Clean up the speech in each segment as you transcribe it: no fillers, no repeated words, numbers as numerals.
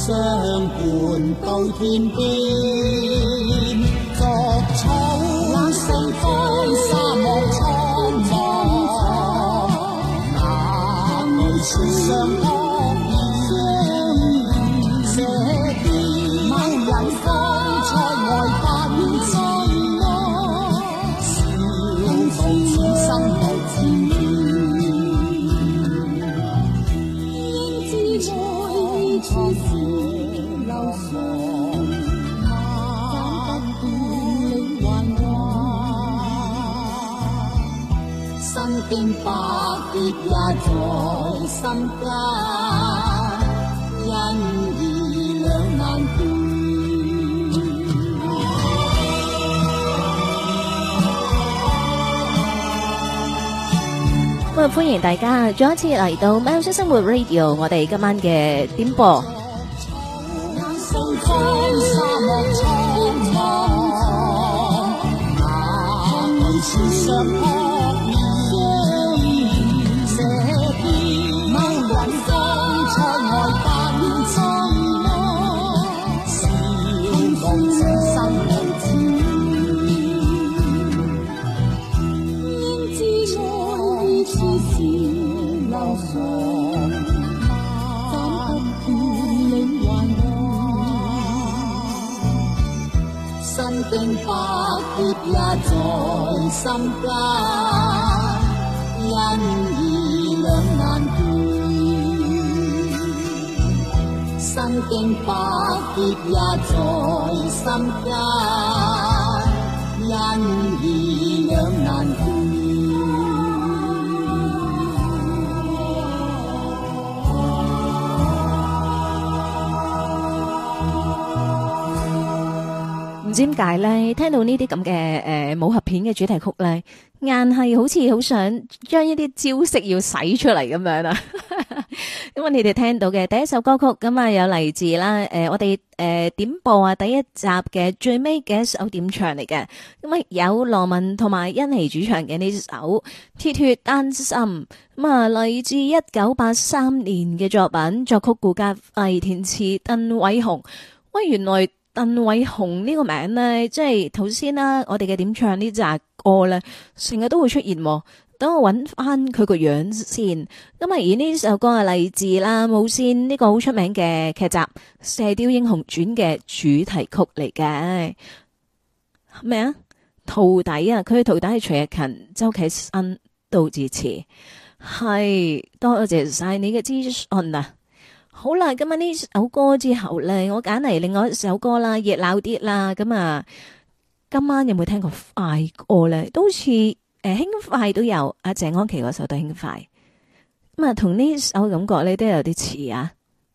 相伴到天邊，作草四方沙漠蒼茫，哪裏說相撲這邊某人方塞外奔追我，笑到此生無纏應知愛處是流霜，斬不斷你還我，身經百劫也在心間，因義兩難斷。 咁啊，歡迎大家再一次嚟到喵式生活 Radio， 我哋今晚嘅點播。經百劫也在心間，因義兩難斷。身經百劫也在心間，因義兩難斷。唔知點解咧，聽到呢啲咁嘅武俠片嘅主題曲咧，硬係好似好想將一啲招式要使出嚟咁樣啊！咁啊，你哋聽到嘅第一首歌曲咁啊，有嚟自啦我哋點播啊第一集嘅最尾嘅一首點唱嚟嘅，咁啊有羅文同埋甄妮主唱嘅呢首《鐵血丹心》，咁啊嚟自1983年嘅作品，作曲顧嘉輝，填詞鄧偉雄。喂，原來鄧偉雄呢個名咧，即係頭先啦，我哋嘅點唱呢隻歌咧，成日都會出現。等我揾翻佢個樣先。咁啊，而呢首歌係嚟自啦無綫呢個好出名嘅劇集《射雕英雄傳》嘅主題曲嚟嘅。咩啊？徒弟啊，佢嘅徒弟係徐日勤、周啟生、杜自持。係，多謝晒你嘅資訊啊！好啦，今日呢首歌之後咧，我揀嚟另外一首歌啦，熱鬧啲啦。咁啊，今晚有冇聽過快歌咧？都好似輕快都有，阿謝安琪嗰首都輕快。咁啊，同呢首感覺咧都有啲似啊。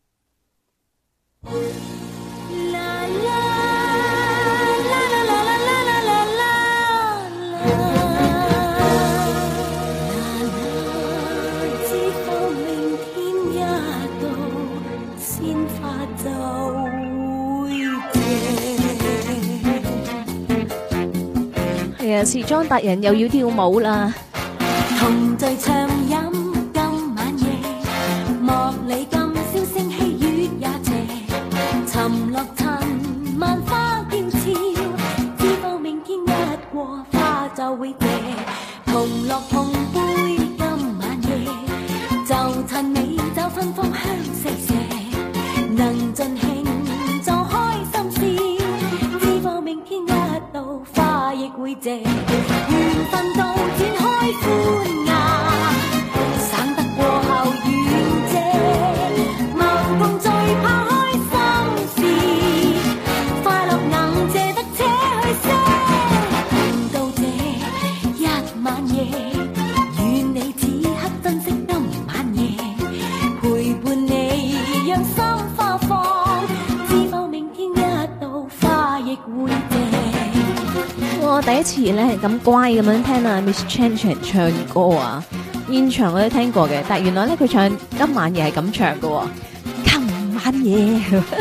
係啊，時裝達人又要跳舞啦。 同醉暢飲今晚夜，莫理今宵星稀月也斜，沉落塵萬花嬌俏，知否明天一過花就會謝，同樂同杯今晚夜，就趁美酒芬芳香四射，能盡興就開心笑，知否明天一到花亦會謝，緣分到展開歡顏，省得過後遠借，無共最怕開心事，快樂能借得且去些，到這一晚夜，願你此刻珍惜今晚夜，陪伴你讓心花放，知否明天一到花亦會謝。 我第一次咧咁乖咁樣聽啊 Miss Chan Chan 唱歌啊，現場我都聽過嘅，但係原來咧佢唱今晚夜係咁唱嘅，今晚夜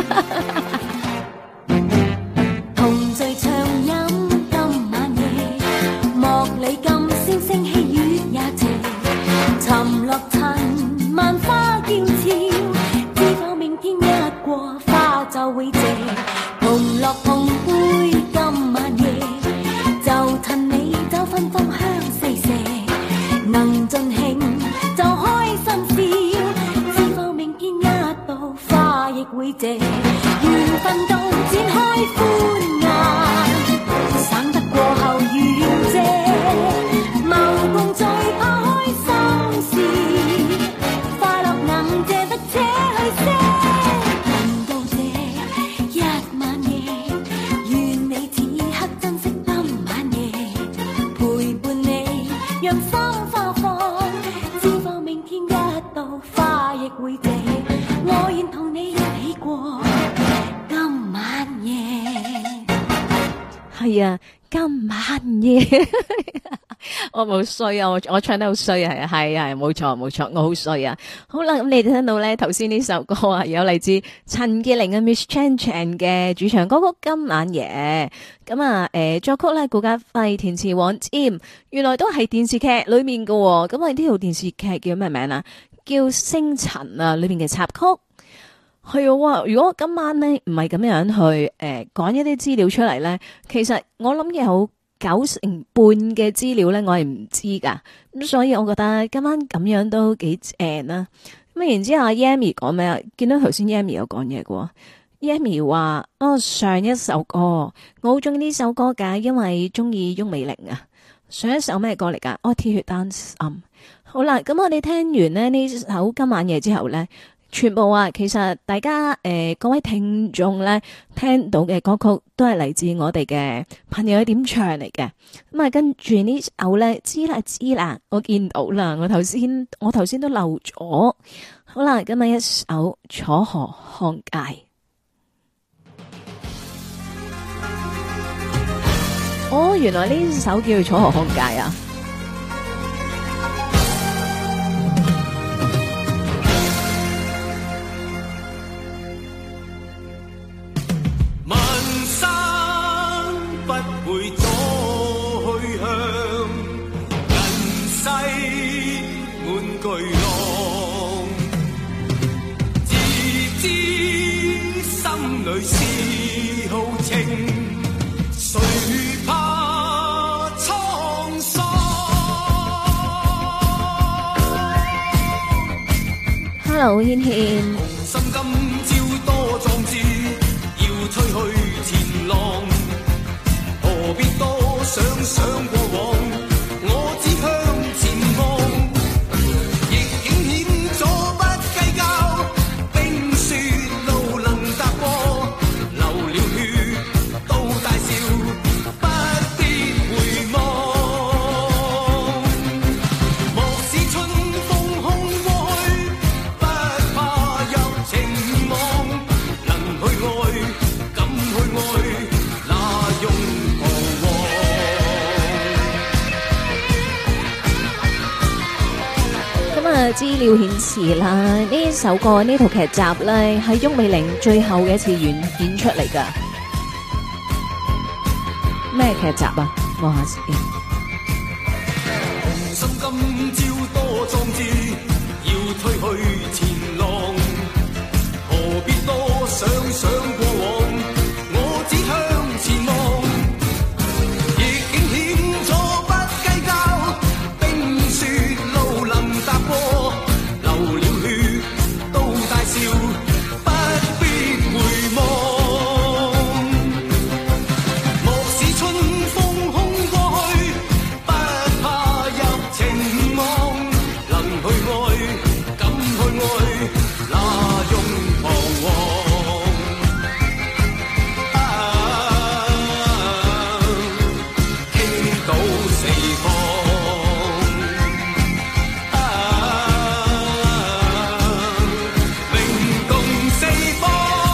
同醉暢飲今晚夜，莫理今宵星稀月也斜，沉落塵萬花嬌俏，知否明天一過花後會謝，同樂同杯今晚夜，就趁你走芬芳香四射，能盡興就開心笑，知否明天一到花亦會謝，緣分到展開歡顏，省得過後願謝。謀共聚怕開心事，快樂能借得且去些。能到這一晚夜，願你此刻珍惜今晚夜，陪伴你讓心花放，知否明天一到花亦會謝，我願同你一起過今晚夜。 係啊，今晚夜。我冇衰啊，我唱得好衰啊，係啊，冇錯冇錯，我好衰啊。好啦，咁你哋聽到咧頭先呢首歌啊，有嚟自陳潔靈嘅 Miss Chan Chan 嘅主唱歌曲《今晚夜》。咁啊，作曲咧顧嘉輝，填詞黃霑，原來都係電視劇裏面嘅。咁啊，呢套電視劇叫咩名啊？叫《星塵》啊，裏面嘅插曲。係啊，如果今晚咧唔係咁樣去講一啲資料出嚟咧，其實我諗有90%嘅資料咧，我係唔知噶，咁所以我覺得今晚咁樣都幾正啦。咁然之後阿 Yami 講咩啊？見到頭先 Yami 有講嘢嘅，Yami 話上一首歌我好中意呢首歌噶，因為中意翁美玲啊。上一首咩歌嚟噶？鐵血丹心。好啦，咁我哋聽完咧呢首今晚夜之後咧，全部啊，其實大家各位聽眾咧聽到嘅歌曲都係嚟自我哋嘅朋友嘅點唱嚟嘅。咁啊，跟住呢首咧知啦，我見到啦，我頭先都漏咗。好啦，今日一首《楚河漢界》。哦，原來呢首叫《楚河漢界》啊！Hello， 軒軒。心今朝多壯志，要吹去前浪，何必多想想過往，我只向前望，逆境險阻不計較，冰雪路能踏過，流了血都大笑，不必回望，莫使春風空過去，不怕入情網，能去愛，敢去愛，那用彷徨。咁啊，資料顯示啦，呢首歌呢套劇集咧係翁美玲最後嘅一次演出嚟㗎。咩劇集啊？望下先。心今朝多壯志，要推去前浪，何必多想想過往，我只向前望，逆境險阻不計較，冰雪路能踏過，流了血都大笑，不必回望，莫使春風空過去，不怕入情網，能去愛，敢去愛，那用彷徨。傾倒四方，靈動四方。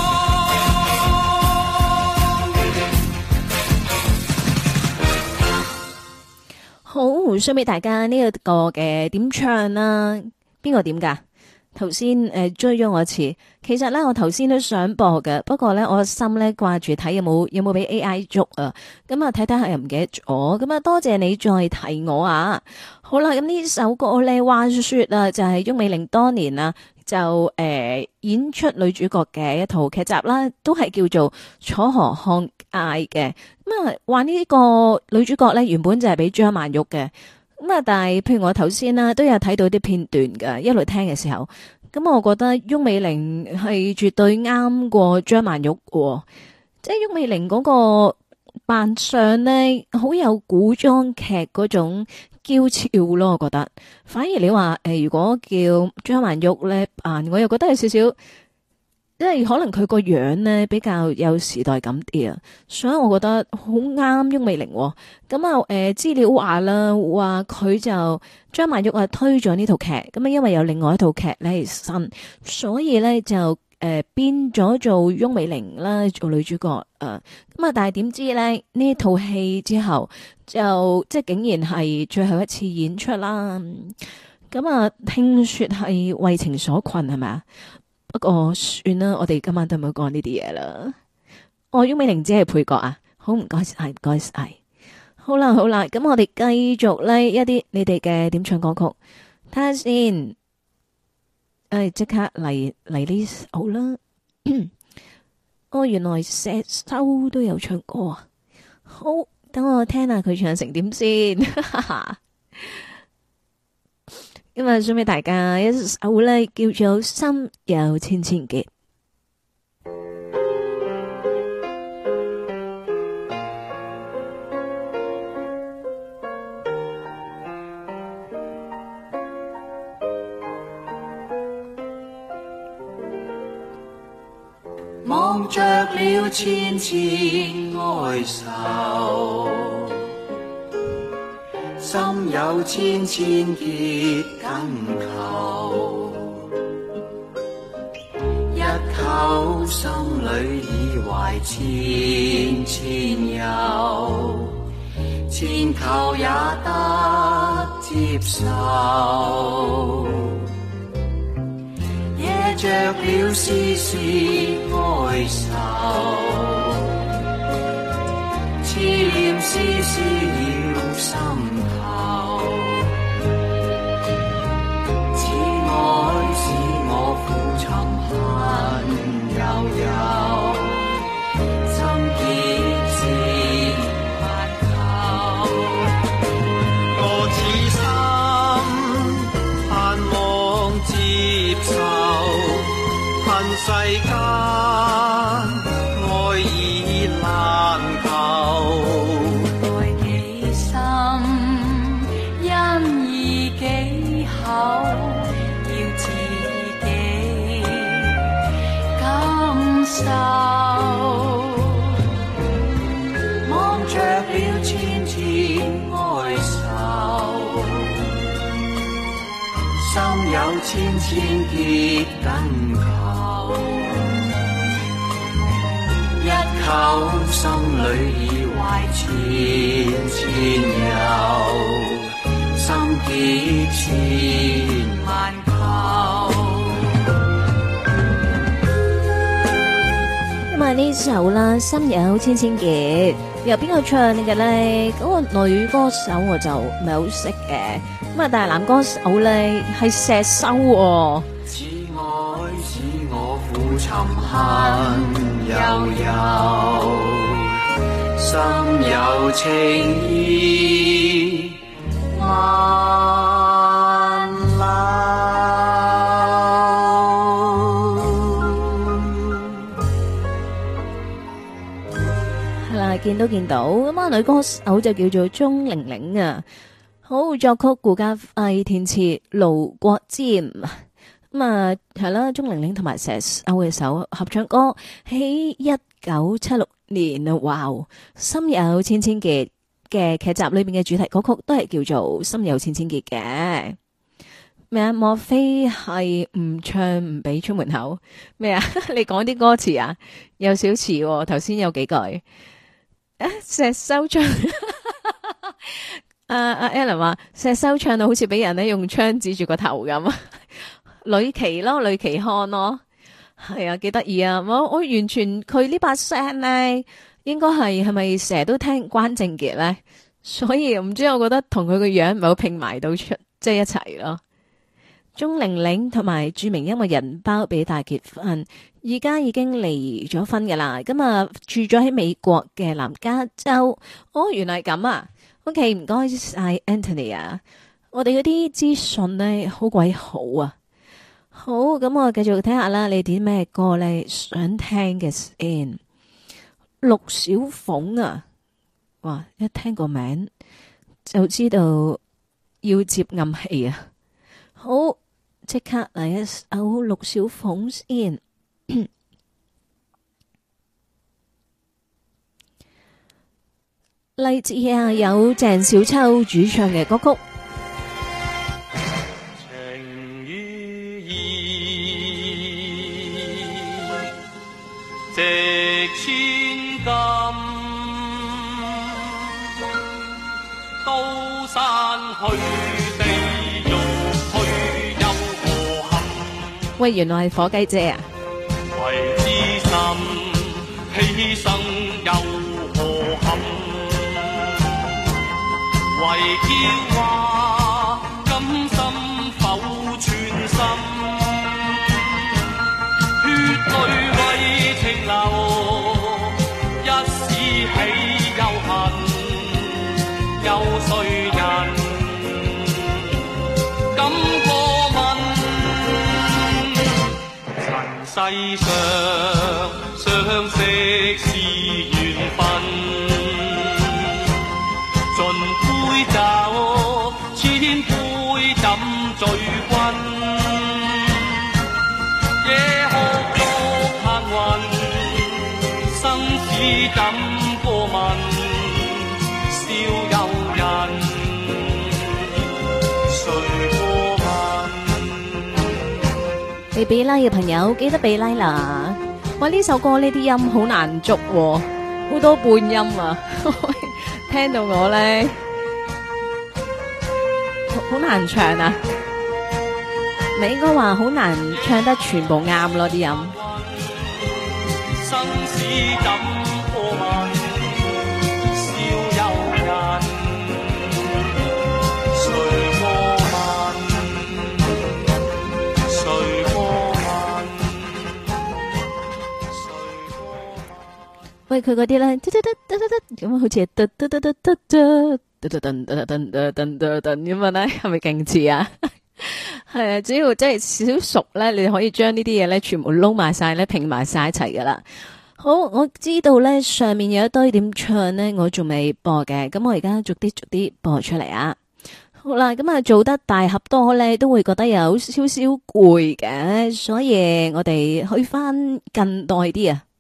好，送俾大家呢一個嘅點唱啦，邊個點噶？頭先追咗我一次，其實咧我頭先都想播嘅，不過咧我心咧掛住睇有冇俾 AI 捉啊，咁啊睇睇下又唔記得咗，咁啊多謝你再提我啊。好啦，咁呢首歌咧話說啊，就係翁美玲當年啊就演出女主角嘅一套劇集啦，都係叫做《楚河漢界》嘅。咁啊，話呢個女主角咧原本就係俾張曼玉嘅。咁啊，但係譬如我頭先啦，都有睇到啲片段㗎，一路聽嘅時候，咁我覺得翁美玲係絕對啱過張曼玉喎。即係翁美玲嗰個扮相咧，好有古裝劇嗰種嬌俏咯，我覺得。反而你話如果叫張曼玉咧扮，我又覺得有少少，因為可能佢個樣咧比較有時代感啲啊，所以我覺得好啱翁美玲。咁啊，資料話啦，話佢就張曼玉啊推咗呢套劇，咁啊因為有另外一套劇咧係新，所以咧就變咗做翁美玲啦，做女主角咁啊，但係點知咧呢套戲之後就即係竟然係最後一次演出啦。咁啊，聽說係為情所困係咪啊？不過算啦，我哋今晚都唔好講呢啲嘢啦。翁美玲只係配角啊，好唔該晒，唔該晒。好啦，咁我哋繼續呢一啲你哋嘅點唱歌曲，睇下先。即刻嚟呢首啦。原來石修都有唱歌啊。好，等我聽下佢唱成點先。今日送俾大家一首呢叫做《心有千千結》。 望着了千千哀愁，心有千千結緊扣，一口心裏已懷千千憂，千求也得接受。惹着了絲絲哀愁，痴念絲絲繞心頭，此愛使我苦沉恨悠悠，心結千萬構，我此心盼望接受。恨世間愛已難求， 愛幾深，因義幾厚，要自己感受。 望着了千千哀愁，心有千千結緊扣，一口心裏已懷千千憂，心結千萬構。 咁啊呢首啦，《心有千千結》由邊個唱嘅咧？嗰個女歌手我就唔係好識嘅。咁啊，但係男歌手咧係石修喎。 此愛使我苦沉恨悠悠，心有情意萬縷。 係啦，見到咁啊，女歌手就叫做鍾玲玲啊。好，作曲顧嘉輝，填詞盧國沾。咁啊係啦，鍾玲玲同埋石修嘅首合唱歌，喺1976年啊，哇！心有千千結嘅劇集裏邊嘅主題歌曲都係叫做心有千千結嘅。咩啊？莫非係唔唱唔俾出門口？咩啊？你講啲歌詞啊，有少詞，頭先有幾句。石修唱。阿 Alan 話石修唱到好似俾人咧用槍指住個頭咁，呂奇咯，呂奇漢咯，係啊，幾得意啊！我完全佢呢把聲咧，應該係咪成日都聽關正傑咧？所以唔知我覺得同佢個樣唔係好拼埋到出，即係一齊咯。 鐘玲玲同埋著名音樂人包比達結婚，而家已經離咗婚噶啦。咁啊住咗喺美國嘅南加州。哦，原來係咁啊。OK， 唔該晒 Anthony 啊。我哋嗰啲資訊呢，好鬼好啊。好，咁我繼續睇下啦。你點咩歌呢？想聽嘅先。陸小鳳啊，哇！一聽個名就知道要接暗器啊。好，即刻嚟一首陸小鳳先。例子啊，有鄭少秋主唱嘅歌曲。 情與義，值千金，刀山去地獄去又何憾？ 喂，原來係火雞姐啊！ 為知心犧牲又何憾？為驕華甘心否全心？血淚為情流，一絲起又恨，有誰人敢過問？塵世上相識是緣分，盡杯酒，千杯怎醉君？夜哭獨行雲，生死怎過問？笑有人，誰過問？ 未俾 like 嘅朋友記得俾 like 啦！哇，呢首歌呢啲音好難捉喎，好多半音啊！聽到我咧，好難唱啊！你應該話好難唱得全部啱咯啲音。 生死怎過問？笑有人，誰過問？誰過問？ 喂，佢嗰啲咧，咁好似係咁樣咧，係咪勁似啊？係啊，只要真係少少熟咧，你可以將呢啲嘢咧全部撈埋晒咧，拼埋晒一齊噶啦。好，我知道咧上面有一堆點唱咧，我仲未播嘅，咁我而家逐啲播出嚟啊。好啦，咁啊做得大合多咧，都會覺得有少少攰嘅，所以我哋去翻近代啲啊。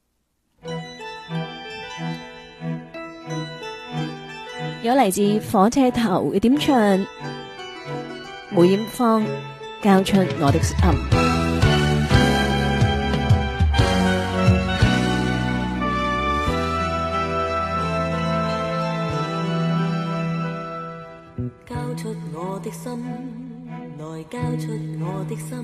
有嚟自火車頭嘅點唱，梅艷芳交出我的心。 交出我的心，來交出我的心，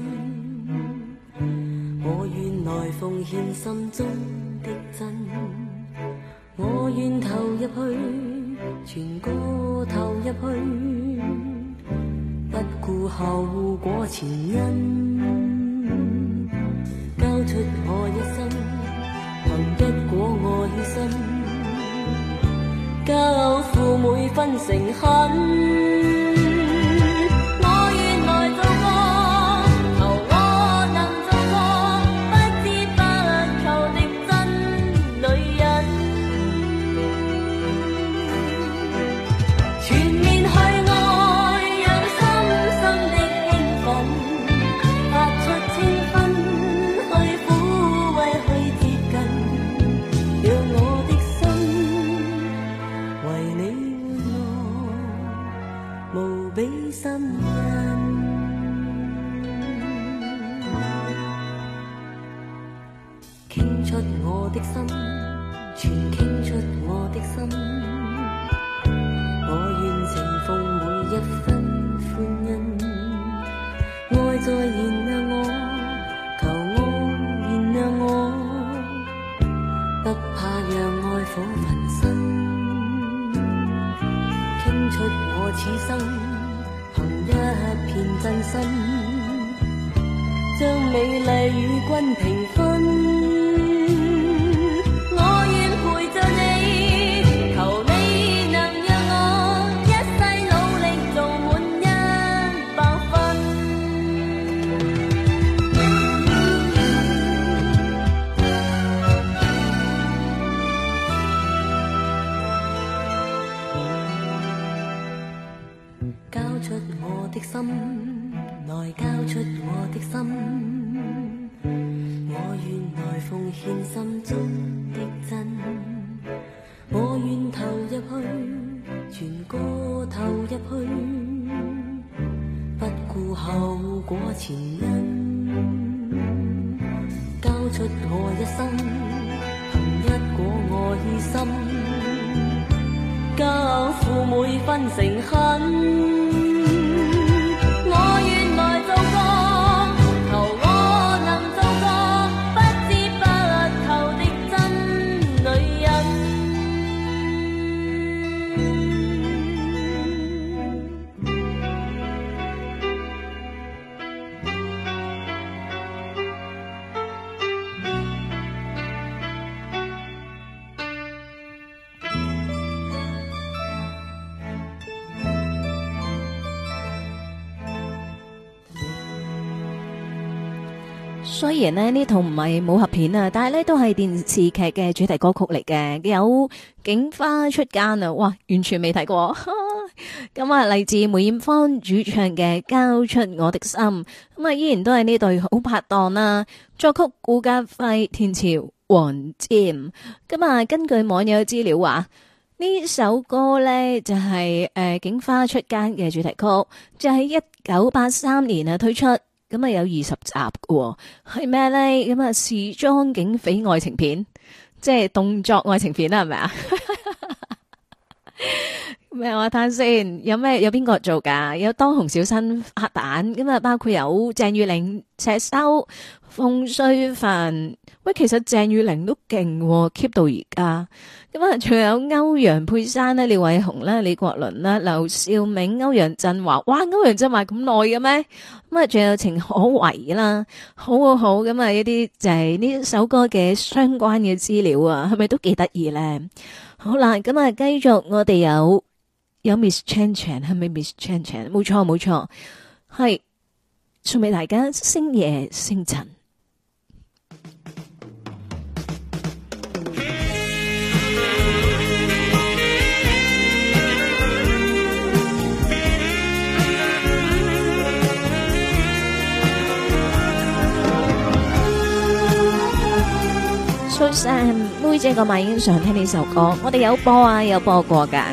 我願來奉獻心中的真，我願投入去，全個投入去，不顧後果前因，交出我一生，憑一果愛心，交付每分誠懇。我願來做個，求我能做個不知不求的真女人。全面去愛，讓深深的興奮，發出清芬，去撫慰，去接近，讓我的心為你玩樂，無比心印。傾出我的心，全傾出我的心。我願承奉每一分歡欣，愛再燃亮我，求愛燃亮我，不怕讓愛火焚身。傾出我此生，憑一片真心， 將美麗與君平分。我願陪着你，求你能讓我一世努力做滿100分。交出我的心，來交出我的心，我願來奉獻心中的真，我願投入去，全個投入去，不顧後果前因，交出我一生，憑一個愛心，交付每分誠懇。我願來做個，求我能做個不折不扣的真女人。 雖然咧呢套唔係武俠片啊，但係咧都係電視劇嘅主題歌曲嚟嘅，有警花出奸啊！哇，完全未睇過。咁啊，嚟自梅艷芳主唱嘅《交出我的心》，咁啊依然都係呢對好拍檔啦。作曲顧嘉輝，填詞黃霑。咁啊，根據網友資料話，呢首歌呢就係警花出奸嘅主題曲，就喺1983年啊推出。咁啊有20集嘅，係咩咧？咁啊時裝警匪愛情片，即係動作愛情片啦，係咪啊？咩話睇先？有邊個做噶？有當紅小生黑蛋，咁啊包括有鄭裕玲、赤修、馮淬帆。喂，其實鄭裕玲都勁，keep 到而家。咁啊，仲有歐陽佩珊啦、廖偉雄啦、李國麟啦、劉兆銘、歐陽震華。哇，歐陽震華咁耐嘅咩？咁啊，仲有程可為啦，好。咁啊，一啲就係呢首歌嘅相關嘅資料啊，係咪都幾得意咧？好啦，咁啊，繼續我哋有 Miss Chan Chan， 係咪 Miss Chan Chan？ 冇錯，係送俾大家星夜星塵。妹姐個咪已經想聽呢首歌，我哋有播啊，有播過噶。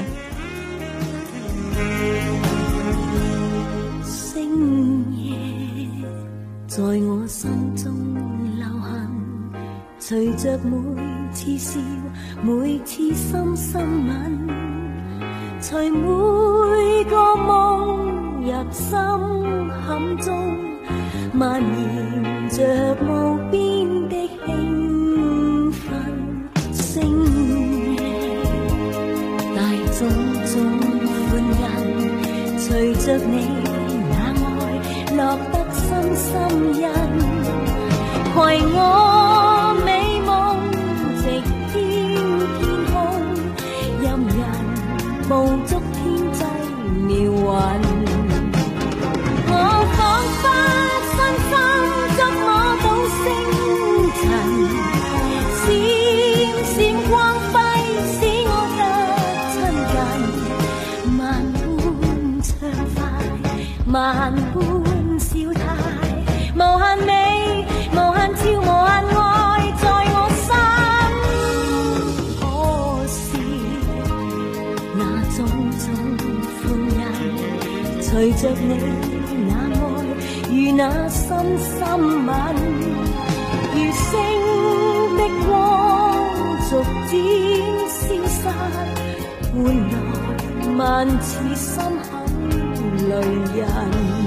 星夜在我心中流行，隨着每次笑，每次深深吻，隨每個夢入心坎中，蔓延着無邊的興奮。星夜大種種歡欣，隨着你那愛落得深深印，攜我美夢直天天空，任人捕捉天際妙韻。我彷彿身心觸摸到星塵，閃閃光輝使我得親近，萬般暢快，萬般笑態，無限美，無限俏，無限愛在我心。可是那種種歡欣，隨着你那愛如那深深吻，如星的光逐漸消失，換來萬次心很累人。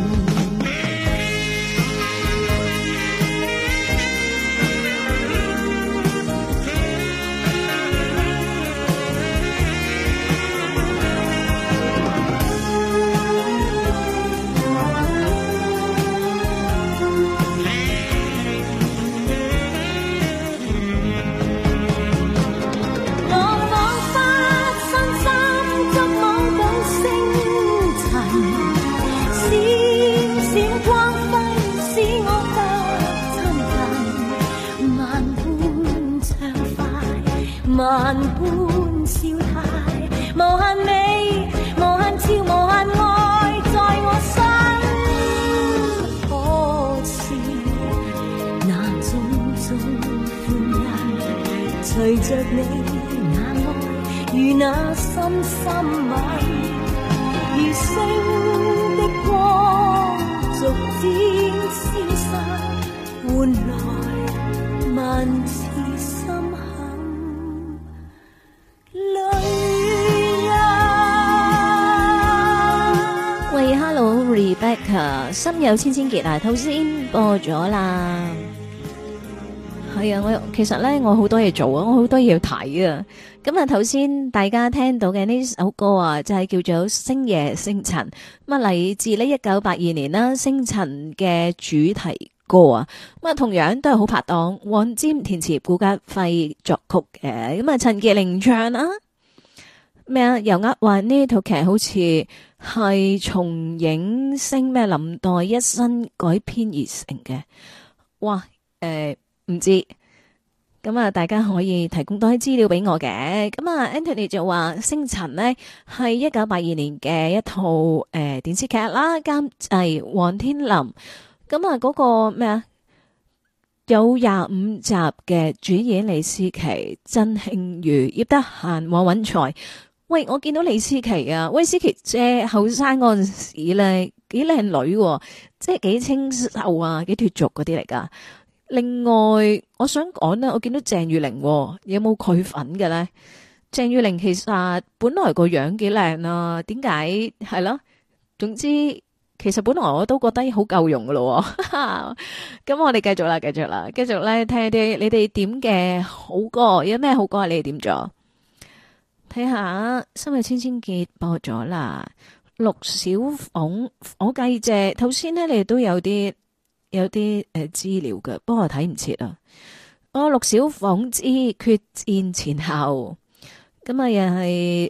萬般笑態，無限美，無限笑，無限愛，在我身。可是那種種歡欣，隨着你那愛與那深深吻，如星的光逐漸消失，換來萬次心痕淚印。 喂 ，Hello Rebecca，心有千千結啊，頭先播咗啦。係啊，我其實咧，我好多嘢做啊，我好多嘢要睇啊。咁啊，頭先大家聽到嘅呢首歌啊，就係叫做《星夜星塵》，咁啊嚟自呢1982年啦，星塵嘅主題歌啊。咁啊，同樣都係好拍檔，黃霑填詞，顧嘉輝作曲嘅。咁啊，陳潔靈唱啊。咩啊？又話呢套劇好似係從影星咩林黛一生改編而成嘅。哇！唔知，咁啊，大家可以提供多啲資料俾我嘅。咁啊 Anthony 就話星塵呢係1982年嘅一套電視劇啦，監製黃天林。咁啊嗰個咩啊，有25集嘅，主演李思琪、曾慶瑜、葉德嫻、黃允財。喂，我見到李思琪啊，喂，思琪姐後生嗰陣時咧幾靚女喎，即係幾清秀啊，幾脫俗嗰啲嚟噶。另外，我想講呢，我見到鄭裕玲有冇佢份嘅咧？鄭裕玲其實本來個樣幾靚啊，點解係咯？總之，其實本來我都覺得好夠用噶咯。咁我哋繼續啦，繼續咧聽啲你哋點嘅好歌，有咩好歌啊？你哋點咗？睇下《心有千千結》播咗啦，陸小鳳，我計謝頭先呢，你哋都有啲資料嘅，不過我睇唔切啊。陸小鳳之決戰前後，咁啊又係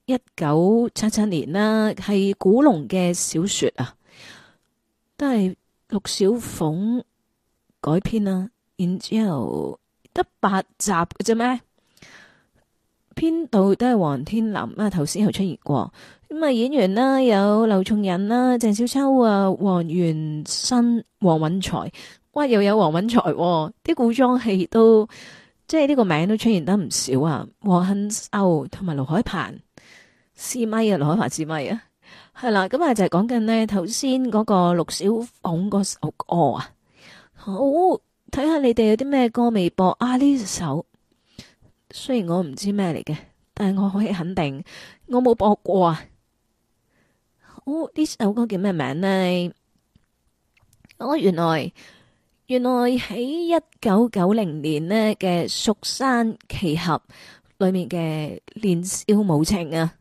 1977年啦，係古龍嘅小說啊，都係陸小鳳改編啦。然之後得8集嘅啫咩？編導都係黃天林啊，頭先有出現過。咁啊，演員啦有劉松仁啦、鄭少秋啊、黃元申、黃允財，哇，又有黃允財，啲古裝戲都即係呢個名都出現得唔少啊。黃杏秀同埋盧海鵬試咪啊，盧海鵬試咪啊，係啦。咁啊就係講緊呢頭先嗰個陸小鳳嗰首歌啊。好，睇下你哋有啲咩歌未播啊？呢首雖然我唔知咩嚟嘅，但係我可以肯定我冇播過啊。呢首歌叫咩名呢？原來喺1990年呢嘅《蜀山奇俠》裏面嘅年少無情啊！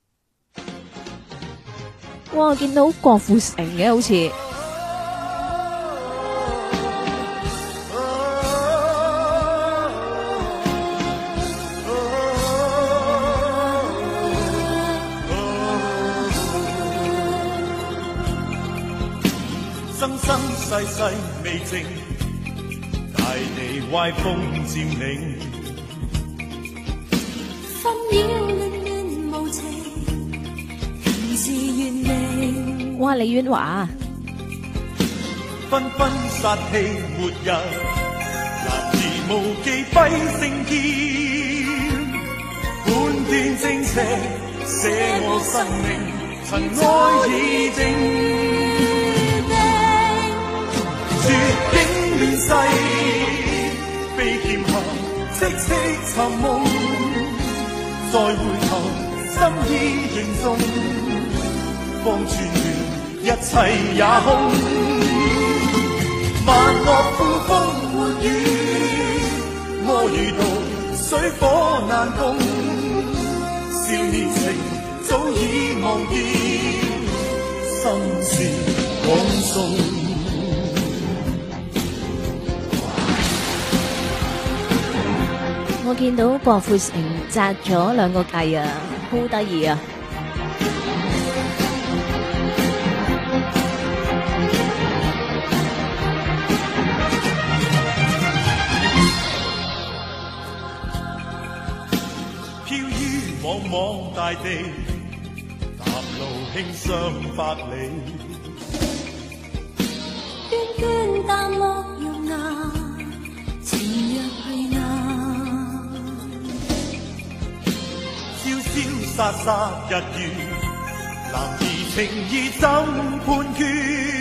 哇，見到郭富城嘅好似。 生生世世未靜，大地歪風佔領， 紛擾亂亂無情，平時原靈。 哇，李婉華紛紛殺氣沒日，男兒無忌揮聖劍，半段正邪寫我生命，塵埃已靜。絕境亂世，被劍下戚戚尋夢，再回頭心意凝重，方寸斷一切也空。萬惡苦風悶雨，我如毒水火難共，少年情早已忘記，心事廣送。 我見到郭富城紮咗2個髻啊，好得意啊！ 望望大地，踏路輕雙百里。 涓涓淡漠容顏，情若去眼。 瀟瀟灑灑日月，男兒情意怎判決？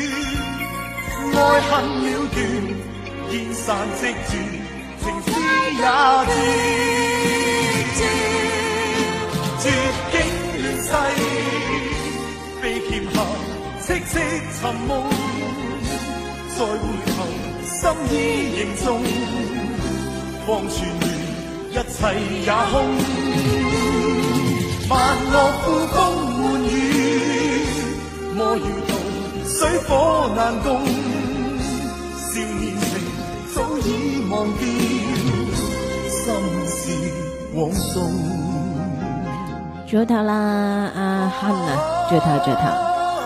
愛恨了斷，煙散即絕，情絲也絕。絕境亂世，被劍下戚戚尋夢，再回頭心意凝重，方寸亂，一切也空。萬樂富風滿雨，莫搖動，水火難共。少年情早已忘掉，心事往縱。 最頭啦，阿亨啊，最頭。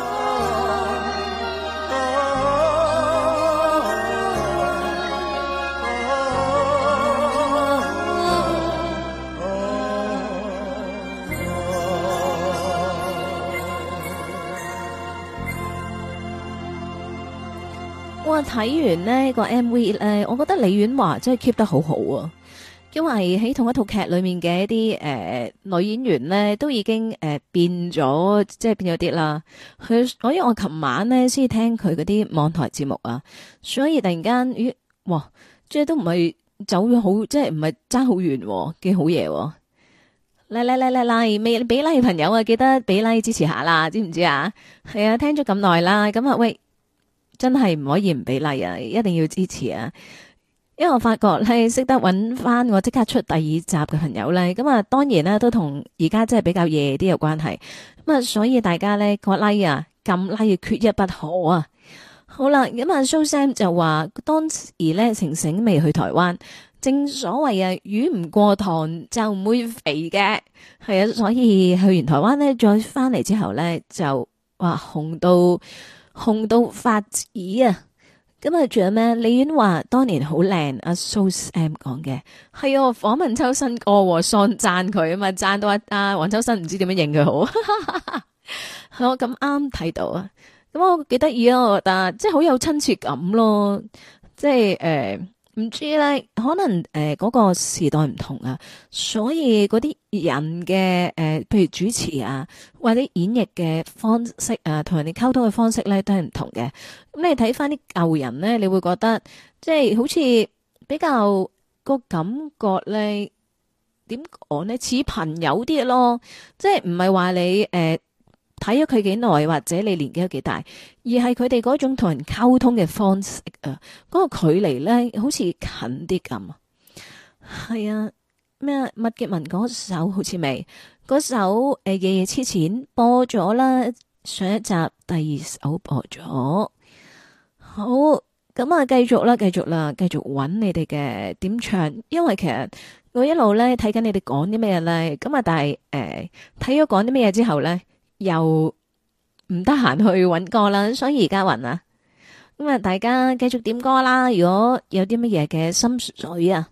哇！睇完呢個 MV 咧，我覺得李婉華真係 keep 得好好啊！因為喺同一套劇裏面嘅一啲女演員咧，都已經變咗，即係變咗啲啦。因為我琴晚咧先聽佢嗰啲網台節目啊，所以突然間咦，哇！即係都唔係走咗好，即係唔係爭好遠，幾好嘢。嚟，未俾 like 朋友啊，記得俾 like 支持下啦，知唔知啊？係啊，聽咗咁耐啦，咁啊喂！真係唔可以唔俾 like 啊！一定要支持啊！因為我發覺咧，識得揾翻我即刻出第二集嘅朋友咧，咁啊，當然啦，都同而家真係比較夜啲有關係。咁啊，所以大家咧個 like 啊，撳 like 缺一不可啊！好啦，咁啊蘇 Sam 就話當時咧晴晴未去台灣，正所謂啊魚唔過塘就唔會肥嘅，係啊，所以去完台灣咧，再翻嚟之後咧就哇紅到發紫啊！咁啊，仲有咩？李婉華當年好靚，阿蘇 Sam 講嘅係啊，訪問秋生哥，喪讚佢啊嘛，讚到阿黃秋生唔知點樣認佢好。係我咁啱睇到啊，咁我幾得意啊，我覺得即係好有親切感咯，即係唔知咧，可能嗰個時代唔同啊，所以嗰啲人嘅譬如主持啊，或者演繹嘅方式啊，同人哋溝通嘅方式咧，都係唔同嘅。咁你睇翻啲舊人咧，你會覺得即係好似比較個感覺咧，點講咧，似朋友啲咯，即係唔係話你睇咗佢幾耐，或者你年紀有幾大，而係佢哋嗰種同人溝通嘅方式啊，嗰個距離咧好似近啲咁啊。係啊，咩麥潔文嗰首好似未？嗰首夜夜痴纏播咗啦，上一集第二首播咗。好，咁啊繼續啦，繼續揾你哋嘅點唱，因為其實我一路咧睇緊你哋講啲咩咧，咁啊但係睇咗講啲咩之後咧，又唔得閒去揾歌啦，所以而家揾啊，咁啊大家繼續點歌啦。如果有啲乜嘢嘅心水啊，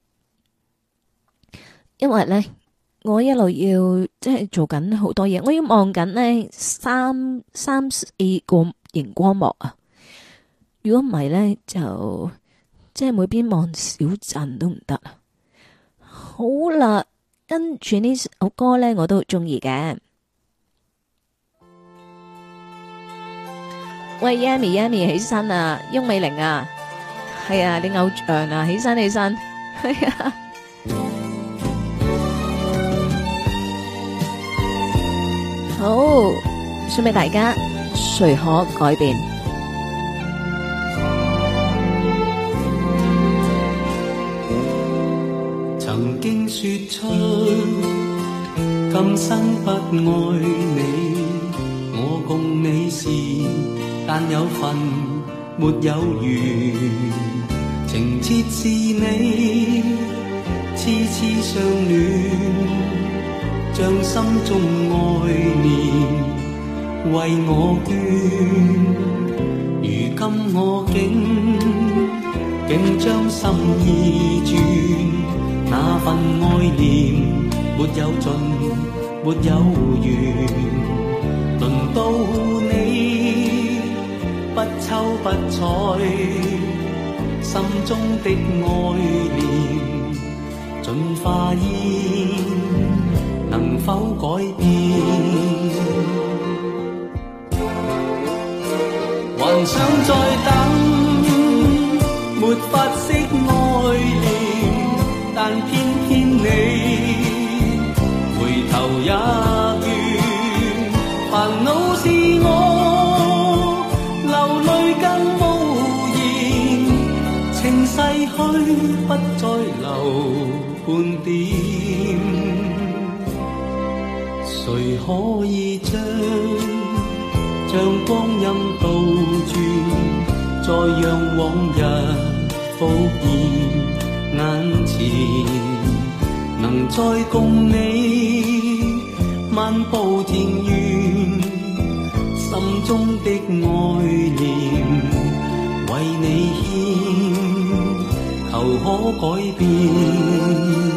因為咧我一路要即係做緊好多嘢，我要望緊呢三四個熒光幕啊。如果唔係咧，就即係每邊望小陣都唔得啊。好啦，跟住呢首歌咧，我都中意嘅。喂 ，Yami 起身啊，翁美玲啊，係啊，你偶像啊，起身，係啊。好，送俾大家，誰可改變？ 曾經說出今生不愛你，我共你是但有份沒有緣，情切是你痴痴相戀，將心中愛念為我捐，如今我竟將心意轉，那份愛念沒有盡，沒有完。輪到你不瞅不睬，心中的愛念盡化煙，能否改變？還想再等，沒法釋愛念，但偏偏你回頭也倦，煩惱是我流淚更無言，情逝去不再留半點，誰可以將光陰倒轉，再讓往日復現眼前，能再共你漫步田園，心中的愛念為你獻，求可改變。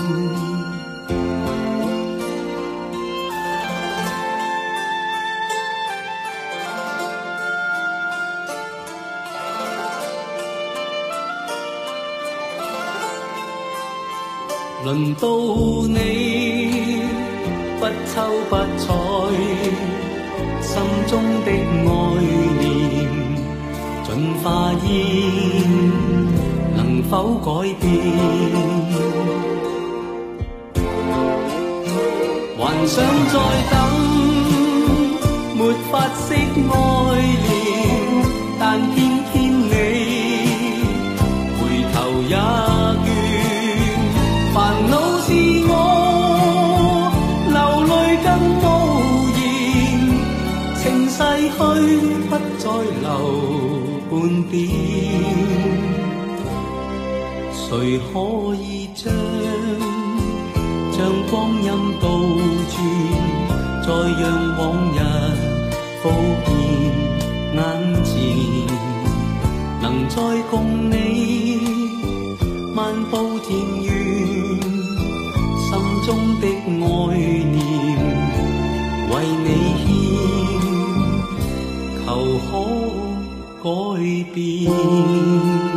輪到你不瞅不睬，心中的愛念盡化煙，能否改變？還想再等，沒法釋愛念，但偏偏你回頭也煩惱是我流淚更無言，情逝去不再留半點，誰可以將光陰倒轉，再讓往日復現眼前，能再共你漫步田園，心中的愛念為你獻，求可改變。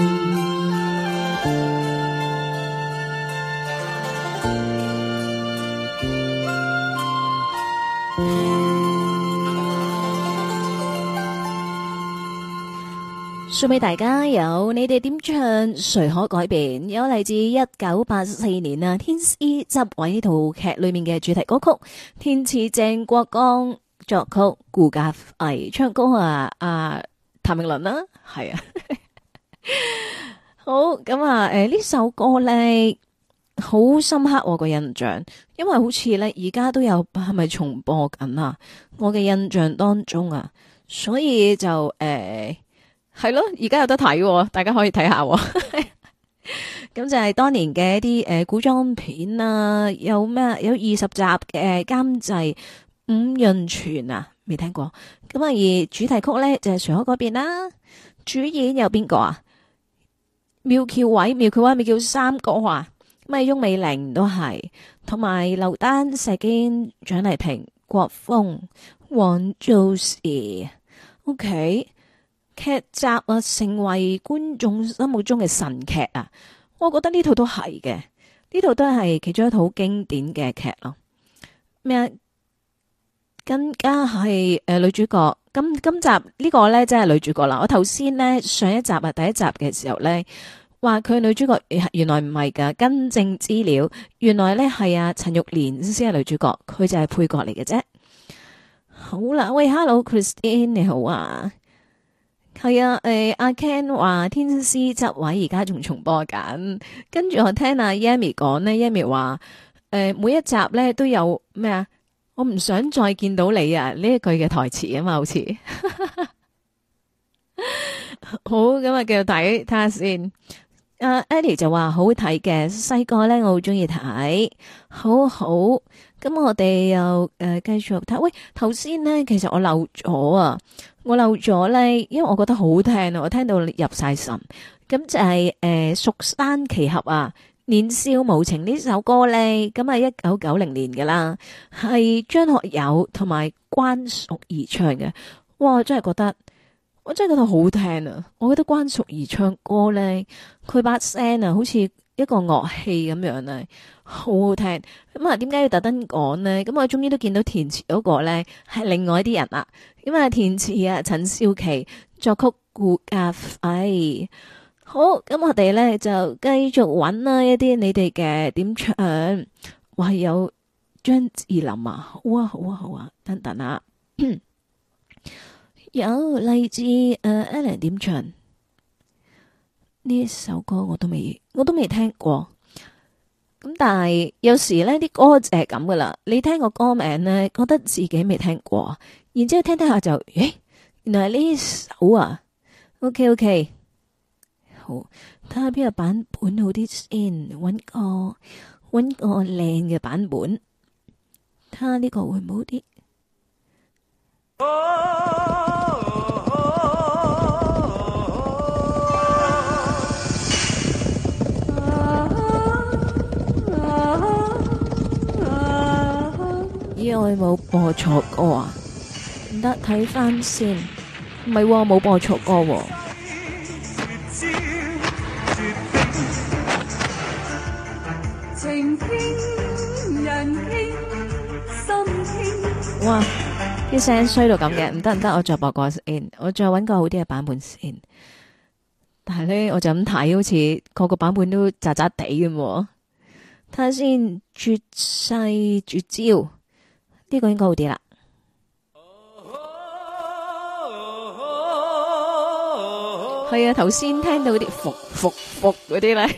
送俾大家有你哋點唱誰可改變，有嚟自1984年啊天師執位呢套劇裏面嘅主題歌曲，填詞鄭國江，作曲顧嘉輝，唱歌譚詠麟啦，係啊。好咁啊，呢首歌咧好深刻我個印象，因為好似咧而家都有係咪重播緊啊？我嘅印象當中啊，所以就係咯，而家有得睇，大家可以睇下。咁就係當年嘅一啲古裝片啊，有咩有20集嘅監製伍潤泉啊，未聽過。咁啊，而主題曲咧就係誰可改變啦。主演有邊個啊？苗僑偉咪叫三哥啊。咁啊，翁美玲都係，同埋劉丹、石堅、蔣麗萍、國峰、黃造時。OK。劇集啊，成為觀眾心目中嘅神劇啊！我覺得呢套都係嘅，呢套都係其中一套經典嘅劇咯。咩？更加係女主角。今集呢個呢，真係女主角啦。我頭先呢，上一集啊，第一集嘅時候呢，話佢女主角原來唔係噶，更正資料，原來呢係啊陳玉蓮先係女主角，佢就係配角嚟嘅啫。好啦，喂 ，Hello Christine 你好啊！係啊，阿 Ken 話天師執位而家仲重播緊，跟住我聽阿 Yami 講呢 Yami 話每一集咧都有咩啊？我唔想再見到你啊！呢一句嘅台詞啊嘛，好似好咁啊，繼續睇下先。Eddie 就話好睇嘅，細個咧我好中意睇，好好。咁我哋又繼續睇。喂，頭先咧其實我漏咗啊，咧，因為我覺得好聽啊，我聽到入晒神。咁就係蜀山奇俠啊， 年少無情呢首歌咧，咁係1990年噶啦，係張學友同埋關淑怡唱嘅。哇，我真係覺得好聽啊！我覺得關淑怡唱歌咧，佢把聲啊，好似一個樂器咁樣啊，好好聽。咁啊，點解要特登講呢？咁我終於都見到填詞嗰個咧係另外一啲人啦。咁啊，填詞啊，陳少琪，作曲顧嘉輝。好，咁我哋咧就繼續揾啦一啲你哋嘅點唱，話有張智霖啊，好啊好啊好啊，等等啊，有勵志Alan 點唱呢首歌我都未聽過，咁但係有時咧啲歌就係咁噶啦，你聽個歌名咧覺得自己未聽過，然之後聽下就，原來係呢首啊 ，OK。好，睇下邊個版本好啲先，搵個靚嘅版本，睇下呢個會唔好啲。咦，我冇播錯歌啊？唔得，睇翻先，唔係喎，冇播錯歌喎。 情傾人傾心傾。 哇！啲聲衰到咁嘅，唔得，我再播個先，我再搵個好啲嘅版本先。但係咧，我就咁睇，好似個個版本都渣渣地咁。睇下先，絕世絕招呢個應該好啲啦。係啊，頭先聽到嗰啲服嗰啲咧。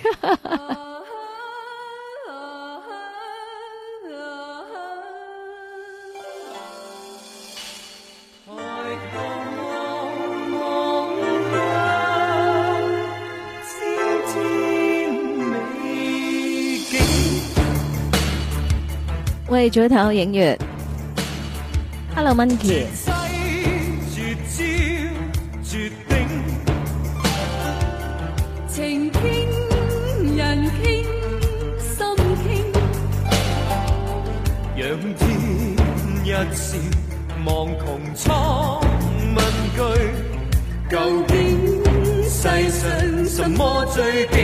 喂，早唞影月 ，Hello Monkey。 情傾人傾心傾， 仰天一笑望穹蒼問句，究竟世上什麼最勁？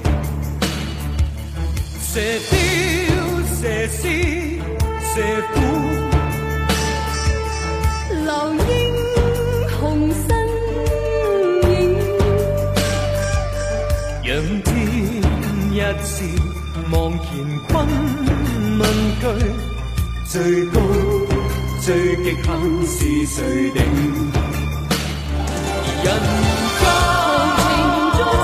射雕射獅射虎， 留英雄身影， 仰天一笑望乾坤問句，最高最極限是誰定？人間情中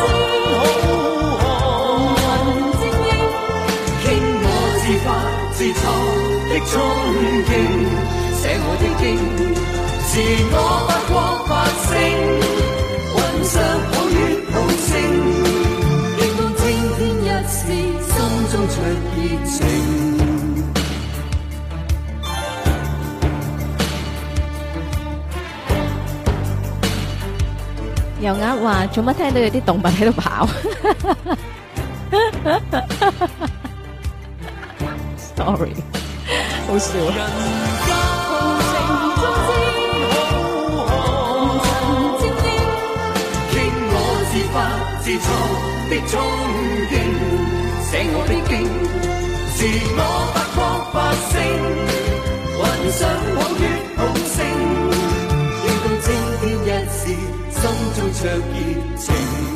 之紅雲精英， 傾我自發自創的衝勁，寫我的經，自我發光發聲，雲上抱月抱星， 應當青天一試，心中灼熱情。 油鴨話做乜聽到有啲動物喺度跑？Sorry， 好笑啊！ 傾我自發自創的衝勁，寫我的經，自我發光發聲，雲上抱月抱星，應當青天一試。心中灼熱情，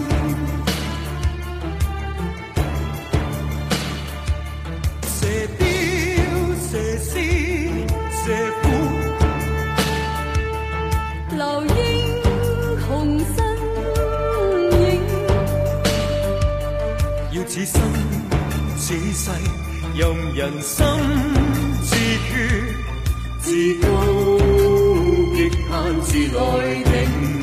射雕射獅射虎， 留英雄身影， 要此生此世任人心自決，自高極限自來定。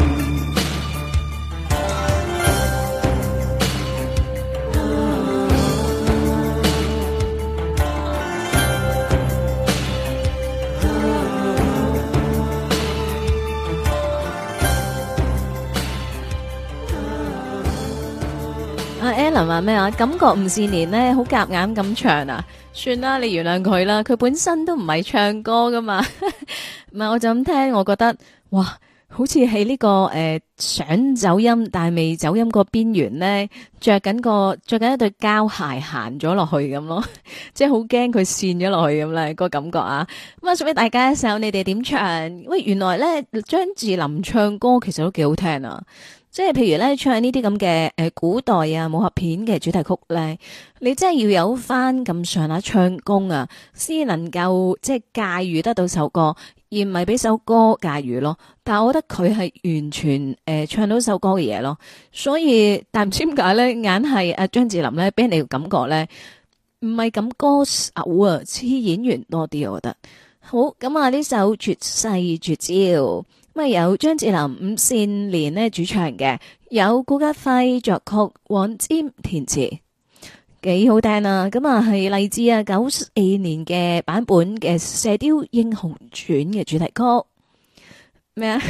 文話咩啊？感覺吳倩蓮咧好夾硬咁唱啊！算啦，你原諒佢啦，佢本身都唔係唱歌噶嘛。唔係，我就咁聽，我覺得哇，好似喺呢個想走音但係未走音個邊緣咧，着緊一對膠鞋行咗落去咁咯，即係好驚佢跣咗落去咁咧個感覺啊！咁啊，送俾大家一首，你哋點唱？喂，原來咧張智霖唱歌其實都幾好聽啊！即係譬如咧唱呢啲咁嘅古代啊武俠片嘅主題曲咧，你真係要有翻咁上下唱功啊，先能夠即係駕馭得到首歌，而唔係俾首歌駕馭咯。但係我覺得佢係完全唱到首歌嘅嘢咯，所以但唔知點解咧，硬係阿張智霖咧俾人哋嘅感覺咧唔係咁歌手啊，似演員多啲，我覺得。好，咁啊呢首絕世絕招。咁啊有張智霖、吳倩蓮咧主唱嘅，有顧嘉輝作曲，黃霑填詞，幾好聽啊！咁啊係嚟自94年嘅版本嘅《射雕英雄傳》嘅主題曲。咩啊？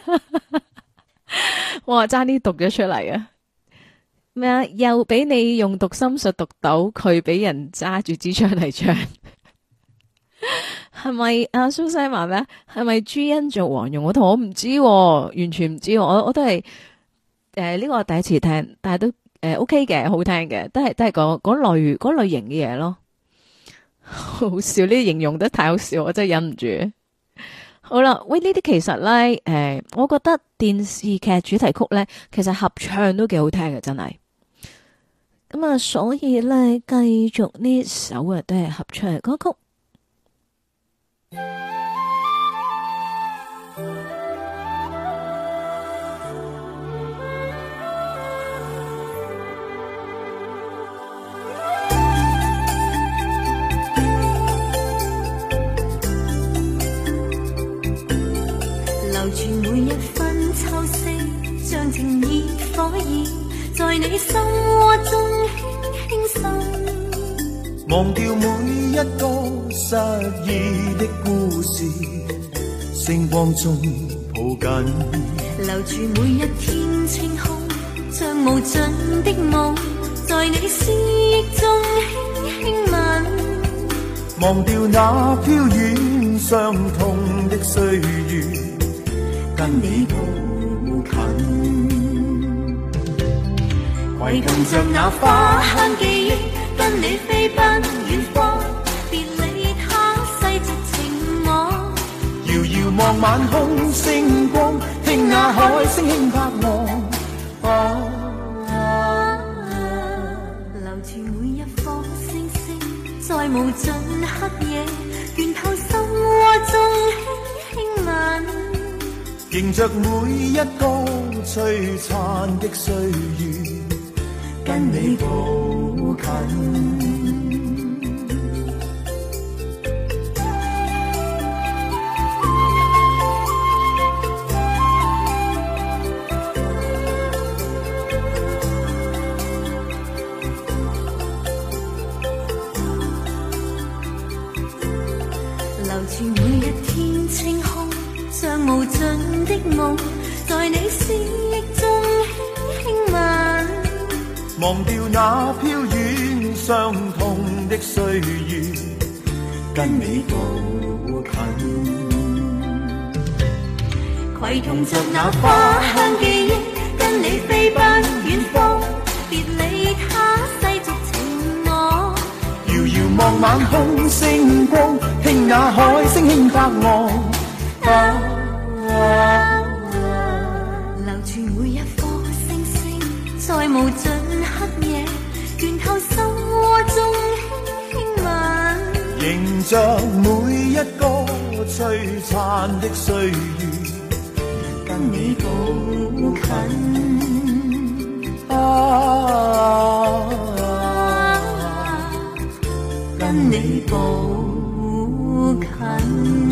哇！差啲讀咗出嚟啊！咩啊？又俾你用讀心術讀到，佢俾人揸住支槍嚟唱。係咪阿蘇西話咩？係咪朱茵做黃蓉嗰套？我唔知，完全唔知。我都係呢個第一次聽，但係都OK 嘅，好聽嘅，都係嗰類型嘅嘢咯。好笑，呢啲形容得太好笑，我真係忍唔住。好啦，喂，呢啲其實咧，我覺得電視劇主題曲咧，其實合唱都幾好聽嘅，真係。咁啊，所以咧，繼續呢首都係合唱嘅歌曲。 留住每一分秋色，像情熱火焰，在你心窩中輕輕滲。 忘掉每一個失意的故事，星光中抱緊。 留住每一天清空，像無盡的夢，在你思憶中輕輕吻。 忘掉那飄遠傷痛的歲月，跟你抱近。攜同着那花香記憶，跟你飛奔遠方，別理他世俗情網。遙遙望晚空星光，聽那海聲輕拍岸。 留住每一顆星星，在無盡黑夜，源頭心窩中輕輕吻。 迎着每一個璀璨的歲月，跟你抱近。 留住每一天清空，像無盡的夢，在你思憶中輕輕吻。 忘掉那飄遠傷痛的歲月，跟你抱近。 攜同着那花香記憶，跟你飛奔遠方，別理他世俗情網。 遙遙望晚空星光，聽那海聲輕拍岸。 留住每一顆星星，在無盡黑夜，源頭心窩中輕輕吻。 迎着每一個璀璨的歲月，跟你抱近。 跟你抱近。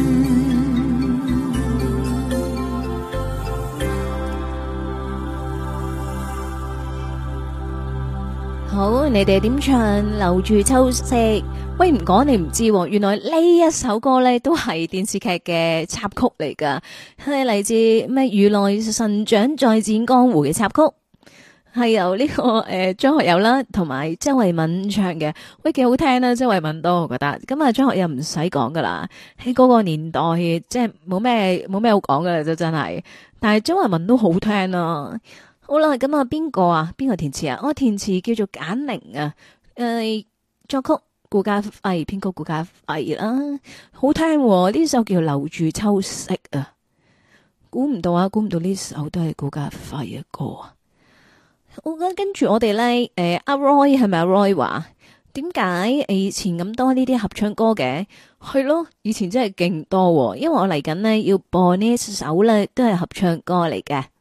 好，你哋點唱留住秋色？喂，唔講你唔知，原來呢一首歌呢都係電視劇嘅插曲嚟噶，係嚟自咩如來神掌再戰江湖嘅插曲。 係由呢個張學友啦，同埋周慧敏唱嘅，喂幾好聽啦，周慧敏都我覺得。咁啊張學友唔使講噶啦，喺嗰個年代即係冇咩好講噶啦，真係。但係周慧敏都好聽啊。好啦，咁啊邊個填詞啊？我填詞叫做簡寧啊，作曲顧嘉輝，編曲顧嘉輝啦，好聽呢首叫留住秋色啊。估唔到呢首都係顧嘉輝嘅歌啊！跟住我哋咧，阿 Roy 係咪阿 Roy 話點解以前咁多呢啲合唱歌嘅？係咯，以前真係勁多，因為我嚟緊呢要播呢一首咧，都係合唱歌嚟嘅。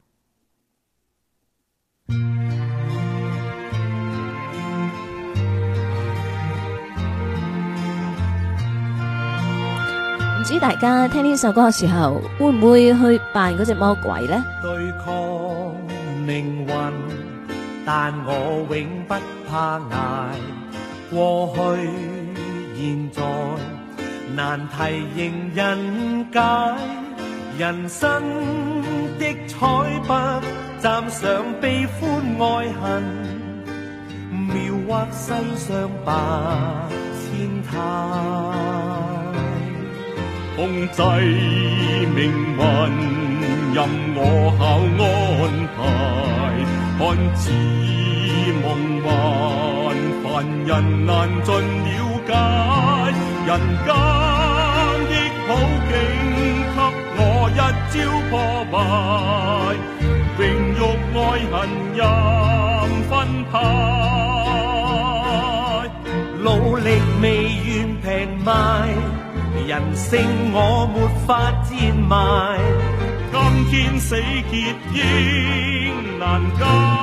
唔知大家聽呢首歌嘅時候，會唔會去扮嗰隻魔鬼呢？ 對抗命運，但我永不怕捱。過去現在難題迎人解，人生的彩筆蘸上悲歡愛恨，描畫世上百千態。 控制命運，任我巧安排，看似夢幻，凡人難盡了解。人間的好景給我一朝破壞，榮辱愛恨任分派， 努力未願平賣，人性我沒法賤賣， 今天死結應難解，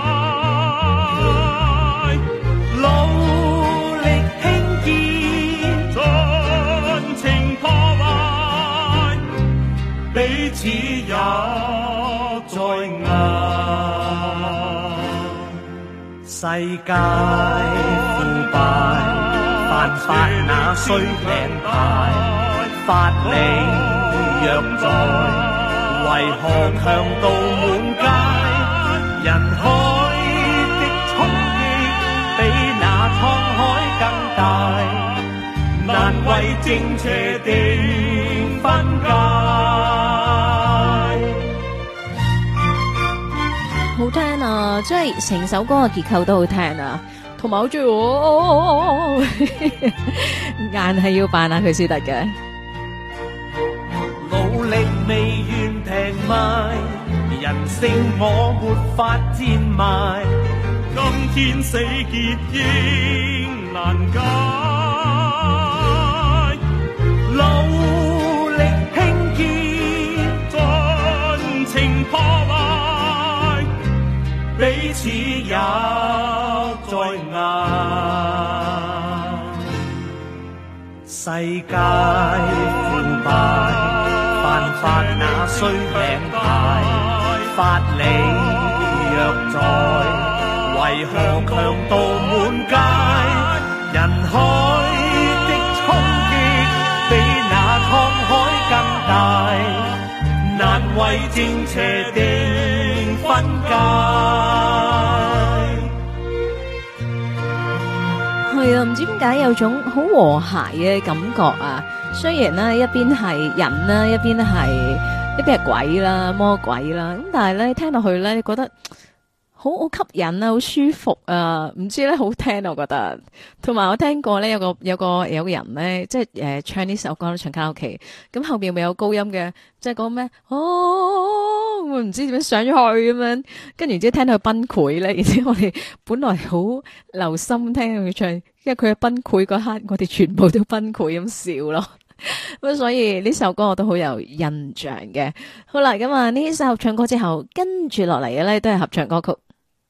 努力興建， 盡情破壞，彼此也在捱。 世界腐敗，犯法那需名牌。法理若在，為何強盜滿街？人海的衝擊比那滄海更大，難為正邪定分界。 好聽啊！即係成首歌嘅結構都好聽啊，同埋好中意我，硬係要扮下佢先得嘅。 努力未願平賣，人性我沒法賤賣， 今天死結應難解， 努力興建， 盡情破壞， 彼此也在捱。世界腐敗，犯法那需名牌，法理若在，為何強盜滿街？人海的衝擊比那滄海更大，難為正邪定分界。 係啊，唔知點解有種好和諧嘅感覺啊！雖然呢一邊係人啦，一邊係鬼啦、魔鬼啦，咁但係咧聽落去咧，你覺得好吸引啊，好舒服啊！唔知咧好聽，我覺得。同埋我聽過咧，有個人咧，即係唱呢首歌唱卡拉 OK， 咁後邊咪有高音嘅，即係講咩唔知點樣上咗去咁樣，跟住之後聽到佢崩潰咧，然之後我哋本來好留心聽佢唱，因為佢嘅崩潰嗰刻，我哋全部都崩潰咁笑咯。咁所以呢首歌我都好有印象嘅。好啦，咁啊呢首合唱歌之後，跟住落嚟嘅咧都係合唱歌曲。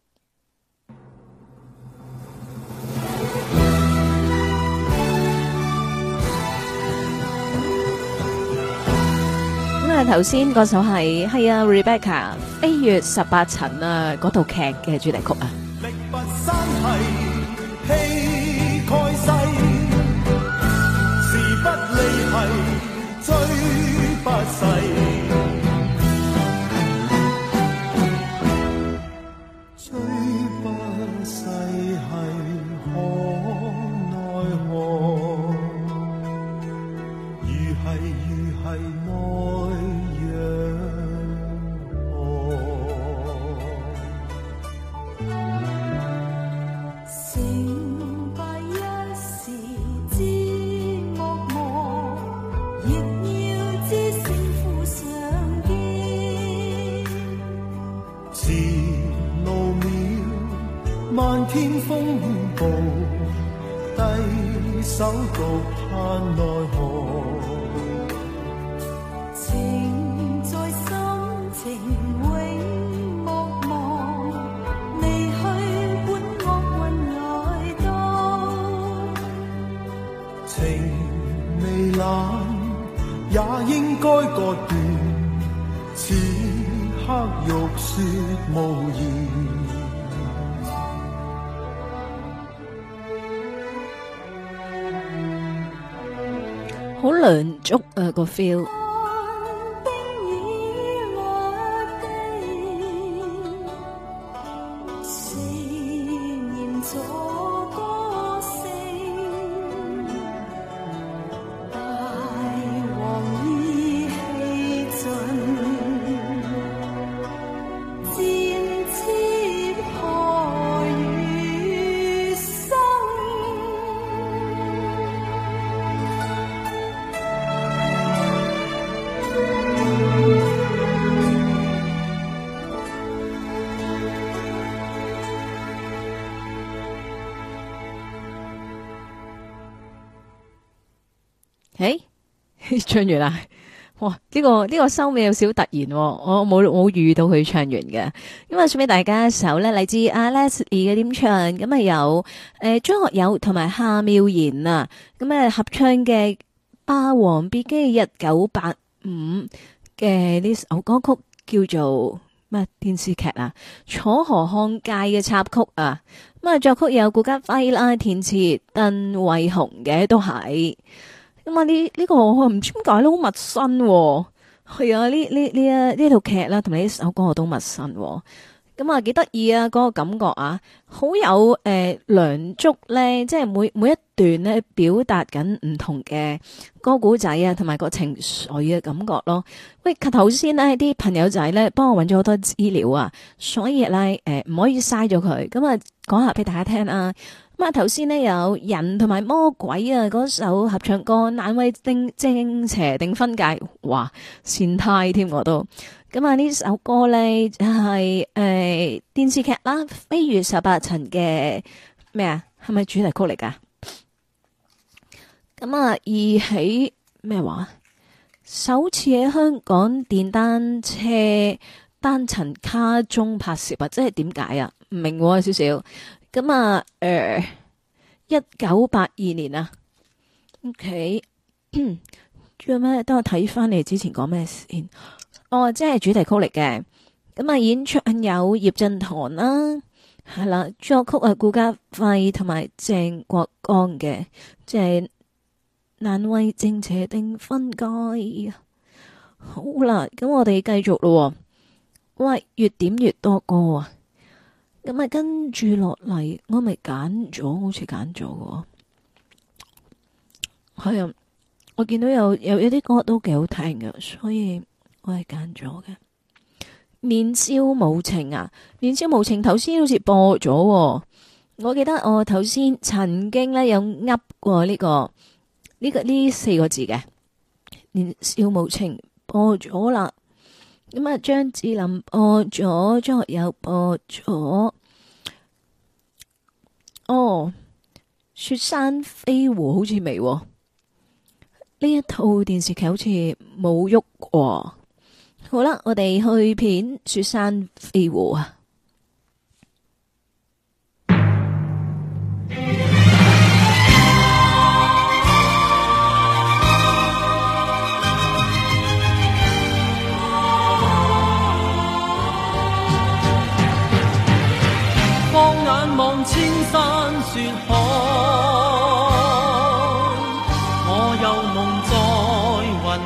咁啊頭先嗰首係啊 Rebecca 飛越18層啊嗰套劇嘅主題曲啊。 力拔山系，氣蓋世，時不利係追不逝，追獨盼奈何。 情在心，情永莫忘，離去管惡運來到。 情未冷，也應該割斷，此刻欲說無言。 好涼足啊個 feel。唱完啦，哇！呢個收尾有少突然喎，我冇預到佢唱完嘅。咁啊，送俾大家一首咧，嚟自阿 Leslie 嘅點唱，咁啊有張學友同埋夏妙賢啊，咁啊合唱嘅《霸王別姬》1985嘅呢首歌曲叫做咩電視劇啊《楚河漢界》嘅插曲啊，咁啊作曲有顧嘉輝啦，填詞鄧惠雄嘅都係。咁啊呢個我唔知點解都好陌生喎。係啊，呢套劇啦，同埋呢首歌我都陌生喎。咁啊幾得意啊，嗰個感覺啊，好有梁祝咧，即係每一段咧表達緊唔同嘅歌古仔啊，同埋個情緒嘅感覺咯。喂，頭先咧啲朋友仔咧幫我揾咗好多資料啊，所以咧唔可以嘥咗佢。咁啊講下俾大家聽啊。咁啊，頭先呢有人同埋魔鬼啊，嗰首合唱歌難為正邪定分界，哇，善太添我都。咁啊呢首歌咧就係電視劇啦，《飛越18層》嘅咩啊，係咪主題曲嚟噶？咁啊，二起咩話？首次喺香港電單車單層卡中拍攝啊，即係點解啊？唔明喎少少。咁啊，1982年啊 ，OK， 仲有咩？等我睇翻你之前講咩先。哦，即係主題曲嚟嘅。咁啊，演唱有葉振棠啦，係啦，作曲啊顧嘉輝同埋鄭國江嘅，即係難為正邪定分界。好啦，咁我哋繼續咯。喂，越點越多歌啊！咁啊，跟住落嚟，我咪揀咗，好似揀咗嘅。係啊，我見到有啲歌都幾好聽嘅，所以我係揀咗嘅。年少無情啊，年少無情，頭先好似播咗。我記得我頭先曾經咧有噏過呢4個字嘅年少無情播咗啦。咁啊，張智霖播咗，張學友播咗。哦，雪山飛狐好似未，呢一套電視劇好似冇喐過。好啦，我哋去片雪山飛狐啊。 放眼望千山雪海，我又夢在雲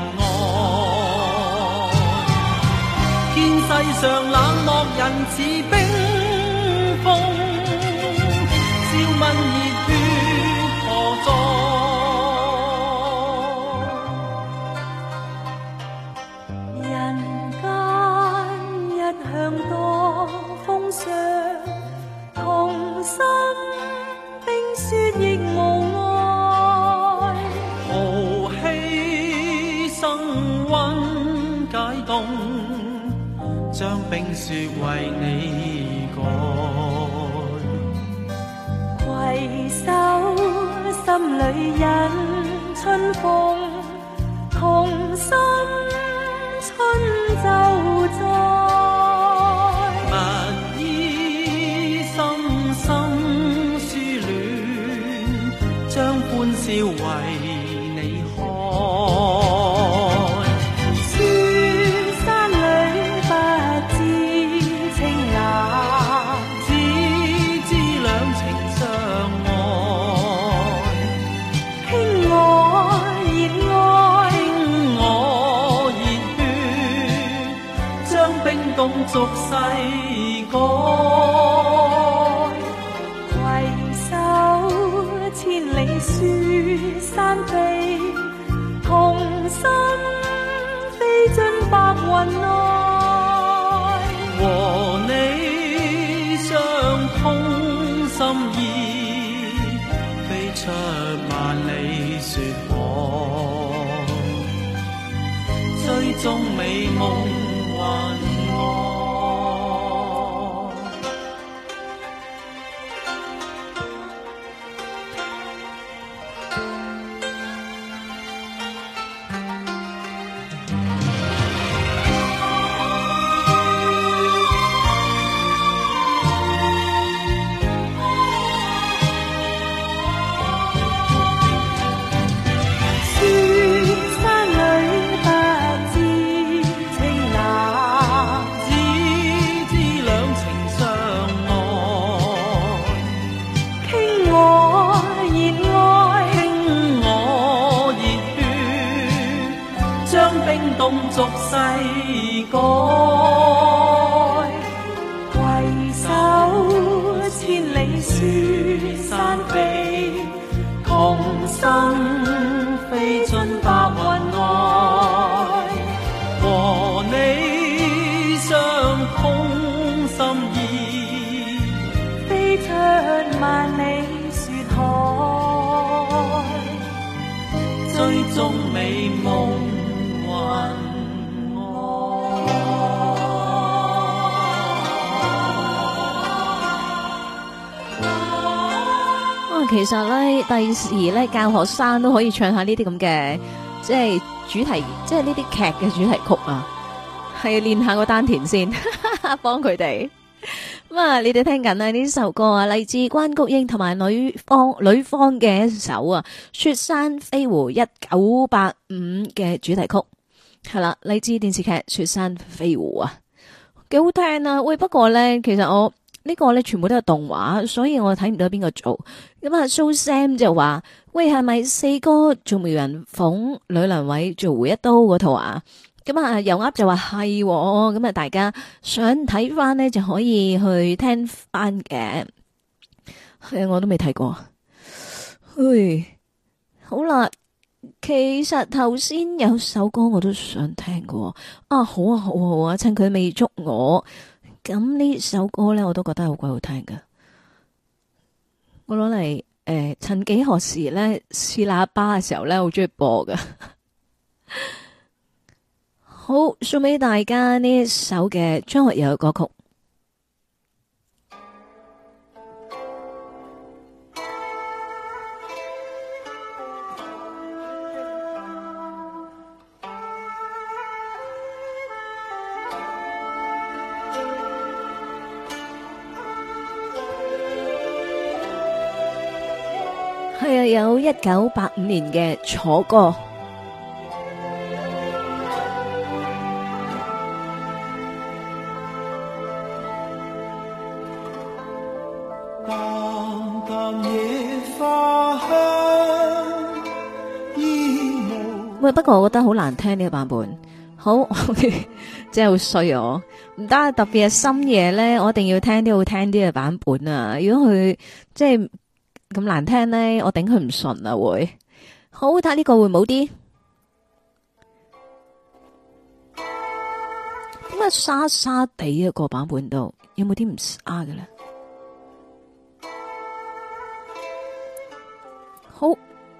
外。見世上冷漠人似冰封，笑問熱血何在？ 人間一向多風霜，同心冰雪亦無礙， 豪氣生溫解凍，將冰雪為你改。 攜手心裏里引春風，同心春就在。 勿依深深思戀，將歡笑為你開。 雪山裏不知情難， 只知兩情相愛， 傾我熱愛， 傾我熱血，將冰凍俗世改。 攜手千里雪山飛，同心飛進白雲內。 和你相通心意，飛出萬里雪海，追蹤美夢雲外。俗世改，攜手千里雪山飛，同心飛進白雲內。和你相通心意， 飛出萬里雪海， 追蹤美夢其實咧，第時咧教學生都可以唱下呢啲咁嘅，即係主題，即係呢啲劇嘅主題曲啊，係練下個丹田先，幫佢哋。咁啊，你哋聽緊呢首歌啊，嚟自關菊英同埋女方嘅一首啊，《雪山飛狐》1985嘅主題曲，係啦，嚟自電視劇《雪山飛狐》啊，幾好聽啊！喂，不過咧，其實我。呢個咧全部都係動畫，所以我睇唔到邊個做。咁啊，So Sam 就話：喂，係咪四哥做梅艷鳳，呂良偉做回一刀嗰套啊？咁啊，油鴨就話係，咁啊，大家想睇翻呢，就可以去聽翻嘅。係啊，我都未睇過。嘿，好啦，其實頭先有首歌我都想聽過。啊，好啊，好啊，好啊，趁佢未捉我。咁呢首歌咧，我都覺得好鬼好聽噶。我攞嚟曾幾何時咧試喇叭嘅時候咧，好中意播噶。好，送俾大家呢一首嘅張學友嘅歌曲。係啊，有1985年嘅楚歌。 淡淡野花香，煙霧。 喂，不過我覺得好難聽呢個版本。好，真係好衰我，唔得，特別係深夜咧，我一定要聽啲好聽啲嘅版本啊！如果佢即係咁難聽咧，我頂佢唔順啊！會好睇呢個會冇啲點解沙沙地一個版本度有冇啲唔沙嘅咧？好。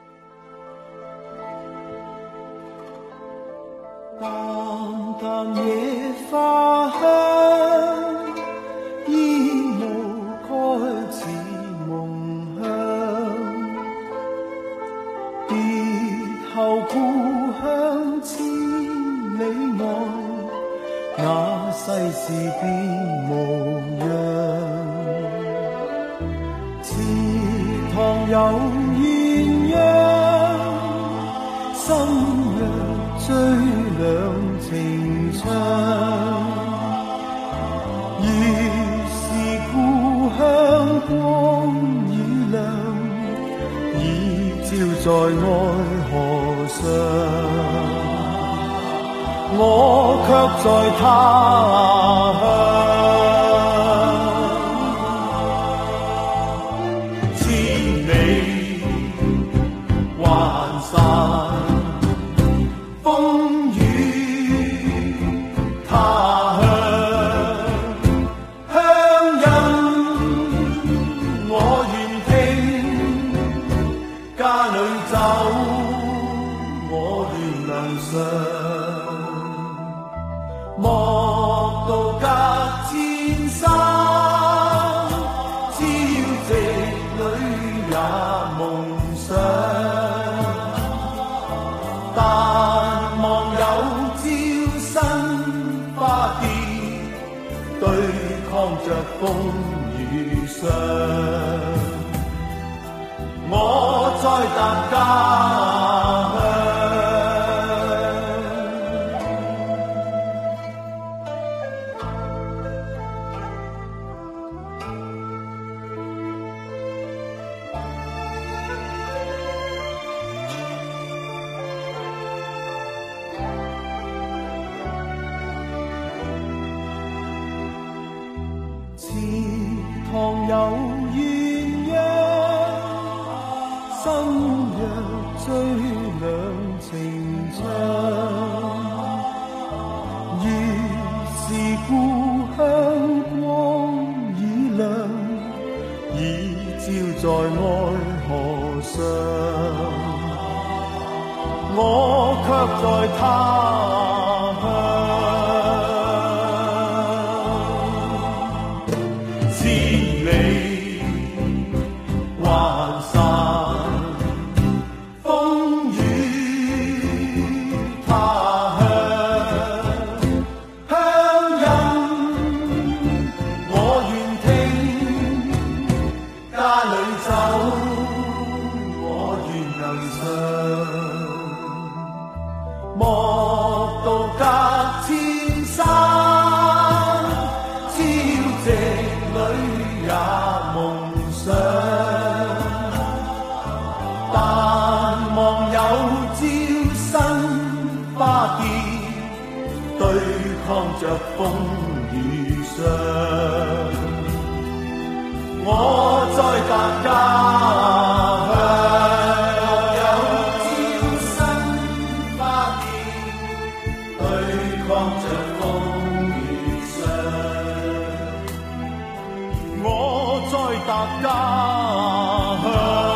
淡淡野花香，煙霧開似夢鄉。 後故鄉千里外，那世事變模樣。池塘有鴛鴦，心若追兩情長。已是故鄉光已亮，已照在愛河上。我卻在他鄉，千里環山，風雨他鄉，鄉音我願聽，家裏走我願能上。莫道隔千山，朝夕裏也夢想。但望有朝新花結，對抗着風雨霜。我再踏家鄉。池塘有鴛鴦，心若追兩情長。已是故鄉光已亮，已照在愛河上。我卻在他鄉，千里環山，風雨他鄉，鄉音我願聽，家裏走我願能上。莫道隔千山，朝夕裏也夢想。但望有朝新花結，對抗着風雨霜。我在達家鄉。我在達家鄉。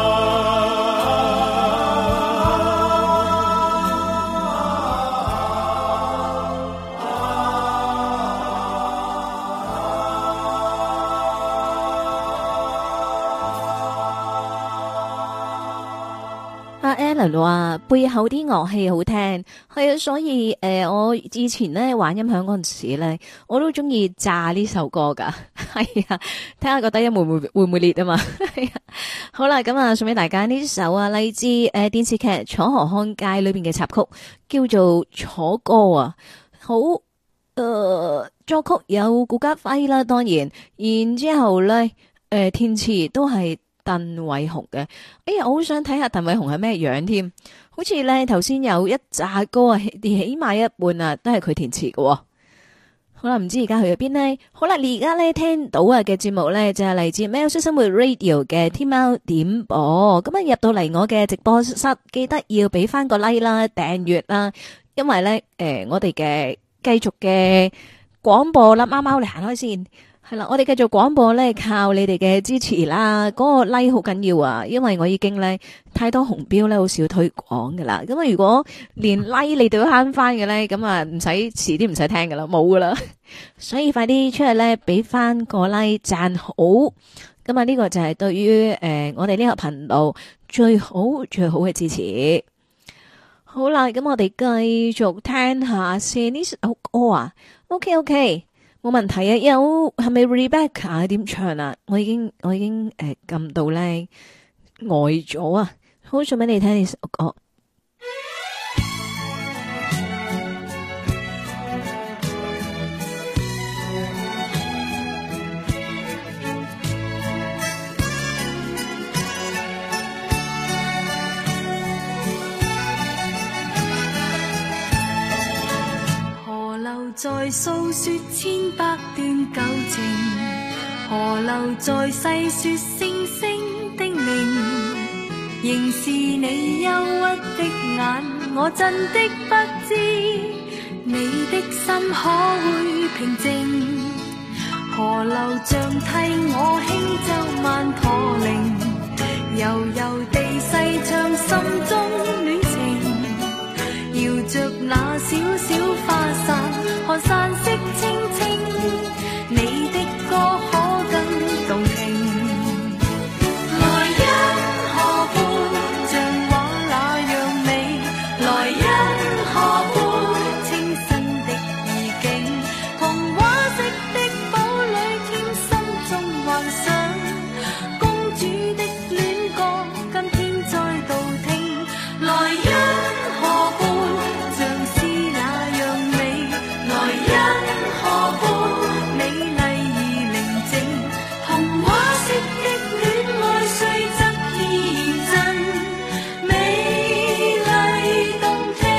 阿 Alan 話背後啲樂器好聽，係啊，所以我以前咧玩音響嗰陣時咧，我都中意炸呢首歌噶，係啊，睇下個低音會唔會裂啊嘛，係啊，好啦，咁啊送俾大家呢首啊，嚟自電視劇《楚河漢界》裏邊嘅插曲，叫做《楚歌》啊，好作曲有顧嘉輝啦，當然，然之後咧填詞都係鄧偉雄嘅。哎呀，我好想睇下鄧偉雄係咩樣添，好似咧頭先有一紮歌啊，起碼一半啊都係佢填詞嘅。好啦，唔知而家去咗邊呢？好啦，你而家咧聽到啊嘅節目咧就係嚟自喵式生活 Radio 嘅天喵點播。咁啊入到嚟我嘅直播室，記得要俾翻個 like 啦、訂閱啦，因為咧我哋嘅繼續嘅廣播啦，貓貓你行開先。係啦，我哋繼續廣播咧，靠你哋嘅支持啦。嗰個 like 好緊要啊，因為我已經咧太多紅標咧，好少推廣噶啦。咁啊，如果連 like 你都要慳翻嘅咧，咁啊唔使遲啲唔使聽噶啦，冇噶啦。所以快啲出去咧，俾翻個 like 讚好。咁啊，呢個就係對於我哋呢個頻道最好嘅支持。 好啦，咁我哋繼續聽下先呢首歌啊。OK， 冇問題啊。有係咪 Rebecca 點唱啊？我已經撳到咧呆咗啊！好想俾你聽呢首歌。 在訴說千百段舊情，河流在細說星星的名，仍是你憂鬱的眼，我真的不知你的心可會平靜。河流像替我輕奏曼陀鈴，悠悠地細唱心中戀情，搖着那小小花傘，看山色清清，你的歌可更動聽。來因河畔像畫那樣美，來因河畔清新的意境，童話式的堡壘添心中幻想，公主的戀歌今天再度聽。來因河畔像是那樣美，來因河畔美麗而寧靜，童話式的戀愛雖則天真，美麗動聽。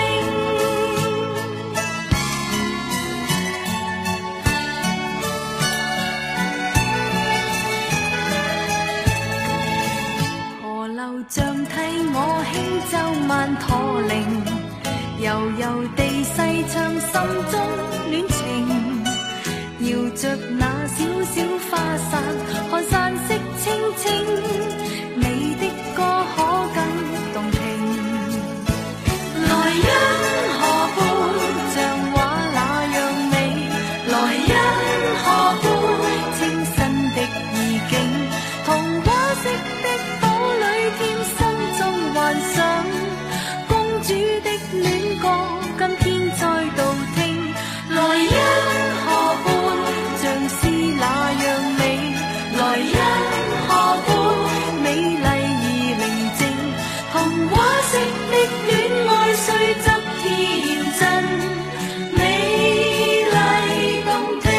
河流像替我輕奏曼陀鈴，悠悠地細唱心中戀情，搖着那小小花傘，看山色清清，你的歌可更動聽。來因河畔像畫那樣美，來因河畔清新的意境，童話式的堡壘添心中幻想，公主的戀歌今天再度聽。來因河畔像是那樣美，來因河畔美麗而寧靜，童話式的戀愛雖則天真，美麗動聽。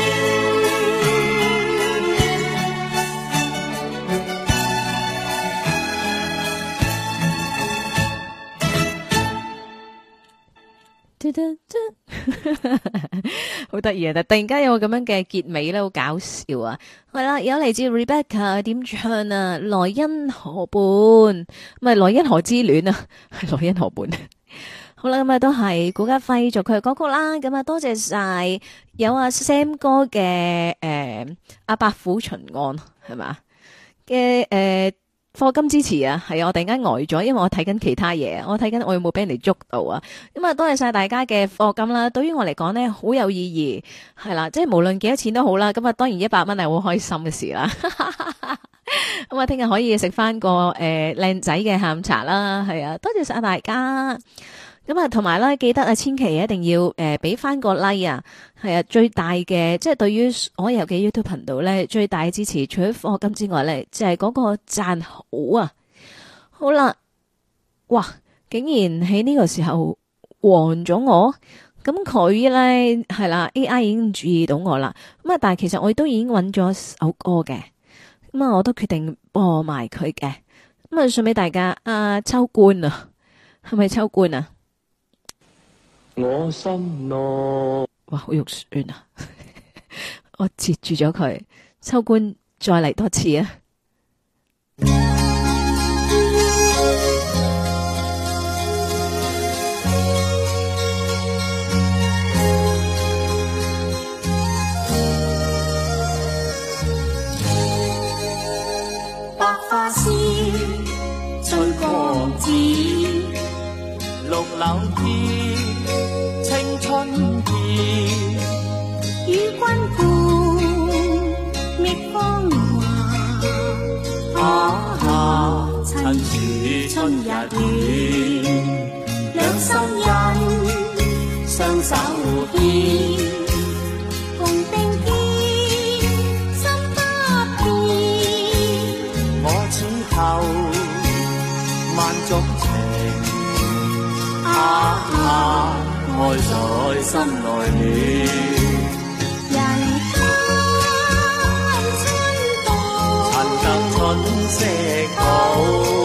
好得意啊！但突然間有個咁樣嘅結尾咧，好搞笑啊！係啦，有嚟自 Rebecca 點唱啊？來因河畔，唔係來因河之戀啊，係來因河畔。好啦，咁啊都係顧嘉輝作佢嘅歌曲啦。咁啊多謝晒有阿 Sam 哥嘅阿伯虎巡案係嘛嘅課金支持啊，係啊，我突然間呆咗，因為我睇緊其他嘢，我睇緊我有冇俾人哋捉到啊。咁啊，多謝晒大家嘅課金啦，對於我嚟講呢，好有意義，係啦，即係無論幾多錢都好啦。咁啊，當然100蚊係好開心嘅事啦。咁啊，聽日可以食翻個靚仔嘅下午茶啦，係啊，多謝晒大家。咁啊，同埋咧，記得啊，千祈一定要俾翻個 like 啊，係啊，最大嘅即係對於所有嘅 YouTube 頻道咧，最大嘅支持，除咗課金之外咧，就係嗰個讚好啊。好啦，哇，竟然喺呢個時候黃咗我，咁佢咧係啦 ，AI 已經注意到我啦。咁啊，但係其實我都已經揾咗首歌嘅，咁啊，我都決定播埋佢嘅。咁啊，送俾大家啊，秋官啊，係咪秋官啊？ 我心內哇，好肉酸啊！我截住咗佢，秋官再嚟多次啊！ 百花鮮，翠光子， 綠柳天，青春天， 與君伴覓芳華。 趁是春日暖， 兩心愛在心內暖。 人間春到， 趁得春色好，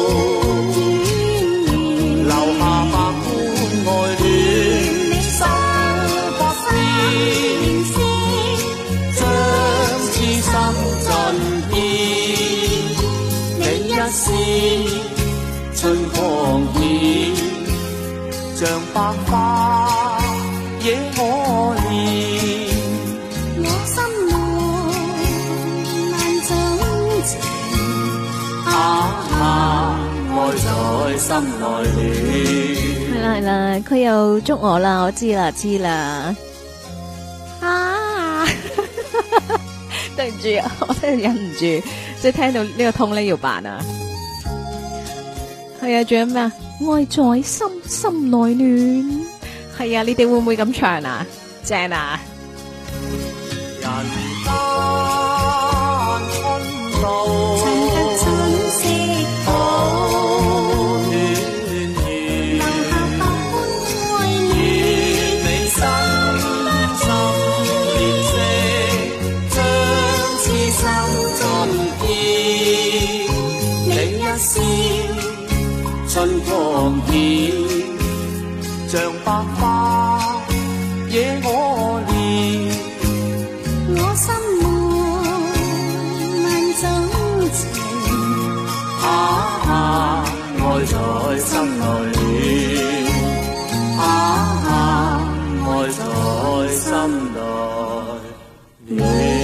留下百般愛戀，心不變，將痴心盡獻。你一線春光顯，像百花惹我憐。 我心內萬種情， 愛在心內暖。 係啦係啦，佢又捉我啦，我知啦知啦。啊，對唔住啊，我真係忍唔住，即係聽到呢個通咧要扮啊。係啊，仲有咩啊？愛在心心內暖。係啊，你哋會唔會咁唱啊？正啊！ 人間春到， 趁得春色好， 暖暖留下百般愛戀。 你心連色，將痴心盡獻。你一線春光顯，像百花惹我憐。 我心內萬種情， 愛在心內暖，愛在心內暖。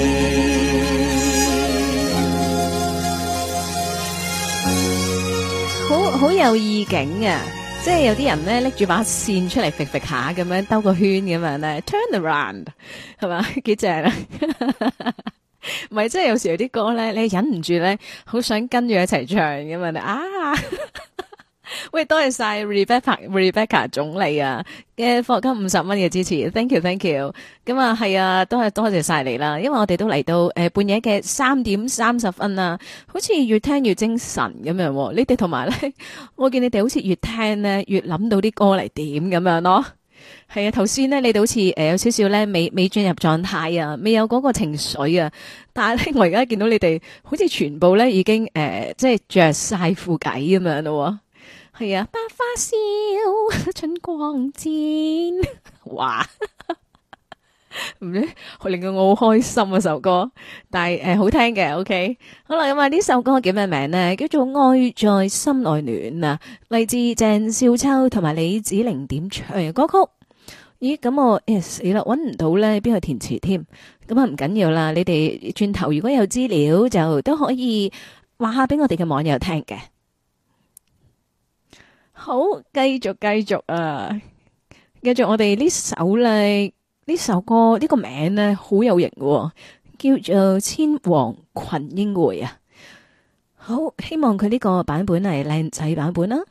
好有意境啊！即係有啲人咧拎住把線出嚟揈揈下咁樣兜個圈咁樣咧 ，turn around 係嘛，幾正啊！唔係，即係有時有啲歌咧，你忍唔住咧，好想跟住一齊唱咁樣啊！喂，多謝晒 Rebecca 總理啊嘅課金50蚊嘅支持 ，thank you。咁啊係啊，都係多謝晒你啦，因為我哋都嚟到半夜嘅3點30分啦，好似越聽越精神咁樣。你哋同埋咧，我見你哋好似越聽咧越諗到啲歌嚟點咁樣咯。係啊，頭先咧你哋好似有少少咧未進入狀態啊，未有嗰個情緒啊。但係咧，我而家見到你哋好似全部咧已經即係着晒褲計咁樣咯。係啊，百花笑，春光漸，哇！唔知令到我好開心啊首歌，但係好聽嘅 ，OK。好啦，咁啊呢首歌叫咩名呢？叫做《愛在心內暖》啊，嚟自鄭少秋同埋李子玲點唱嘅歌曲。咦，咁我死啦，搵唔到咧，邊個填詞添？咁啊唔緊要啦，你哋轉頭如果有資料就都可以話下俾我哋嘅網友聽嘅。好，繼續啊！繼續我哋呢首咧，呢首歌呢個名咧好有型喎，叫做《千王群英會》啊！好，希望佢呢個版本係靚仔版本啦。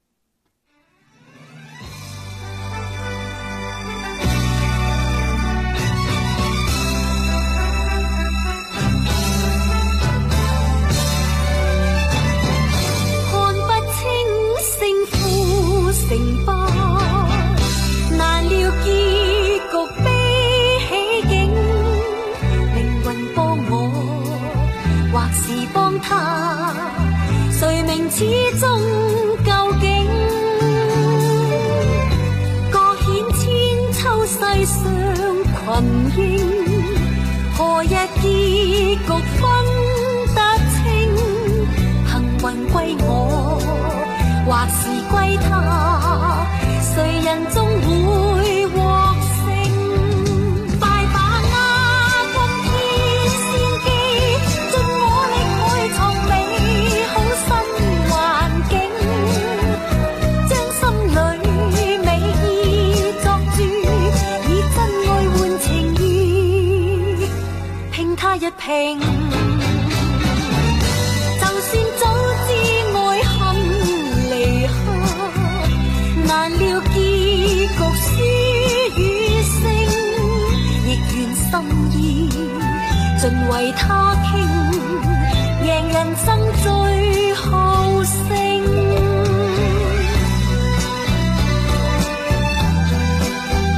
成敗難料，結局悲喜境，命運幫我，或是幫他，誰明始終究竟？各顯千秋世上群英，何日結局分得清？幸運歸我，或是歸他，誰人終會獲勝？快把握今天先機，盡我力去創美好新環境，將心裏美意作注，以真愛換情誼，拼他一拼。難料結局輸與勝，亦願心意盡為他傾，贏人生最後勝。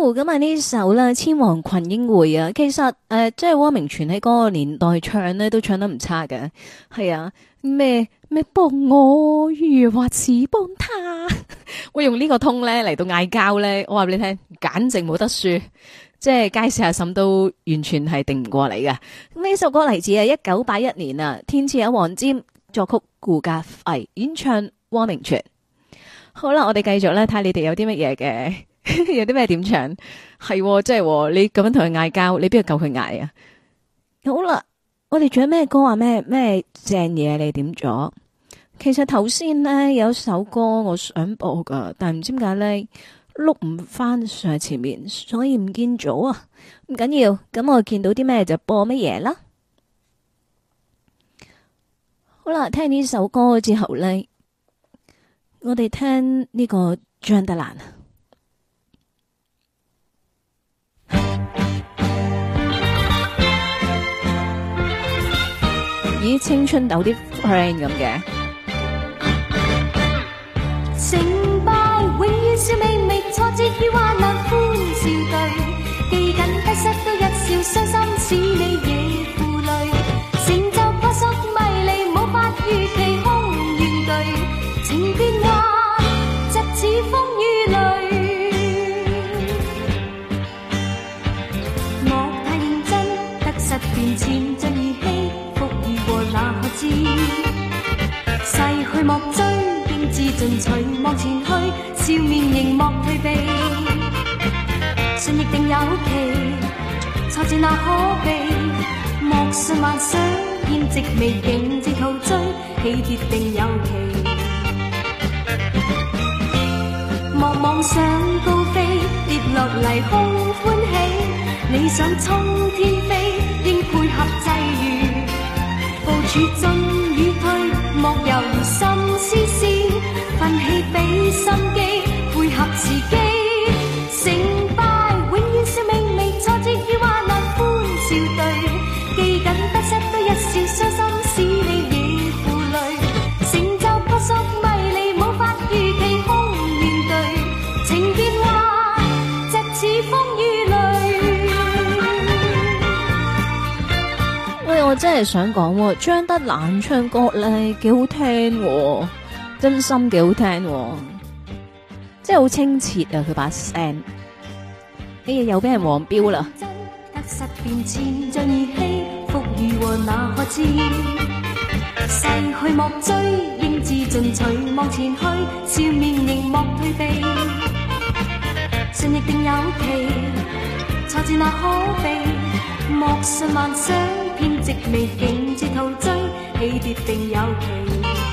咁啊呢首咧《千王群英會》啊，其實即係汪明荃喺嗰個年代唱咧，都唱得唔差嘅。係啊，咩幫我，如或是幫他，我用呢個通咧嚟到嗌交咧，我話俾你聽，簡直冇得輸。即係街市阿嬸都完全係定唔過嚟嘅。咁呢首歌嚟自1981年啊，填詞有黃霑，作曲顧嘉輝，演唱汪明荃。好啦，我哋繼續咧睇下你哋有啲乜嘢嘅。有啲咩點唱？係即係你咁樣同佢嗌交，你邊度夠佢嗌啊？好啦，我哋仲有咩歌啊？咩正嘢你點咗？其實頭先呢，有首歌我想播噶，但係唔知點解呢，碌唔翻上前面，所以唔見咗啊！唔緊要，咁我見到啲咩就播乜嘢啦。好啦，聽呢首歌之後呢，我哋聽呢個張德蘭。以青春豆啲 friend 咁嘅， 成敗永遠笑微微，挫折與患難歡笑對，記緊得失都一笑，傷心使你亦負累，成就撲朔迷離，無法預期空怨對，情變幻疾似風雨淚，莫太認真，得失變遷盡兒戲。哪可知逝去莫追，應自進取望前去，笑面仍莫退避，信亦定有期，挫折那可避，莫信幻想，偏直未竟自陶醉，起跌定有期，莫妄想高飛，跌落嚟空歡喜，你想衝天飛，應配合際遇。部署進與退，莫猶豫心思思，奮起俾心機，配合時機。成敗永遠笑微微，挫折與患難歡笑對，記緊得失都一笑，傷心使你亦負累，成就撲朔迷離，無法預期空怨對，情變幻疾似風雨淚。 喂，我真係想講，張德蘭唱歌咧幾好聽，真心幾好聽，即係好清澈啊！佢把聲，哎呀又俾人黃標啦。 得失變遷像兒戲，福與禍哪可知？逝去莫追，應自進取望前去，笑面仍莫退避，信亦定有期，挫折那可避，莫信幻想。偏直未竟自陶醉，起跌定有期，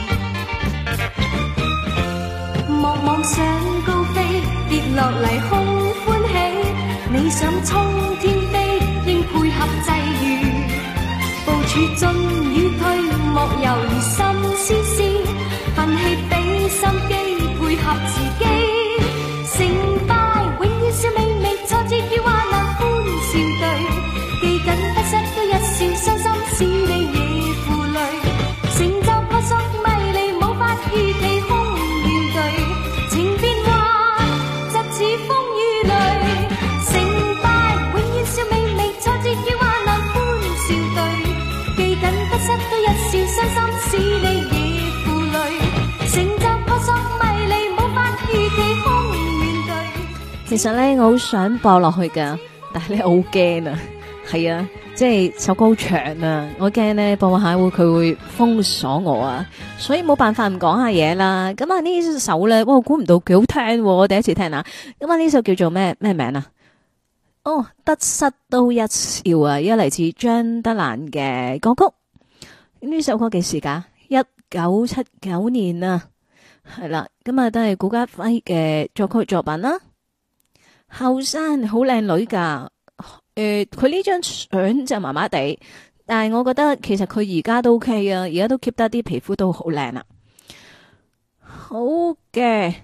莫妄想高飛，跌落嚟空歡喜，你想衝天飛，應配合際遇，部署進與退，莫猶豫心思思，奮起俾心機，配合時機，成敗永遠笑微微，挫折與患難歡笑對，記緊得失都一笑，傷心使你亦負累，成就撲朔迷離，無法預期空怨對，情變幻疾似風雨淚，成敗永遠笑微微，挫折與患難歡笑對，記緊得失都一笑，傷心使你亦負累，成就撲朔迷離，無法預期空怨對。 其實咧，我好想播落去噶，但係咧我好驚啊，係啊。即係首歌好長啊，我驚咧播下佢會封鎖我啊，所以冇辦法唔講下嘢啦。咁啊呢首咧，我估唔到幾好聽，我第一次聽啊。咁啊呢首叫做咩名啊？哦，得失都一笑啊，而家嚟自張德蘭嘅歌曲。呢首歌幾時噶？1979年啊，係啦。咁啊都係顧嘉輝嘅作曲作品啦。後生好靚女噶。佢呢張相就麻麻地，但係我覺得其實佢而家都 OK 啊，而家都 keep 得啲皮膚都好靚啦。好嘅，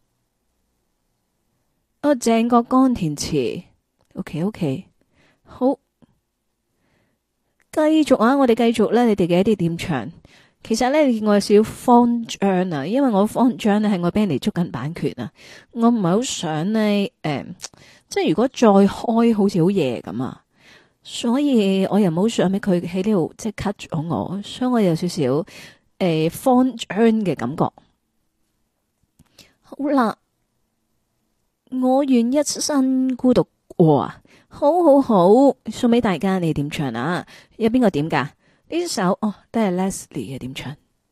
鄭國江填詞 ，OK， 好，繼續啊，我哋繼續咧，你哋嘅一啲點唱。 其實咧我有少少慌張啊，因為我慌張咧係我俾人哋捉緊版權啊，我唔係好想咧即係如果再開好似好夜咁啊，所以我又唔好想俾佢喺呢度即係 cut 咗我，所以我有少少慌張嘅感覺。好啦，我願一生孤獨過啊，好好好，送俾大家，你點唱啊？有邊個點噶？呢首哦，都係 Leslie 嘅點唱。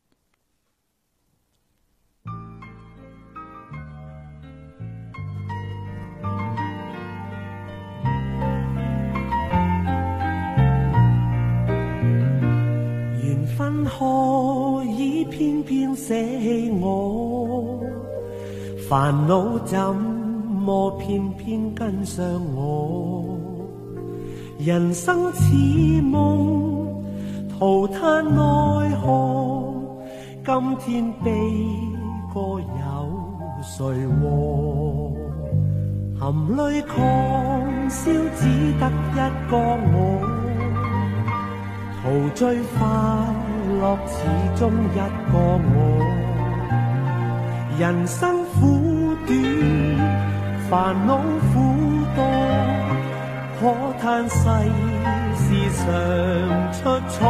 緣分何以偏偏捨棄我？煩惱怎麼偏偏跟上我？人生似夢，徒嘆奈何。今天悲歌有誰和？含淚狂笑，只得一個我。陶醉快樂，始終一個我。人生苦短，煩惱苦多，可嘆世事常出錯。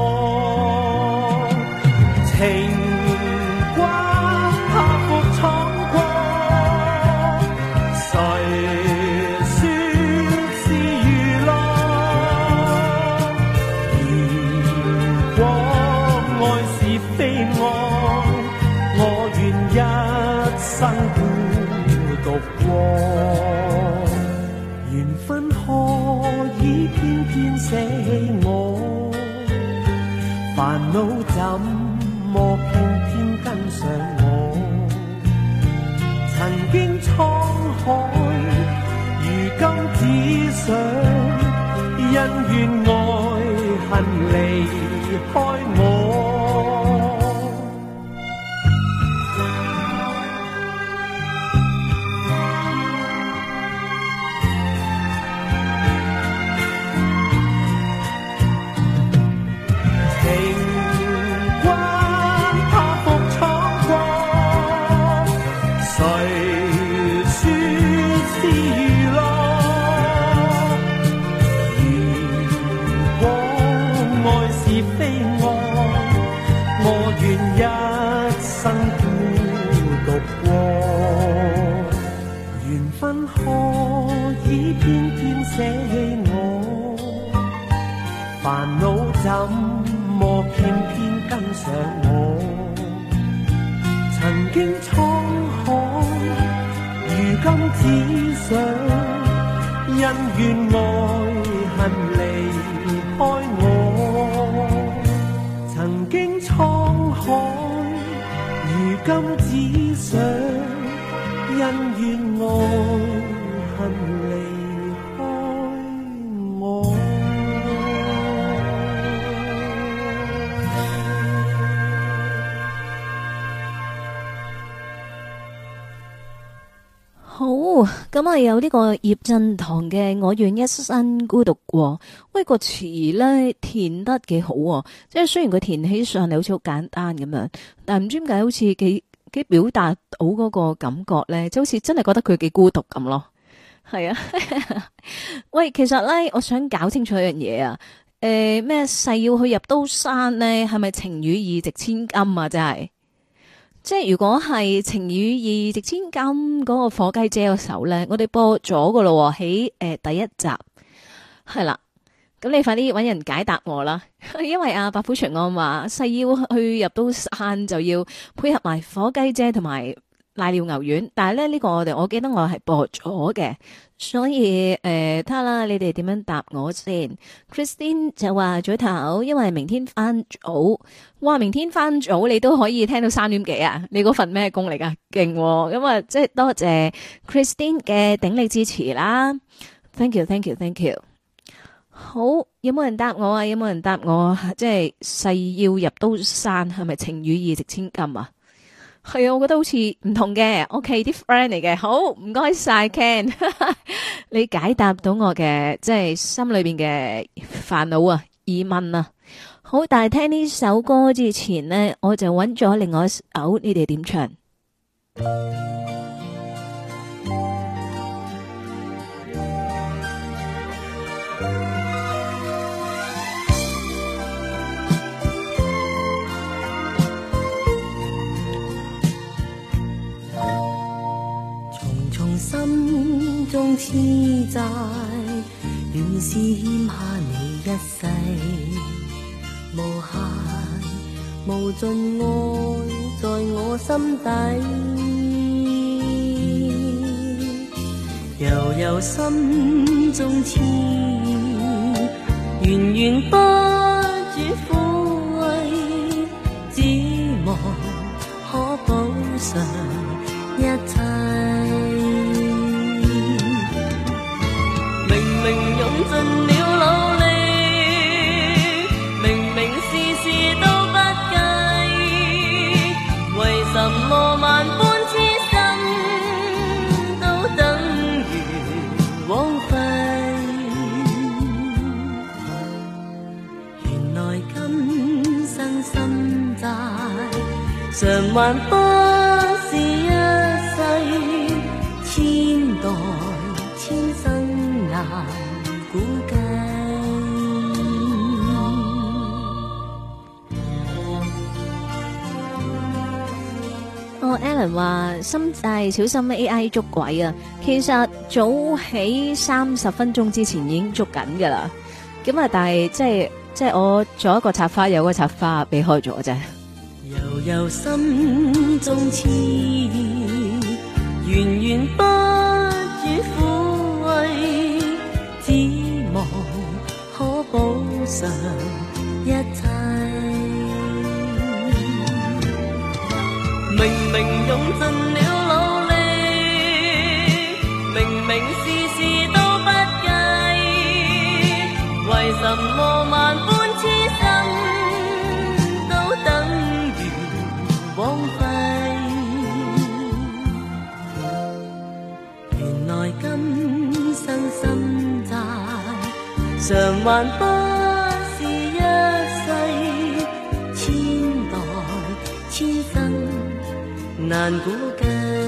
情關拍服闖過，誰說是娛樂？如果愛是非愛，我願一生孤獨過。緣分何以偏偏捨棄我？煩惱怎麼偏偏跟上我？曾經滄海，如今只想因怨愛恨離開我。捨棄我，煩惱怎麼偏偏跟上我？曾經滄海，如今只想因怨愛恨離開我。曾經滄海，如今只想因怨愛恨離。 好，咁啊有呢個葉振棠嘅《我願一生孤獨過》，喂個詞咧填得幾好喎，即係雖然佢填起上嚟好似好簡單咁樣，但係唔知點解好似幾表達到嗰個感覺咧，就好似真係覺得佢幾孤獨咁咯。係啊，喂，其實咧我想搞清楚一樣嘢啊，咩誓要去入刀山咧，係咪情與義值千金啊？真係。即係如果係情與義值千金嗰個火雞姐個首咧，我哋播咗噶咯喺第一集係啦，咁你快啲搵人解答我啦，因為阿白虎長安話誓要去入刀山就要配合埋火雞姐同埋瀨尿牛丸，但係咧呢個我記得我係播咗嘅，所以睇下啦，你哋點樣答我先。Christine 就話早唞，因為明天翻早，哇！明天翻早你都可以聽到3點幾啊？你嗰份咩工嚟噶？勁咁啊！即係多謝 Christine 嘅鼎力支持啦 ，thank you。好，有冇人答我啊？有冇人答我？即係誓要入刀山，係咪情與義值千金啊？係啊，我覺得好似唔同嘅，OK 啲 friend 嚟嘅，好唔該晒 Ken， 你解答到我嘅即係心裏邊嘅煩惱啊、疑問啊。 好，但係聽呢首歌之前呢，我就揾咗另外一首，你哋點唱？ 重重心中痴債，原是欠下你一世。無限無盡愛在我心底，悠悠心中痴意，源源不絕撫慰，只望可補償一切。明明用盡了努力，什麼萬般痴心都等於枉費，原來今生心債償還不是一世，千代千生難估計。 Alan 話心債小心 AI 捉鬼啊！其實早喺30分鐘之前已經捉緊噶啦，咁啊，但係即係我做一個插花，有個插花避開咗啫。 悠悠心中痴意，源源不絕撫慰，只望可補償一切。明明用盡了努力，明明事事都不計，為什麼萬般痴心都等於枉費？原來今生心債償還不是一世，千代千生難估計。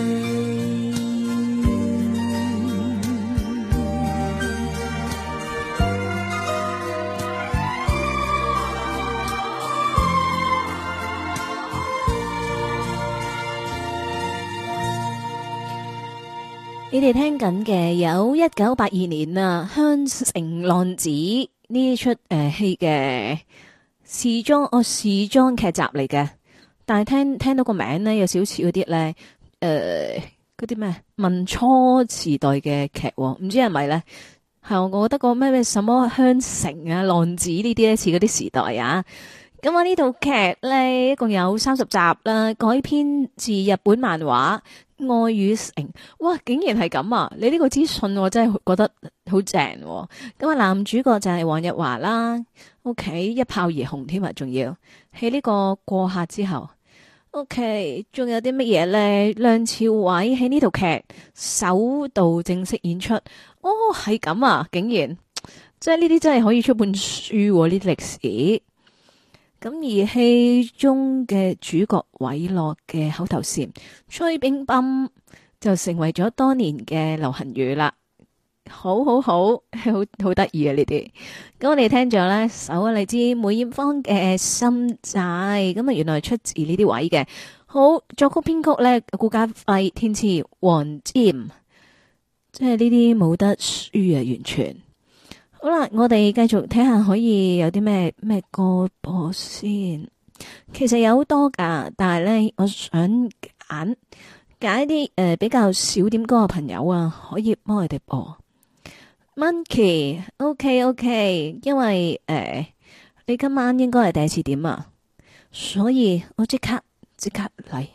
你哋聽緊嘅有1982年啊《香城浪子》呢出戲嘅時裝劇集嚟嘅。但係聽到個名咧，有少少嗰啲咧，嗰啲咩民初時代嘅劇，唔知係咪咧？係我覺得個咩什麼香城啊、浪子呢啲咧似嗰啲時代啊。咁啊呢套劇咧一共有30集啦，改編自日本漫畫《愛與誠》。哇，竟然係咁啊！你呢個資訊我真係覺得好正。咁啊男主角就係黃日華啦，OK 一炮而紅添啊，仲要喺呢個過客之後。OK， 仲有啲乜嘢咧？梁朝偉喺呢套劇首度正式演出，哦，係咁啊！竟然，即係呢啲真係可以出本書呢啲歷史。咁而戲中嘅主角韋樂嘅口頭禪吹冰乓就成為咗多年嘅流行語啦。好得意啊！呢啲咁我哋聽咗呢首嚟自梅艷芳嘅心債，咁啊原來出自呢啲位嘅。好，作曲編曲呢，顧嘉輝，填詞黃霑，即係呢啲冇得輸啊！完全好啦，我哋繼續睇下可以有啲咩歌播先。其實有好多噶，但係呢，我想揀一啲比較少點歌嘅朋友啊，可以幫佢哋播。Monkey，OK， 因為你今晚應該係第一次點啊，所以我即刻嚟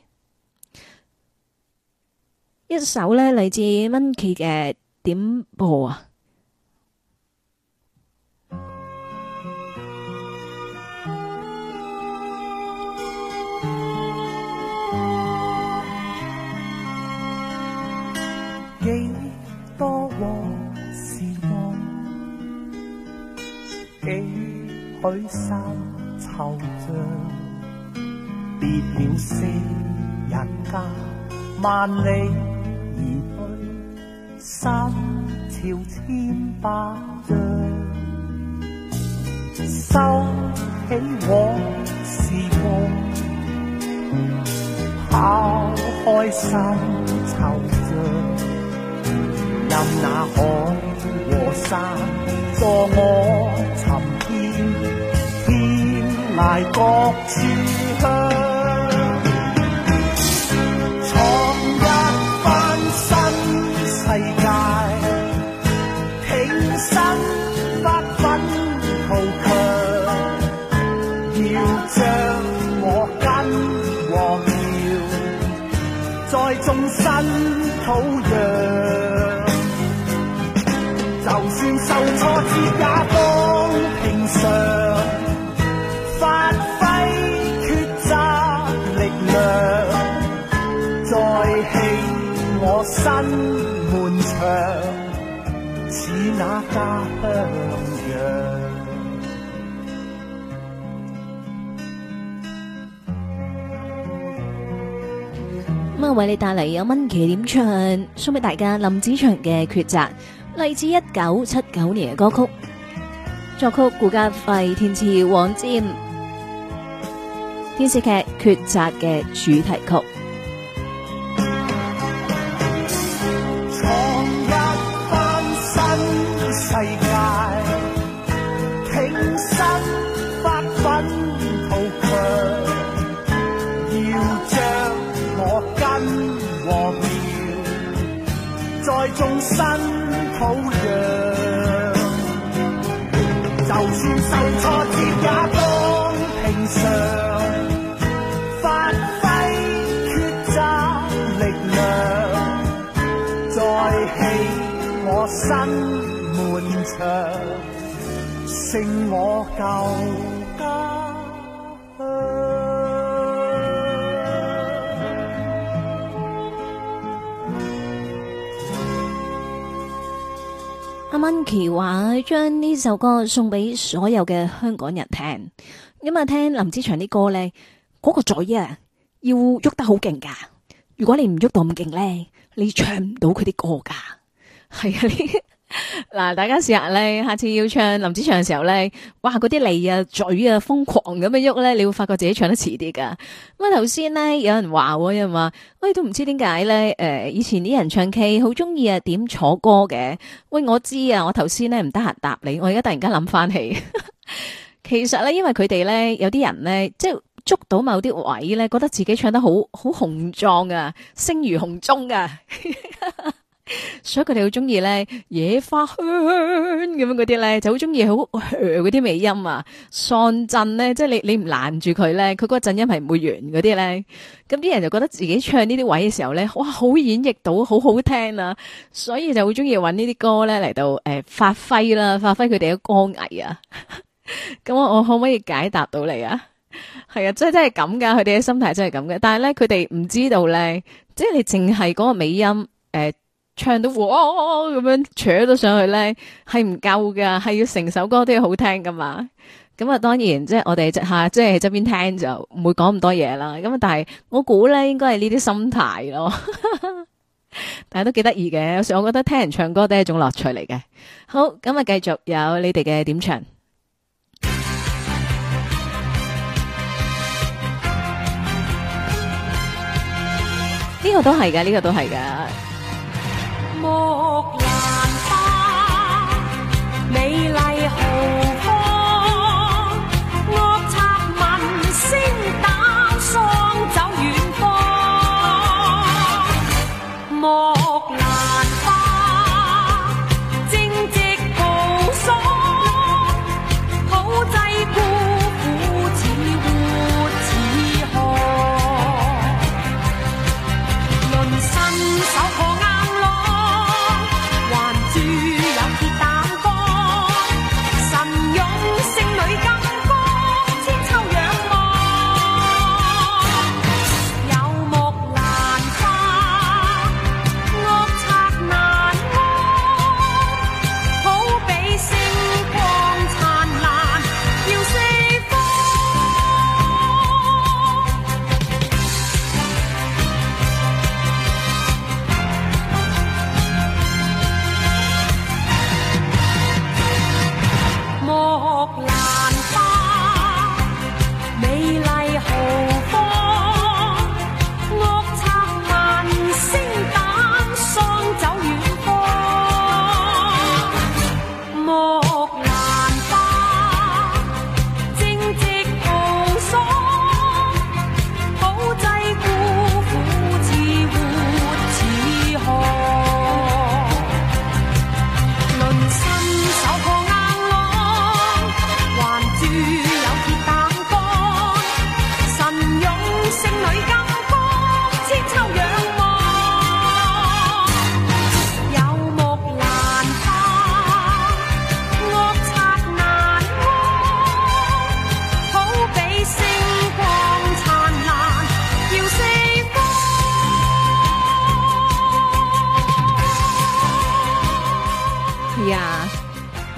一首呢嚟自 Monkey 嘅點播啊。 幾多往時光，幾許三塵惆悵，別了昔日家，萬里而去，心潮千百丈。收起往事夢，拋開心惆悵，任那海和山助我尋遍，天涯各處鄉，創一番新世界，挺身不忿圖強，要將我根和苗再種新土壤。就算受挫折也當平常，發揮抉擇力量，再起我新門牆，似那家鄉樣。 咁啊，為你帶嚟有蚊奇點唱，送俾大家林子祥嘅抉擇。嚟自1979年嘅歌曲，作曲顧嘉輝，填詞黃霑，電視劇《抉擇》嘅主題曲。 創一番新世界，挺身發奮圖強，要將我根和苗再種新土壤，就算受挫折也當平常，發揮抉擇力量，再起我新門牆，勝我舊家。 阿蚊奇話將呢首歌送俾所有嘅香港人聽，咁啊聽林子祥啲歌咧，嗰個嘴啊要喐得好勁噶，如果你唔喐到咁勁咧，你唱唔到佢啲歌噶。係啊，嗱，大家試下咧，下次要唱林子祥嘅時候咧，哇，嗰啲脷啊、嘴啊瘋狂咁樣喐咧，你會發覺自己唱得遲啲噶。咁啊頭先咧有人話，有人話，喂，都唔知點解咧，以前啲人唱 K 好中意啊點坐歌嘅。喂，我知啊，我頭先咧唔得閒答你，我而家突然間諗翻起，其實咧因為佢哋咧有啲人咧即係捉到某啲位咧，覺得自己唱得好雄壯啊，聲如洪鐘啊。所以佢哋好中意咧野花香咁樣嗰啲咧，就好中意好嗰啲尾音啊，喪震咧，即係你唔攔住佢咧，佢嗰個震音係唔會完嗰啲咧。咁啲人就覺得自己唱呢啲位嘅時候咧，哇，好演繹到，好好聽啊，所以就好中意揾呢啲歌咧嚟到發揮啦，發揮佢哋嘅歌藝啊。咁我可唔可以解答到你啊？係啊，真係咁噶，佢哋嘅心態真係咁嘅。但係咧，佢哋唔知道咧，即係你淨係嗰個尾音唱到哇咁樣扯到上去咧，係唔夠噶，係要成首歌都要好聽噶嘛。咁啊，當然即係我哋即係喺側邊聽就唔會講咁多嘢啦。咁啊，但係我估咧應該係呢啲心態咯。但係都幾得意嘅，有時我覺得聽人唱歌都係一種樂趣嚟嘅。好，咁啊，繼續有你哋嘅點唱。呢個都係噶，呢個都係噶。 木蘭花，美麗豪放，惡賊聞聲打喪走遠方。木蘭花，正直豪爽，土製孤苦似活似河，論身手破硬朗。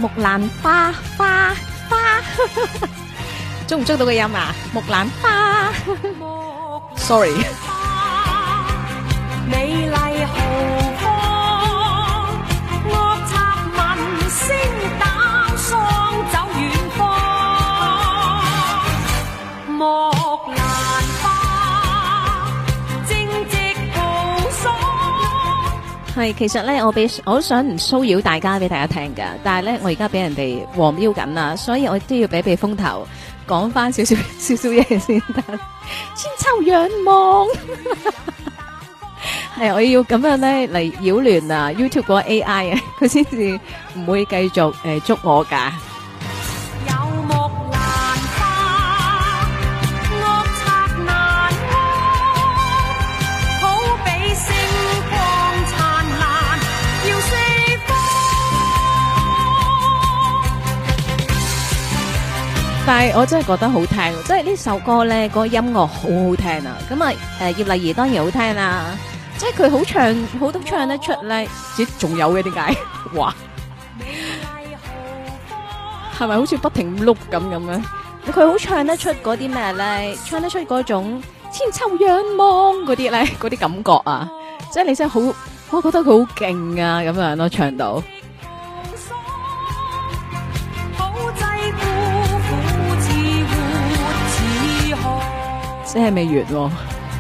木蘭花花花，捉唔捉到個音啊？木蘭花，sorry。 美麗豪放，惡賊聞聲膽喪走遠方。木蘭花，正直豪爽。 係，其實咧，我想唔騷擾大家俾大家聽噶，但係咧，我而家俾人哋黃標緊啦，所以我都要俾風頭講翻少少嘢先得。千秋仰望。係，我要咁樣咧嚟擾亂啊 YouTube 嗰個 AI 啊，佢先至唔會繼續捉我噶。 有木蘭花，惡賊難安，好比星光燦爛，耀四方。 但係我真係覺得好聽，即係呢首歌咧，個音樂好好聽啊！咁啊，葉麗儀當然好聽啦。即係佢好唱，好都唱得出咧。咦，仲有嘅點解？哇，係咪好似不停碌咁樣？佢好唱得出嗰啲咩咧？唱得出嗰種千秋仰望嗰啲咧，嗰啲感覺啊！即係你真係好，我覺得佢好勁啊！咁樣咯，唱到。即係未完喎。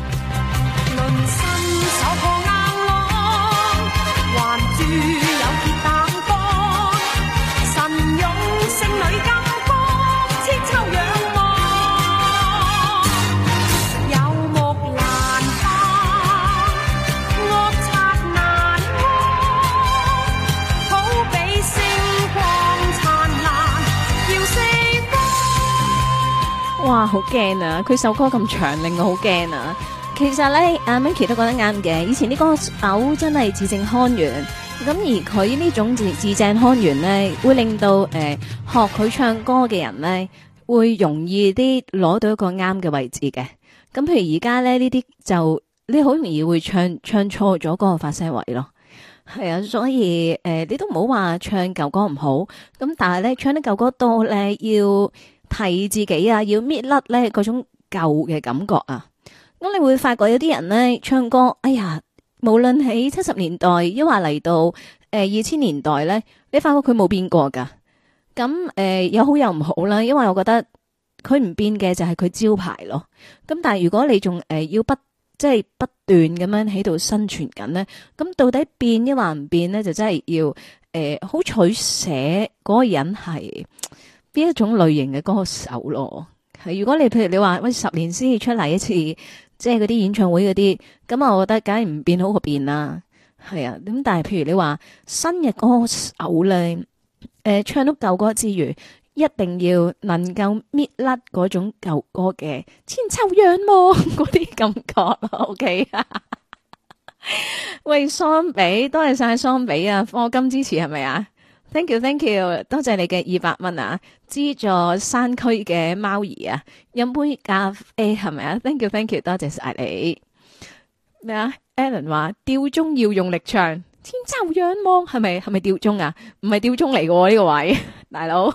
哇，好驚啊！佢首歌咁長，令我好驚啊！其實咧，阿 Minky 都覺得啱嘅。以前啲歌手真係字正腔圓，咁而佢呢種字正腔圓咧，會令到學佢唱歌嘅人咧，會容易啲攞到一個啱嘅位置嘅。咁譬如而家咧呢啲就你好容易會唱錯咗嗰個發聲位咯。係啊，所以你都唔好話唱舊歌唔好，咁但係咧唱得舊歌多咧要提自己啊，要搣甩咧嗰種舊嘅感覺啊。咁你會發覺有啲人咧唱歌，哎呀，無論喺70年代，抑或嚟到2000年代咧，你發覺佢冇變過噶。咁有好有唔好啦，因為我覺得佢唔變嘅就係佢招牌咯。咁但係如果你仲要不斷咁樣喺度生存緊咧，咁到底變抑或唔變咧，就真係要好取捨嗰個人係邊一種類型嘅歌手咯。係如果你譬如你話喂10年先至出嚟一次，即係嗰啲演唱會嗰啲，咁啊，我覺得梗係唔變好過變啦。係啊，咁但係譬如你話新嘅歌手咧，唱到舊歌之餘，一定要能夠搣甩嗰種舊歌嘅千秋仰望嗰啲感覺咯。OK 啊，喂，桑比，多謝晒桑比啊，課金支持係咪啊？Thank you， 多謝你嘅200蚊啊！資助山區嘅貓兒啊，飲杯咖啡係咪啊？Thank you， 多謝晒你。咩啊 ？Alan 話吊鐘要用力唱，天秋仰望係咪吊鐘啊？唔係吊鐘嚟嘅呢個位，大佬。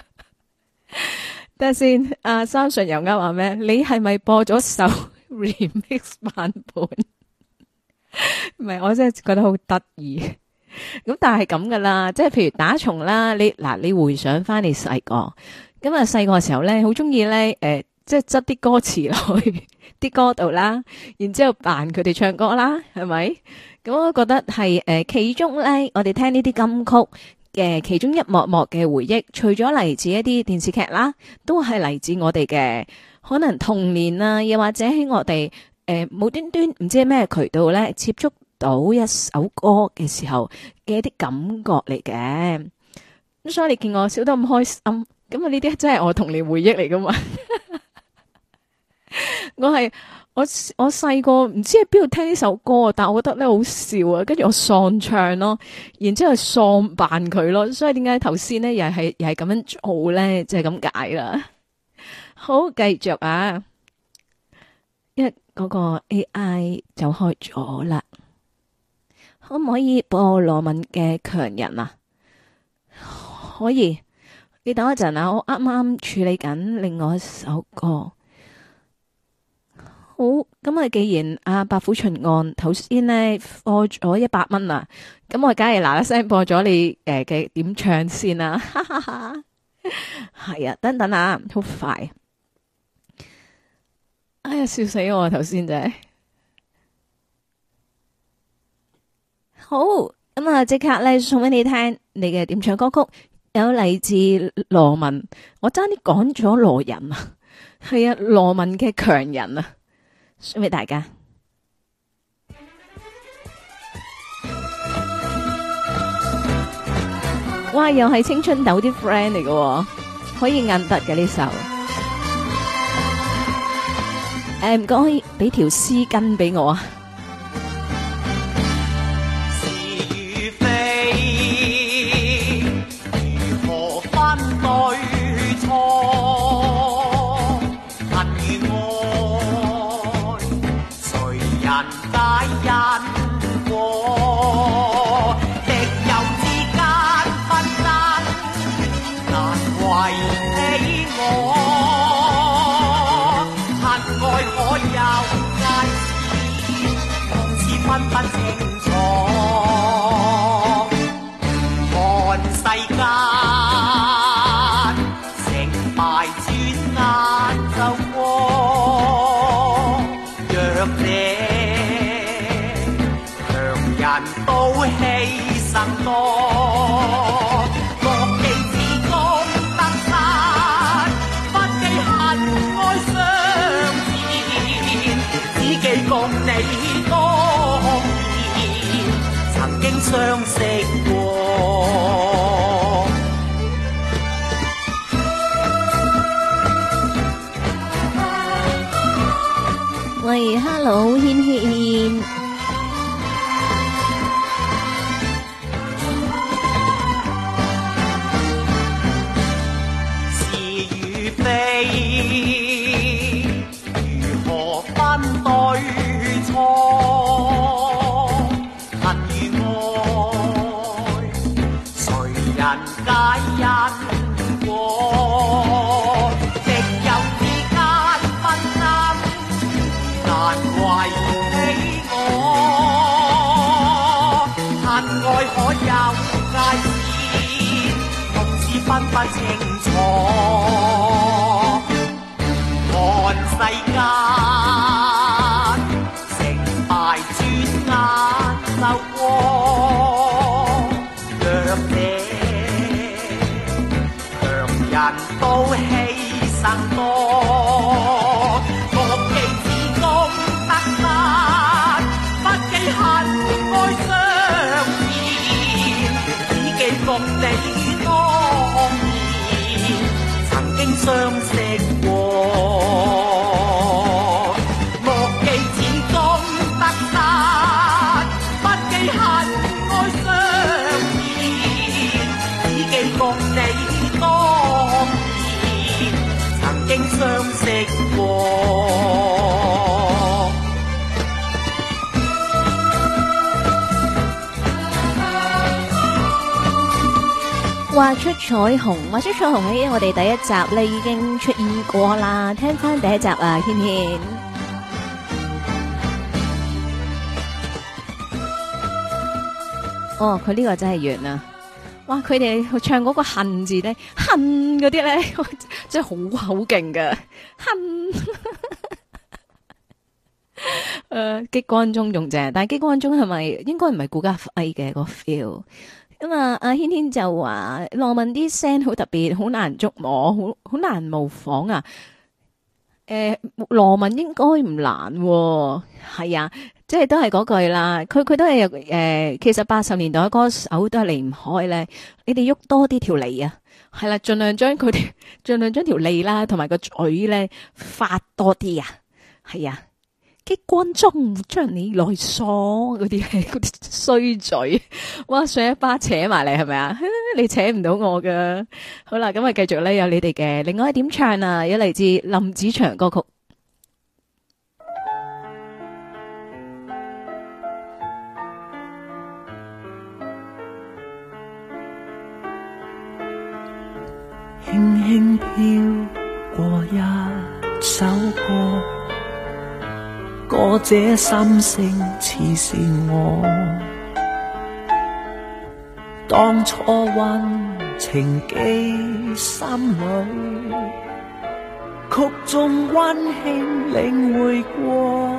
等下先，阿三順又啱話咩？你係咪播咗首 remix 版本？唔係，我真係覺得好得意。咁但係咁噶啦，即係譬如打蟲啦，你回想翻你細個，咁啊細個嘅時候咧，好中意咧，即係執啲歌詞落去啲歌度啦，然之後扮佢哋唱歌啦，係咪？咁我覺得係其中咧，我哋聽呢啲金曲嘅其中一幕幕嘅回憶，除咗嚟自一啲電視劇啦，都係嚟自我哋嘅可能童年啊，又或者喺我哋無端端唔知係咩渠道咧接觸到一首歌嘅時候嘅一啲感覺嚟嘅。咁所以你見我笑得咁開心，咁啊呢啲真係我童年回憶嚟噶嘛。我細個唔知喺邊度聽呢首歌，但我覺得咧好笑啊，跟住我喪唱咯，然之後喪扮佢咯，所以點解頭先咧又係咁樣做咧，就係咁解啦。好，繼續啊，因為嗰個 AI 就開咗啦。可唔可以播羅文嘅強人啊？ 可以，你等一陣啊，我啱啱處理緊另外一首歌。好，咁啊，既然阿白虎巡案頭先呢播咗100蚊啦，咁我梗係嗱嗱聲播咗你嘅點唱先啦，哈哈哈。係啊，等等啊，好快。哎呀，笑死我頭先真係。好，咁啊，即刻咧送俾你聽你嘅點唱歌曲，有嚟自羅文，我爭啲講咗羅人啊，係啊，羅文嘅強人啊。送俾大家，哇！又係青春豆啲 friend 嚟嘅，可以硬得嘅呢首。唔該，俾條絲巾俾我啊！ 是與非，如何分對錯？恨與愛。人皆因果，敵友之間紛爭，難為你我。恨愛可有界線，同時分不清楚。看世間成敗轉眼就過。弱者都犧牲多，莫記此功得失，不記恨愛相纏，只記共你當年曾經相識過。 喂 ，Hello， 軒軒。 如何分對錯？恨與愛，誰人皆因果？敵友之間紛爭，難為你我。恨愛可有界線，同時分不清楚。看世間成敗轉眼就過，弱者強人都犧牲多，莫記此功得失，不記恨愛相纏，只記共你當年曾經相識過。相識過， 畫出彩虹，畫出彩虹喺我哋第一集咧已經出現過啦，聽翻第一集啊，軒軒。哦，佢呢個真係完啊！哇，佢哋唱嗰個恨字咧，恨嗰啲咧，真係好勁㗎。恨。激光中仲正，但係激光中係咪應該唔係顧嘉輝嘅個 feel？咁啊，阿軒軒就話羅文啲聲好特別，好難捉摸，好難模仿啊。羅文應該唔難喎，係啊。即係都係嗰句啦，佢都係其實80年代歌手都係離唔開咧。你哋喐多啲條脷啊，係啦，盡量將條脷啦，同埋個嘴咧發多啲啊，係啊，激光中將你內鎖嗰啲衰嘴，哇，上一巴扯埋嚟係咪啊？你扯唔到我噶。好啦，咁啊繼續咧有你哋嘅另外一點唱啊，有嚟自林子祥歌曲。 輕輕飄過一首歌，歌者心聲似是我，當初溫情記心裏，曲中溫馨領會過，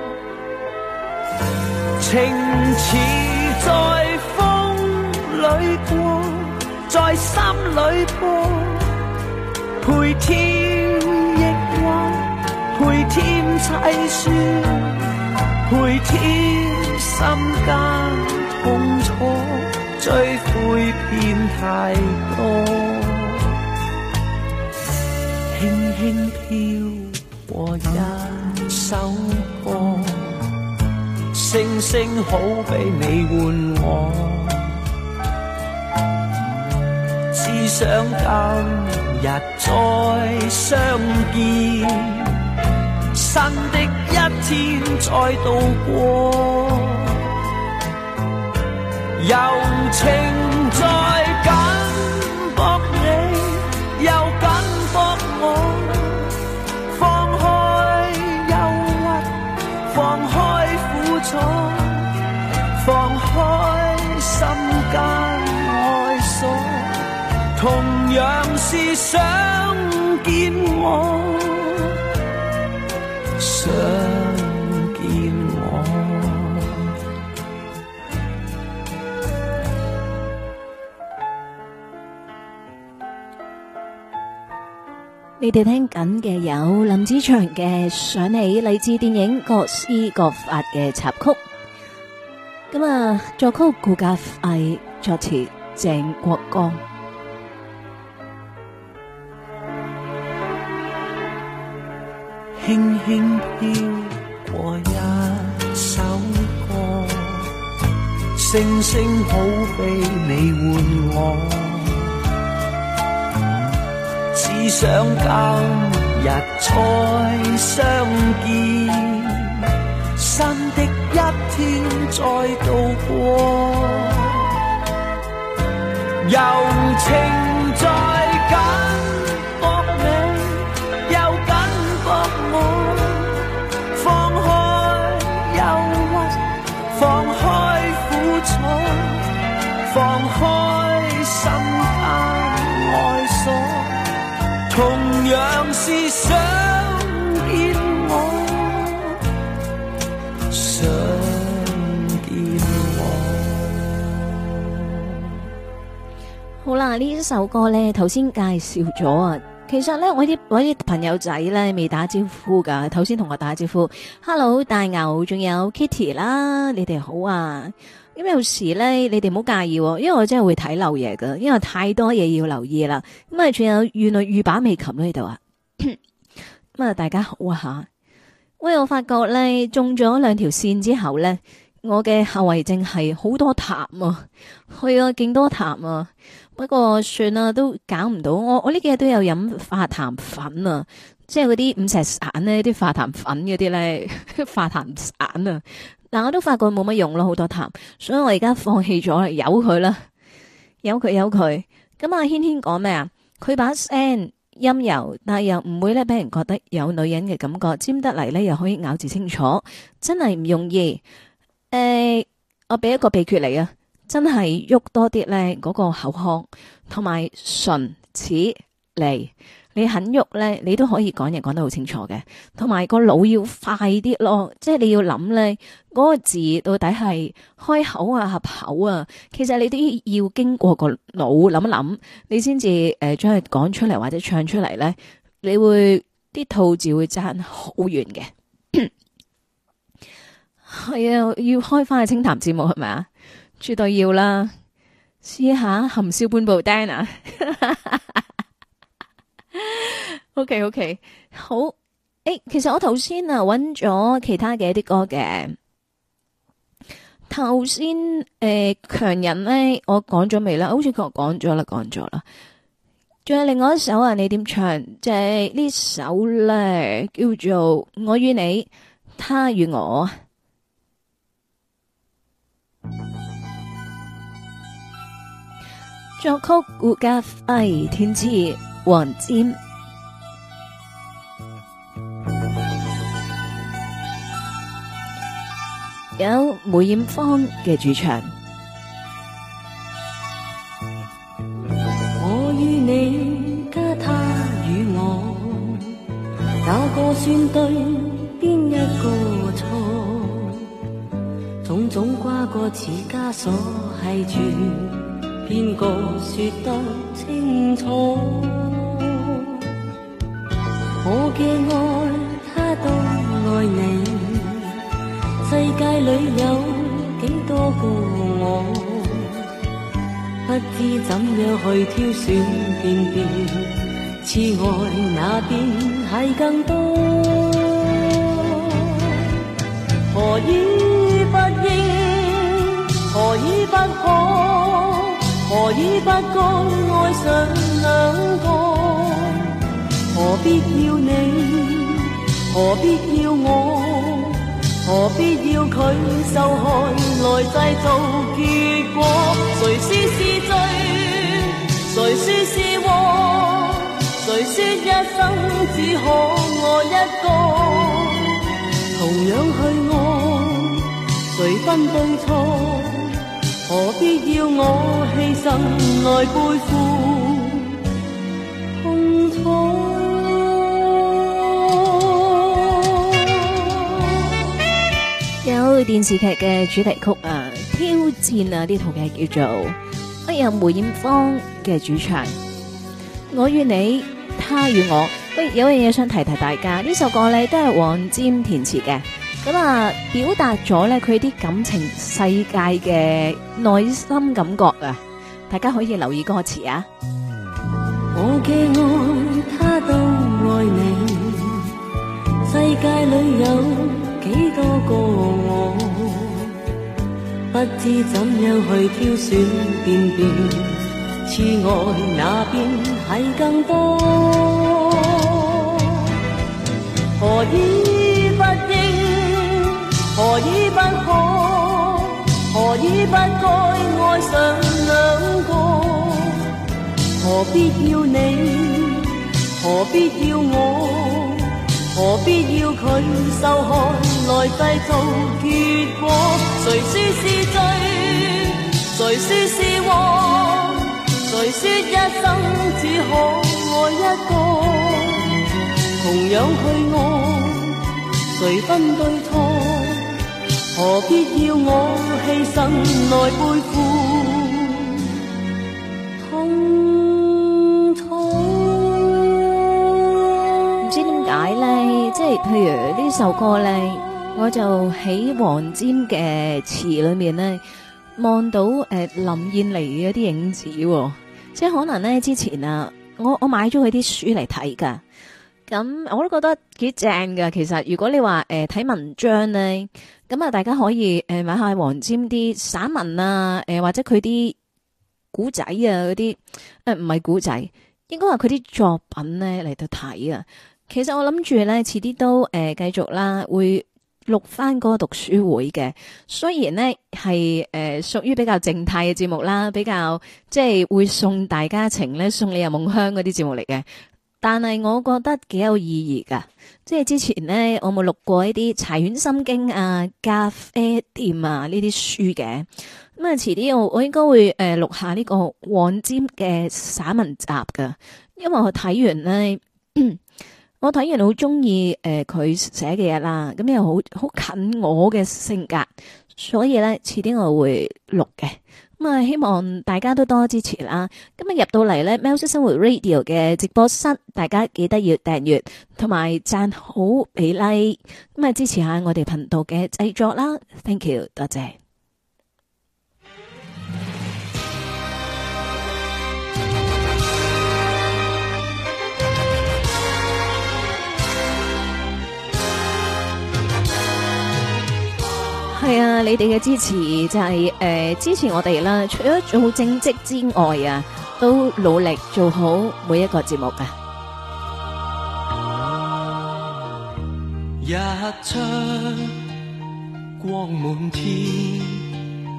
情似在風裏過，在心裏播，陪添抑鬱，陪添凄酸，陪添心間痛楚，追悔遍太多，輕輕飄過一首歌，聲聲好比你喚我，只想今日再相見，新的一天再度過，柔情在緊縛你，又緊縛我，放開憂鬱，放開苦楚，放開心間愛鎖，同樣是想見我，想見我。 你哋聽緊嘅有林子祥嘅《想你》，嚟自電影《各施各法》嘅插曲。咁啊，作曲顧嘉輝，作詞鄭國江。 輕輕飄過一首歌，聲聲好比你喚我，只想今日再相見，新的一天再度過，柔情在緊縛你，又緊縛我，放開憂鬱，放開苦楚，放開心間愛鎖，同樣是想見我，想見我。 好啦，呢一首歌呢，頭先介紹咗啊。其實呢，我啲朋友仔呢未打招呼噶，頭先同我打招呼 ，Hello 大牛，仲有 Kitty 啦，你哋好啊。咁有時呢，你哋唔好介意，因為我真係會睇漏嘢噶，因為太多嘢要留意啦。咁啊，仲有原來御把味琴喺度啊。咁啊，大家好啊吓。喂，我發覺呢，中咗2條線之後呢，我嘅後遺症係好多痰啊，係啊，勁多痰啊。不過算啦，都搞唔到。我呢幾日都有飲化痰粉啊，即係嗰啲5石散呢啲化痰粉嗰啲咧，化痰散啊。但我都發覺冇乜用咯，好多痰，所以我而家放棄咗啦，由佢啦，由佢。咁啊，軒軒講咩啊？佢把聲陰柔，但係又唔會咧俾人覺得有女人嘅感覺，尖得嚟咧又可以咬字清楚，真係唔容易。我俾一個秘訣嚟啊！真係喐多啲咧，嗰個口腔同埋唇齒脷，你肯喐咧，你都可以講嘢講得好清楚嘅。同埋個腦要快啲咯，即係你要諗咧，嗰個字到底係開口啊、合口啊，其實你都要經過個腦諗一諗，你先至將佢講出嚟或者唱出嚟咧，你會啲吐字會爭好遠嘅。係啊，要開翻個清談節目係咪啊？絕對要啦，試下含笑半步釘啊！OK， 好。其實我頭先啊揾咗其他嘅一啲歌嘅。頭先強人咧，我講咗未啦？好似佢講咗啦。仲有另外一首啊，你點唱？就係呢首咧，叫做《我與你，他與我》。作曲顧嘉輝，填詞黃霑。有梅艷芳嘅主唱。 我與你加他與我，哪個算對，邊一個錯？種種瓜葛似枷鎖繫住，邊個說得清楚？我嘅愛他都愛你，世界裏有幾多個我？不知怎樣去挑選辨別，痴愛那邊係更多。何以不應，何以不可，何以不該愛上兩個？何必要你，何必要我，何必要佢受害來製造結果？誰說是罪，誰說是禍？誰說一生只可愛一個？同樣去愛，誰分對錯？何必要我犧牲來背負痛楚？ 有電視劇嘅主題曲啊，挑戰啊，呢套劇叫做有梅艷芳嘅主唱，我與你，他與我。喂，有樣嘢想提提大家，呢首歌咧都係黃霑填詞嘅，咁啊表達咗咧佢啲感情世界嘅內心感覺啊，大家可以留意歌詞啊。 我嘅愛他都愛你，世界裏有幾多個我？不知怎樣去挑選辨別，痴愛那邊係更多。何以不應，何以不可，何以不該愛上兩個？何必要你，何必要我？何必要佢受害來製造結果？誰說是罪，誰說是禍？誰說一生只可愛一個？同樣去愛，誰分對錯？何必要我犧牲來背負痛楚？ 唔知點解咧，即係譬如呢首歌咧，我就喺黃霑嘅詞裏面咧望到林燕妮嘅啲影子，即係可能咧之前啊，我買咗佢啲書嚟睇噶，咁我都覺得幾正噶。其實如果你話睇文章咧，咁啊大家可以買下黃霑啲散文啊，或者佢啲古仔啊嗰啲，唔係古仔，應該話佢啲作品咧嚟到睇啊。其實我諗住咧，遲啲都繼續啦，會錄翻嗰個讀書會嘅。雖然呢係屬於比較靜態嘅節目啦，比較即係會送大家情咧，送你入夢鄉嗰啲節目嚟嘅。但係我覺得幾有意義噶。即係之前呢，我冇錄過一啲柴犬心經啊、咖啡店啊呢啲書嘅。咁啊，遲啲我應該會錄下呢個黃霑嘅散文集噶，因為我睇完呢。我睇完好中意佢寫嘅嘢啦，咁又好近我嘅性格，所以咧遲啲我會錄嘅。咁啊，希望大家都多支持啦。今日入到嚟咧，喵式生活 Radio 嘅直播室，大家記得要訂閱同埋讚好俾 like， 咁啊支持下我哋頻道嘅製作啦。Thank you， 多謝。係啊，你哋嘅支持就係支持我哋啦。除咗做好正職之外啊，都努力做好每一個節目噶。 一窗光滿天，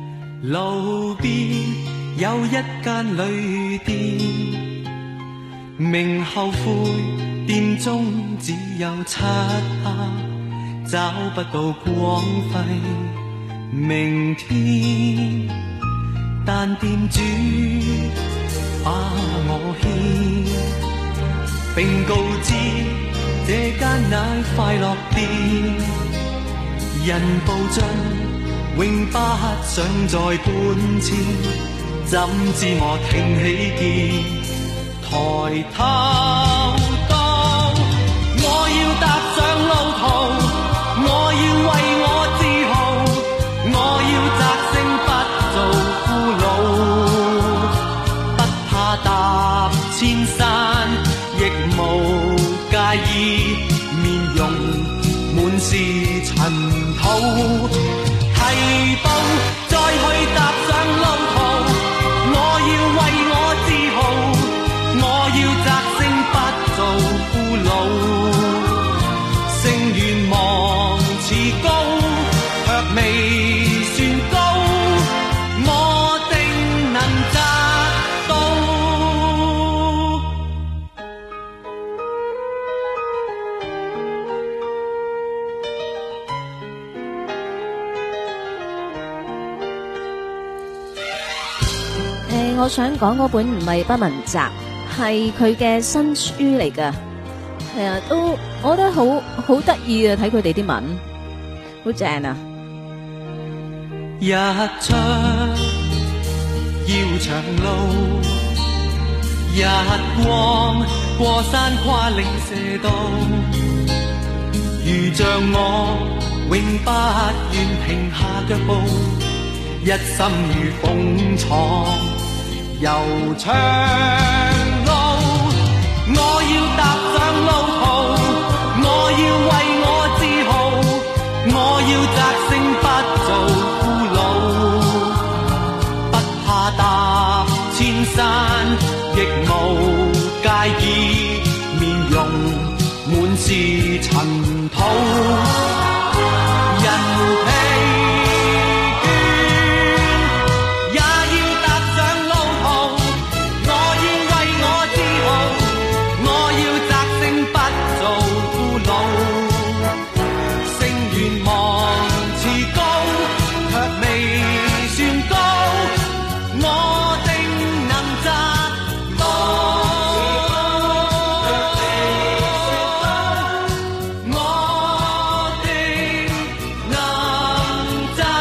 路邊有一間旅店， 明後悔，店中只有漆黑，找不到光輝明天。但店主把我牽，並告知這間乃快樂店，人步進永不想再搬遷。怎知我挺起肩，抬頭到，我要踏上路途，我要為我自豪，我要摘星不做俘虜，不怕踏千山，亦無介意面容滿是塵土。提步再去踏上路途，我要為我自豪，我要摘星不做俘虜。聲願望似高，卻未算高，我定能摘到。 我想講嗰本唔係不文集，係佢嘅新書嚟噶。係啊，都我覺得好得意啊！睇佢哋啲文，好正啊！ 日出要長路，日光過山跨嶺射道，如像我永不願停下腳步，一心如風闖悠長路。我要踏上路途，我要為我自豪，我要摘星不做俘虜，不怕踏千山，亦無介意面容滿是塵土。人疲倦也要踏上路途，我要為我自豪，我要摘星不做俘虜。聲願望似高，卻未算高，我定能摘到。我定能摘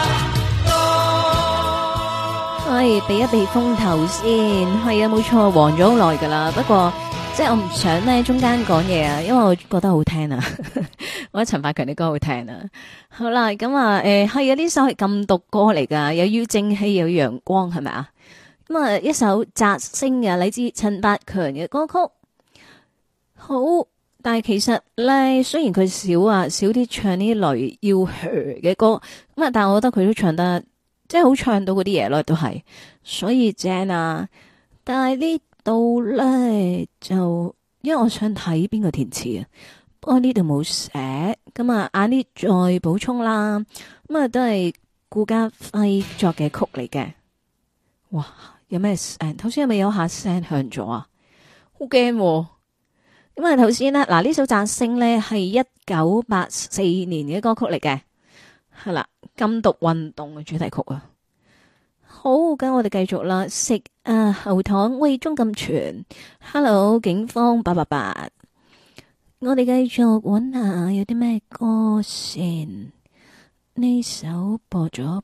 到。 係避一避風頭先，係啊，冇錯，黃咗好耐噶啦。不過即係我唔想咧中間講嘢啊，因為我覺得好聽啊。我覺得陳百強啲歌好聽啊。好啦，咁啊，係啊，呢首係禁毒歌嚟噶，又要正氣又要陽光，係咪啊？咁啊，一首摘星嘅嚟自陳百強嘅歌曲，好。但係其實咧，雖然佢少啲唱呢類要嘅歌，咁啊，但係我覺得佢都唱得即係好唱到嗰啲嘢咯，都係，所以正啊。但係呢度咧就，因為我想睇邊個填詞啊，不過呢度冇寫，咁啊，晏啲再補充啦。咁啊，都係顧嘉輝作嘅曲嚟嘅。哇，有咩聲？頭先係咪有下聲響咗啊？好驚喎。咁啊，頭先呢，嗱，呢首摘星咧係1984年嘅歌曲嚟嘅，係啦，禁毒運動嘅主題曲啊。好，咁我哋繼續啦，食後堂喂鐘咁全 ，Hello 警方888，我哋繼續揾下有啲咩歌先。呢首播咗，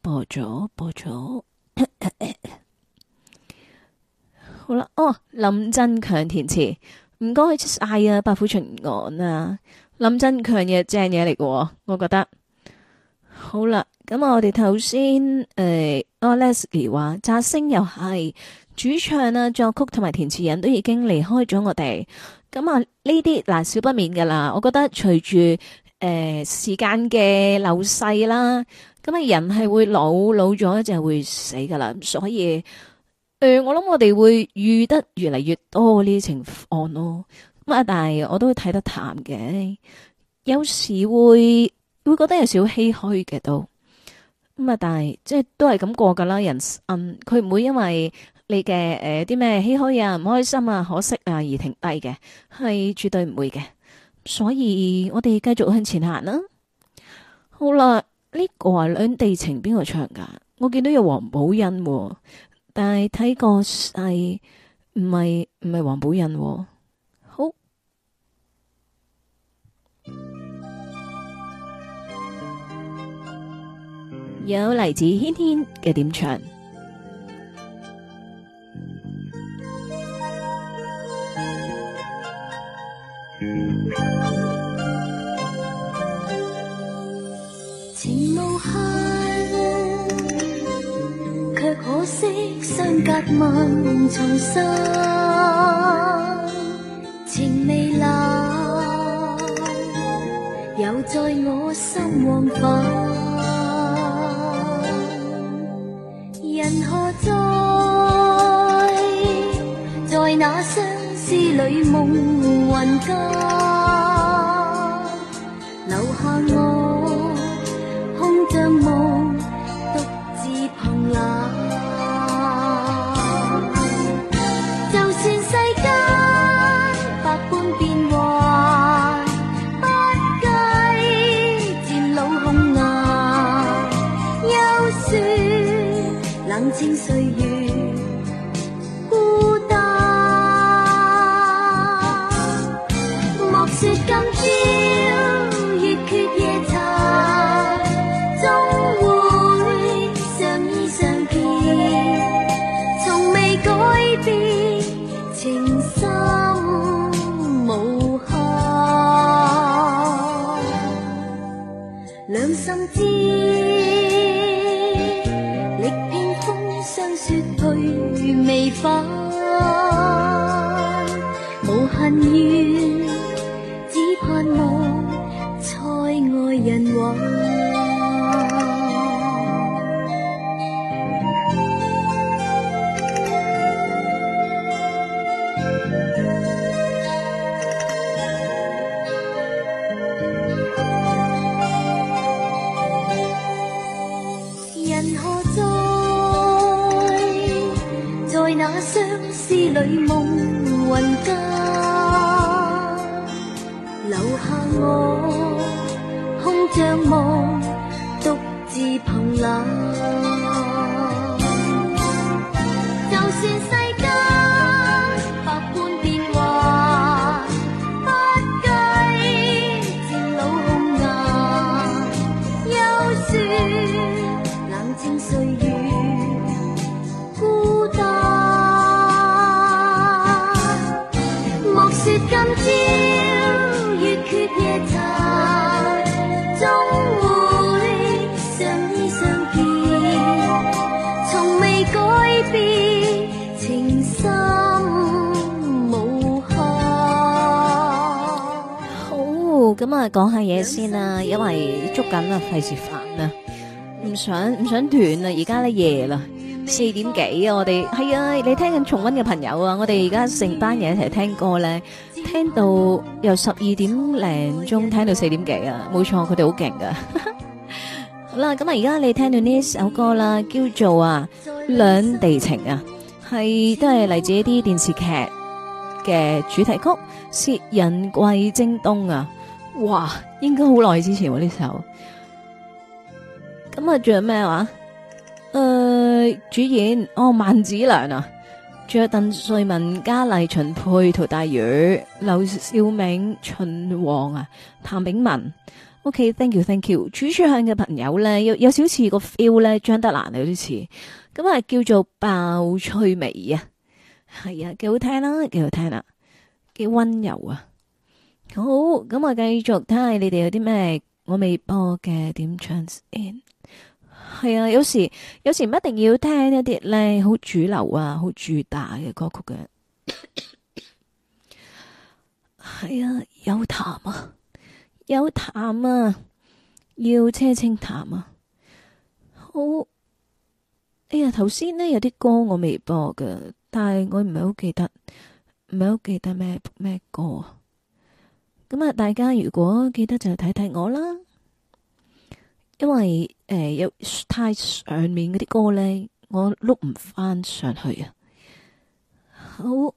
好啦，林振強填詞。唔該晒啊，百虎巡案啊，林振強嘅正嘢嚟嘅，我覺得好啦。咁我哋頭先Leslie 話摘星又係主唱啊、作曲同埋填詞人都已經離開咗我哋。咁啊呢啲嗱少不免噶啦，我覺得隨住時間嘅流逝啦，咁啊人係會老咗就會死噶啦，所以。我諗我哋會遇得越嚟越多呢啲情況咯，咁啊，但係我都會睇得淡嘅，有時會覺得有少少唏噓嘅都，咁啊，但係即係都係咁過噶啦，人生佢唔會因為你嘅啲咩唏噓啊、唔開心啊、可惜啊而停低嘅，係絕對唔會嘅。所以我哋繼續向前行啦。好啦，呢個係兩地情邊個唱噶？我見到有黃寶欣喎，但係睇個勢唔係黃寶欣喎。好，有嚟自軒軒嘅點唱。 情無限，卻可惜相隔萬重山。情未冷，又在我心往返。人何在那相思裏夢魂間，留下我空像夢，獨自憑冷。就算世間百般變幻，不計漸老紅顏。休說冷清歲月孤單，莫說今朝月缺夜殘，終會相依相見，從未改變情深無限。兩心知力拼風霜雪去未返，無恨怨，只盼望塞愛人還。人何在那相思裏夢魂間，留下我空像夢，獨自憑冷。就算世間百般變幻，不計漸老紅顏。休說冷清歲月孤單，莫說今朝月缺夜殘，終會相依相見，從未改變情深無限。 好，咁啊，講下嘢先啦，因為捉緊啦，費事煩啊，唔想斷啊，而家咧夜啦，4點幾啊，我哋係啊，你聽緊重溫嘅朋友啊，我哋而家成班人一齊聽歌咧，聽到由12點零鐘聽到4點幾啊，冇錯，佢哋好勁噶。好啦，咁啊，而家你聽到呢一首歌啦，叫做啊《兩地情》啊，係都係嚟自一啲電視劇嘅主題曲，《薛仁貴征東》啊，哇，應該好耐之前喎呢首。咁啊，仲有咩話？主演萬梓良啊，仲有鄧萃雯、嘉麗、秦沛、陶大宇、劉兆銘、秦王啊、譚炳文。OK，thank you，thank you。主唱嘅朋友咧，有少似個 feel 咧，張德蘭有啲似。咁啊，叫做鮑翠薇啊，係啊，幾好聽啦，幾好聽啦，幾溫柔啊。好，咁啊，繼續睇下你哋有啲咩我未播嘅點唱先。係啊，有時唔一定要聽一啲咧好主流啊、好主打嘅歌曲嘅。係啊，有痰啊，有痰啊，要車清痰啊。好，哎呀，頭先呢有啲歌我未播嘅，但係我唔係好記得咩歌啊。咁啊，大家如果記得就睇睇我啦。因為有太上面嗰啲歌咧，我碌唔翻上去啊。 好。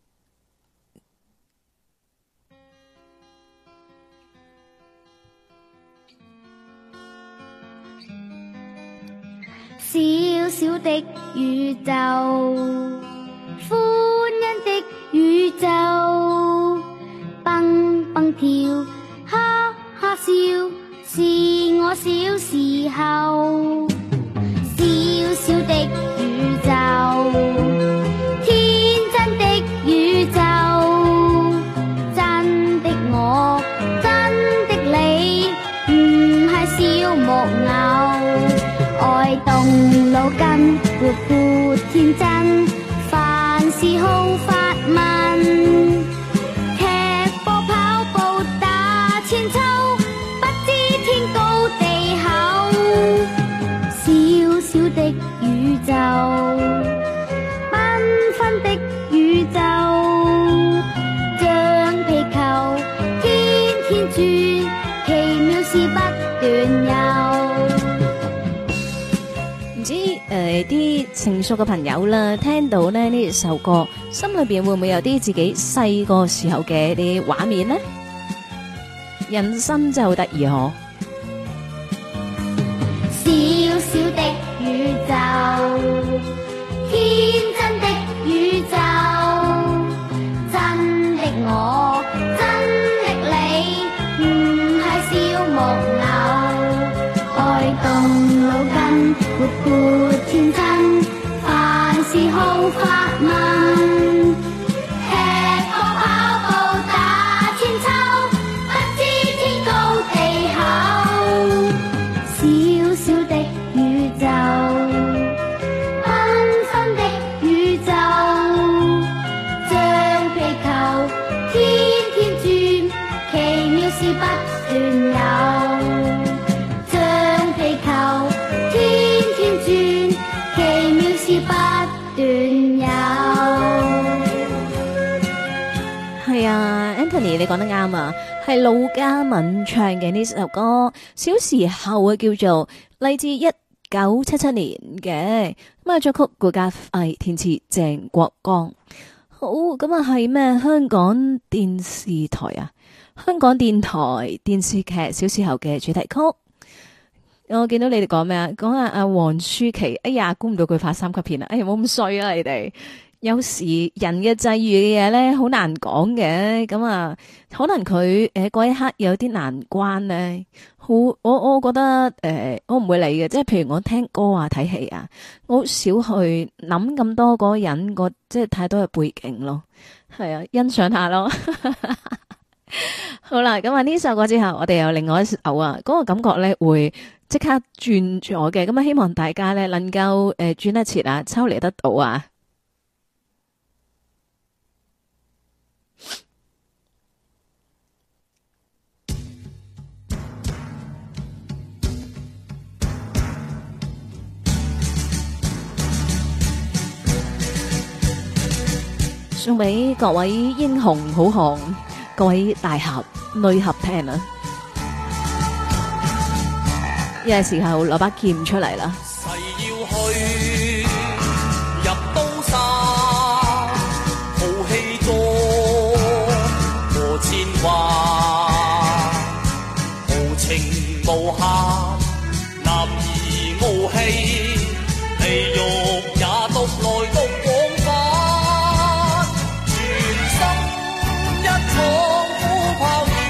小小的宇宙，歡欣的宇宙，蹦蹦跳，哈哈笑，是我小時候。小小的宇宙，天真的宇宙，真的我，真的你，唔係小木偶。愛動腦筋，活潑天真，凡事好發問，踢波跑步打千秋，不知天高地厚。小小的宇宙，繽紛的宇宙，像皮球天天轉，奇妙事不斷有。 啲成熟嘅朋友啦，聽到咧呢首歌，心裏邊會唔會有啲自己細個時候嘅啲畫面呢？人生真係好得意嗬！ 小小的宇宙，天真的宇宙，真的我，真的你，唔係小木偶，愛動腦筋，活潑天真，凡事好發問，踢波跑步打千秋，不知天高地厚。小小的宇宙，繽紛的宇宙，像皮球天天轉，奇妙事不斷有。像皮球天天轉，奇妙事不斷有。 係啊 ，Anthony 你講得啱啊，係陸嘉敏唱嘅呢首歌，小時候啊叫做嚟自1977年嘅，咁啊作曲顧嘉輝，填詞鄭國江。好，咁啊係咩？香港電視台啊，香港電台電視劇《小時候》嘅主題曲。我見到你哋講咩啊？講阿黃舒淇，哎呀，估唔到佢拍3級片啊！哎呀，冇咁衰啊，你哋。有時人嘅際遇嘅嘢咧，好難講嘅。咁啊，可能佢嗰一刻有啲難關咧。好，我覺得我唔會理嘅。即係譬如我聽歌啊、睇戲啊，我好少去諗咁多嗰個人個即係太多嘅背景咯。係啊，欣賞下咯。好啦，咁啊呢首歌之後，我哋有另外一首啊，嗰個感覺咧會即刻轉咗嘅。咁啊，希望大家咧能夠轉得切啊，抽離得到啊。送俾各位英雄好漢，各位大俠女俠聽啊！呢個時候攞把劍出嚟啦。 誓要去入刀山，豪氣壯過千萬，豪情無限，男兒傲氣，地獄也獨來獨往返，全心一闖虎豹魚，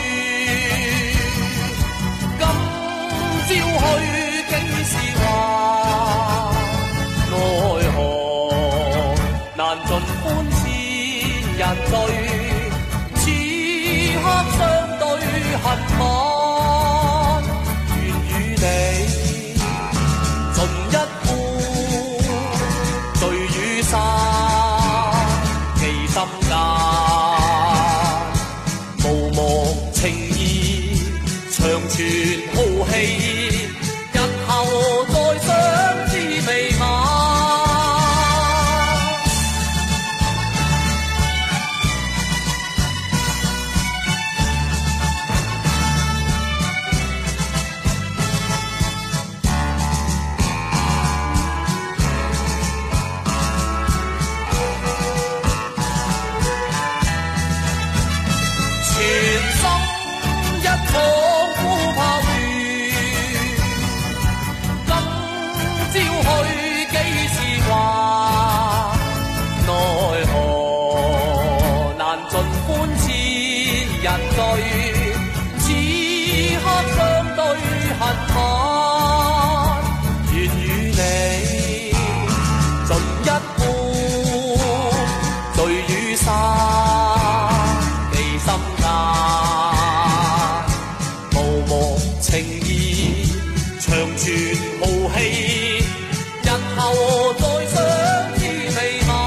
今朝去竟是話，奈何難盡歡千人醉，此刻相對恨晚，願與你盡一杯醉與散，記心間無忘情義，長存豪氣，日後再相知未晚。 你，盡一半醉與沙記心間，無忘情意長存豪氣，日後再相知未晚，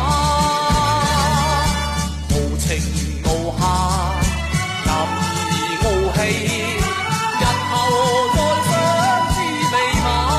無情無限任意傲氣，日後再相知未晚。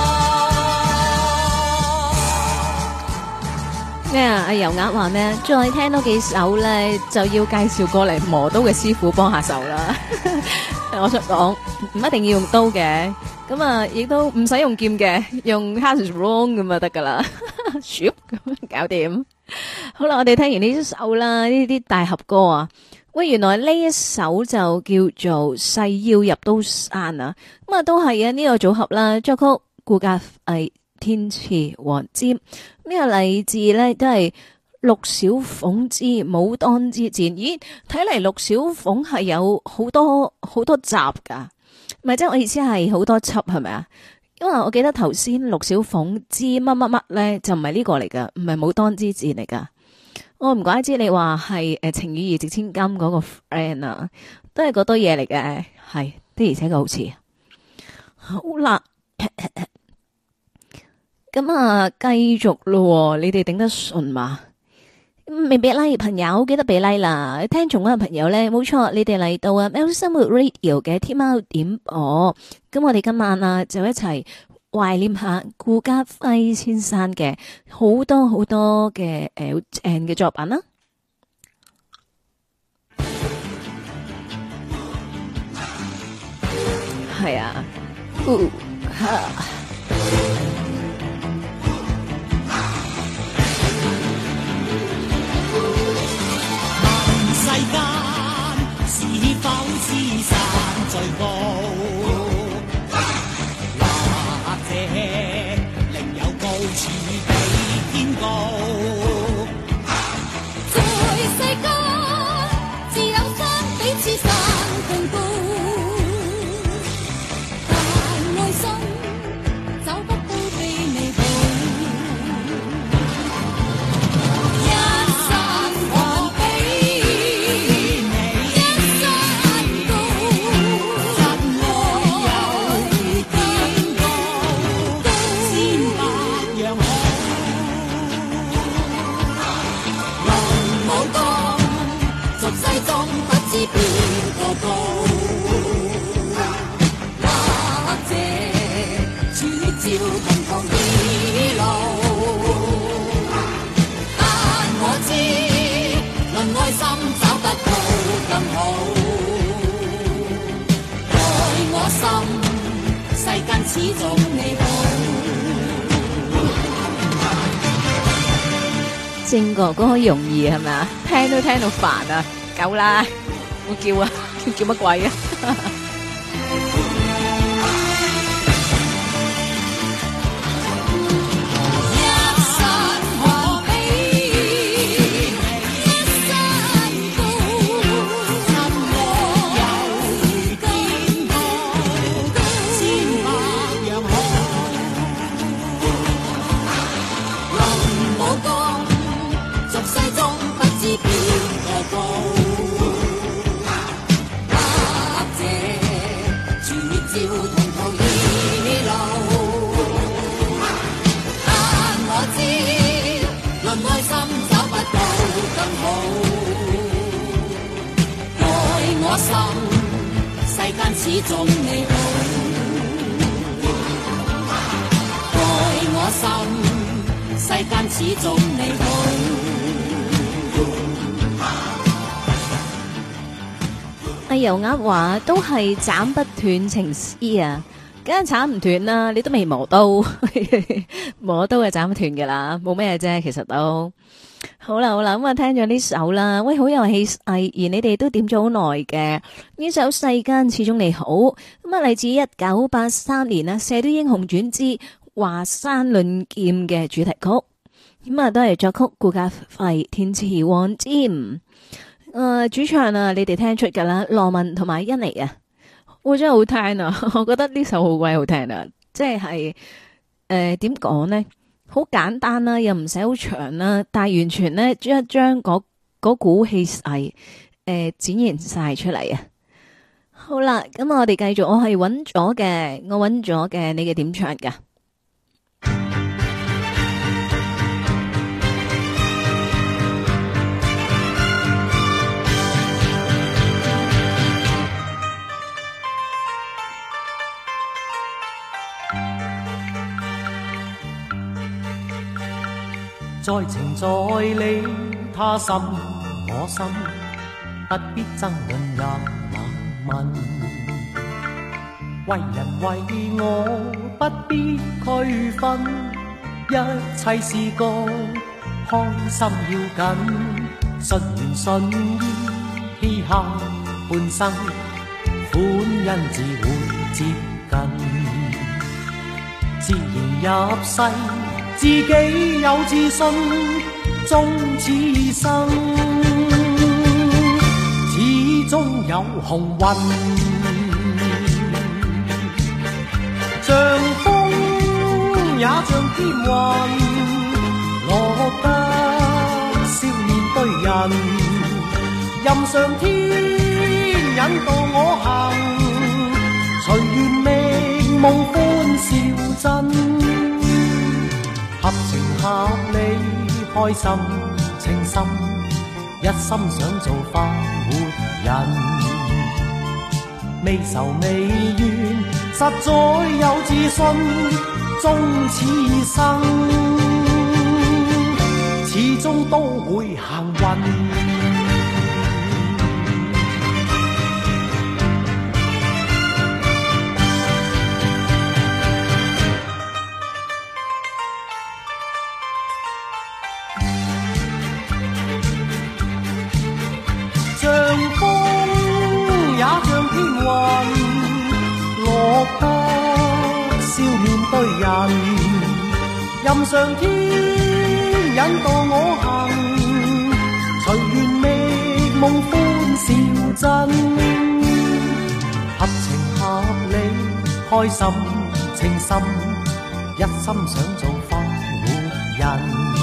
咩啊？阿油鴨話咩？再聽多幾首咧，就要介紹過嚟磨刀嘅師傅幫下手啦。我想講唔一定要用刀嘅，咁啊亦都唔使用劍嘅，用 Hasbro 咁就得噶啦，咁搞掂。好啦，我哋聽完呢首啦，呢啲大合歌啊，喂，原來呢一首就叫做《誓要入刀山》啊，咁啊都係啊呢個組合啦，作曲顧嘉輝、填詞黃霑，呢個嚟自咧都係陸小鳳之《武當之戰》。咦，睇嚟陸小鳳係有好多集噶，唔係即係我意思係好多輯係咪啊？因為我記得頭先陸小鳳之乜乜乜咧就唔係呢個嚟噶，唔係《武當之戰》嚟噶。我唔怪之你話係情與義值千金嗰個 friend 啊，都係嗰堆嘢嚟嘅，係的而且確好似。好啦。咁啊，繼續咯，你哋頂得順嘛？未俾 like 朋友記得俾 like 啦，聽重溫嘅朋友咧，冇錯，你哋嚟到啊喵式生活 Radio 嘅天喵點播，咁我哋今晚啊就一齊懷念下顧嘉輝先生嘅好多嘅好正嘅作品啦。係啊， 世間是否知山最高，或者另有高處比天高？在世間自有山比此山更高，但愛心找不到比你好。邊個高？或者處照同途異路，但我知論愛心找得到更好。在我心，世間始終你好。 正哥哥容易係咪啊？聽都聽到煩啊！夠啦，我叫啊，叫乜鬼啊？世間始終你好，愛我心，世間始終你好。 阿油鴨話都係斬不斷情絲啊，梗係斬唔斷啦，你都未磨刀，磨刀就斬唔斷噶啦，冇咩啫，其實都。好啦，咁啊聽咗呢首啦，喂，好有氣勢，而你哋都點咗好耐嘅呢首《世間始終你好》，咁啊嚟自1983年啊《射雕英雄傳之華山論劍》嘅主題曲，咁啊都係作曲顧嘉輝，填詞黃霑，主唱啊你哋聽出噶啦，羅文同埋甄妮啊，真係好聽啊，我覺得呢首好鬼好聽啊，即係點講呢？好簡單啦，又唔使好長啦，但係完全呢，將嗰股氣勢展現晒出嚟啊！好啦，咁我哋繼續，我係揾咗嘅，你嘅點唱噶？ 在情在理，他心我心，不必爭論也冷問。為人為我不必區分，一切是個開心要緊。順緣順意，嘻哈半生，歡欣自會接近。自然入世，自己有自信，終此生，始終有幸運。像風也像天雲，落得笑面對人，任上天引導我行，隨緣覓夢歡笑真。合情合理，開心情深，一心想做快活人，未愁未怨，實在有自信，終此生，始終都會行運。任上天引導我行，隨緣覓夢歡笑真，合情合理，開心情深，一心想做快活人，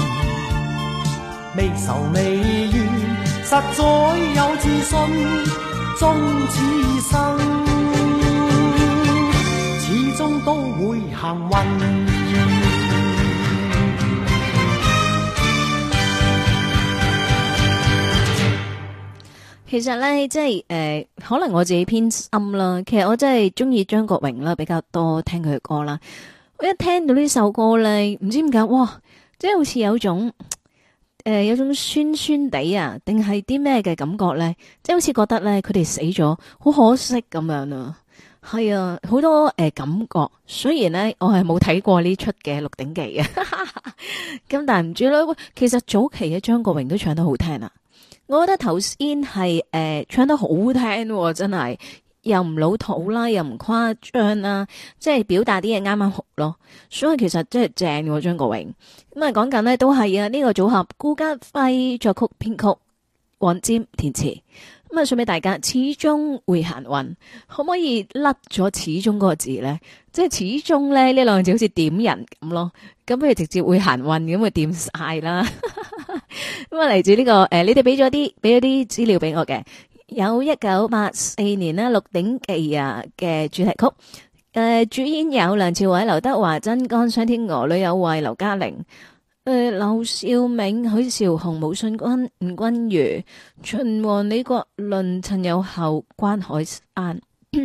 未愁未怨，實在有自信，終此生，始終都會行運。 其實咧，即係可能我自己偏心啦。其實我真係中意張國榮啦，比較多聽佢嘅歌啦。我一聽到呢首歌咧，唔知點解，哇！即係好似有種有種酸酸地啊，定係啲咩嘅感覺咧？即係好似覺得咧，佢哋死咗，好可惜咁樣啊。係啊，好多感覺。雖然咧，我係冇睇過呢出嘅《鹿鼎記》嘅，咁但係唔知啦。其實早期嘅張國榮都唱得好聽啊。我覺得頭先係唱得好聽喎，真係又唔老土啦，又唔誇張啦，即係表達啲嘢啱啱好咯。所以其實真係正喎，張國榮。咁啊講緊呢都係啊，呢個組合顧嘉輝作曲編曲，黃霑填詞。咁啊送俾大家，始終會行運，可唔可以甩咗始終嗰個字咧？即係始終咧呢兩個字好似點人咁咯。咁不如直接會行運咁咪掂晒啦。咁啊嚟自呢個你哋俾咗啲資料俾我嘅，有1984年呢《鹿鼎記》啊嘅主題曲，主演有梁朝偉、劉德華、曾江、商天娥、呂有慧、劉嘉玲、劉兆銘、許紹雄、武信君、吳君如、秦王、李國麟、陳友后、關海山。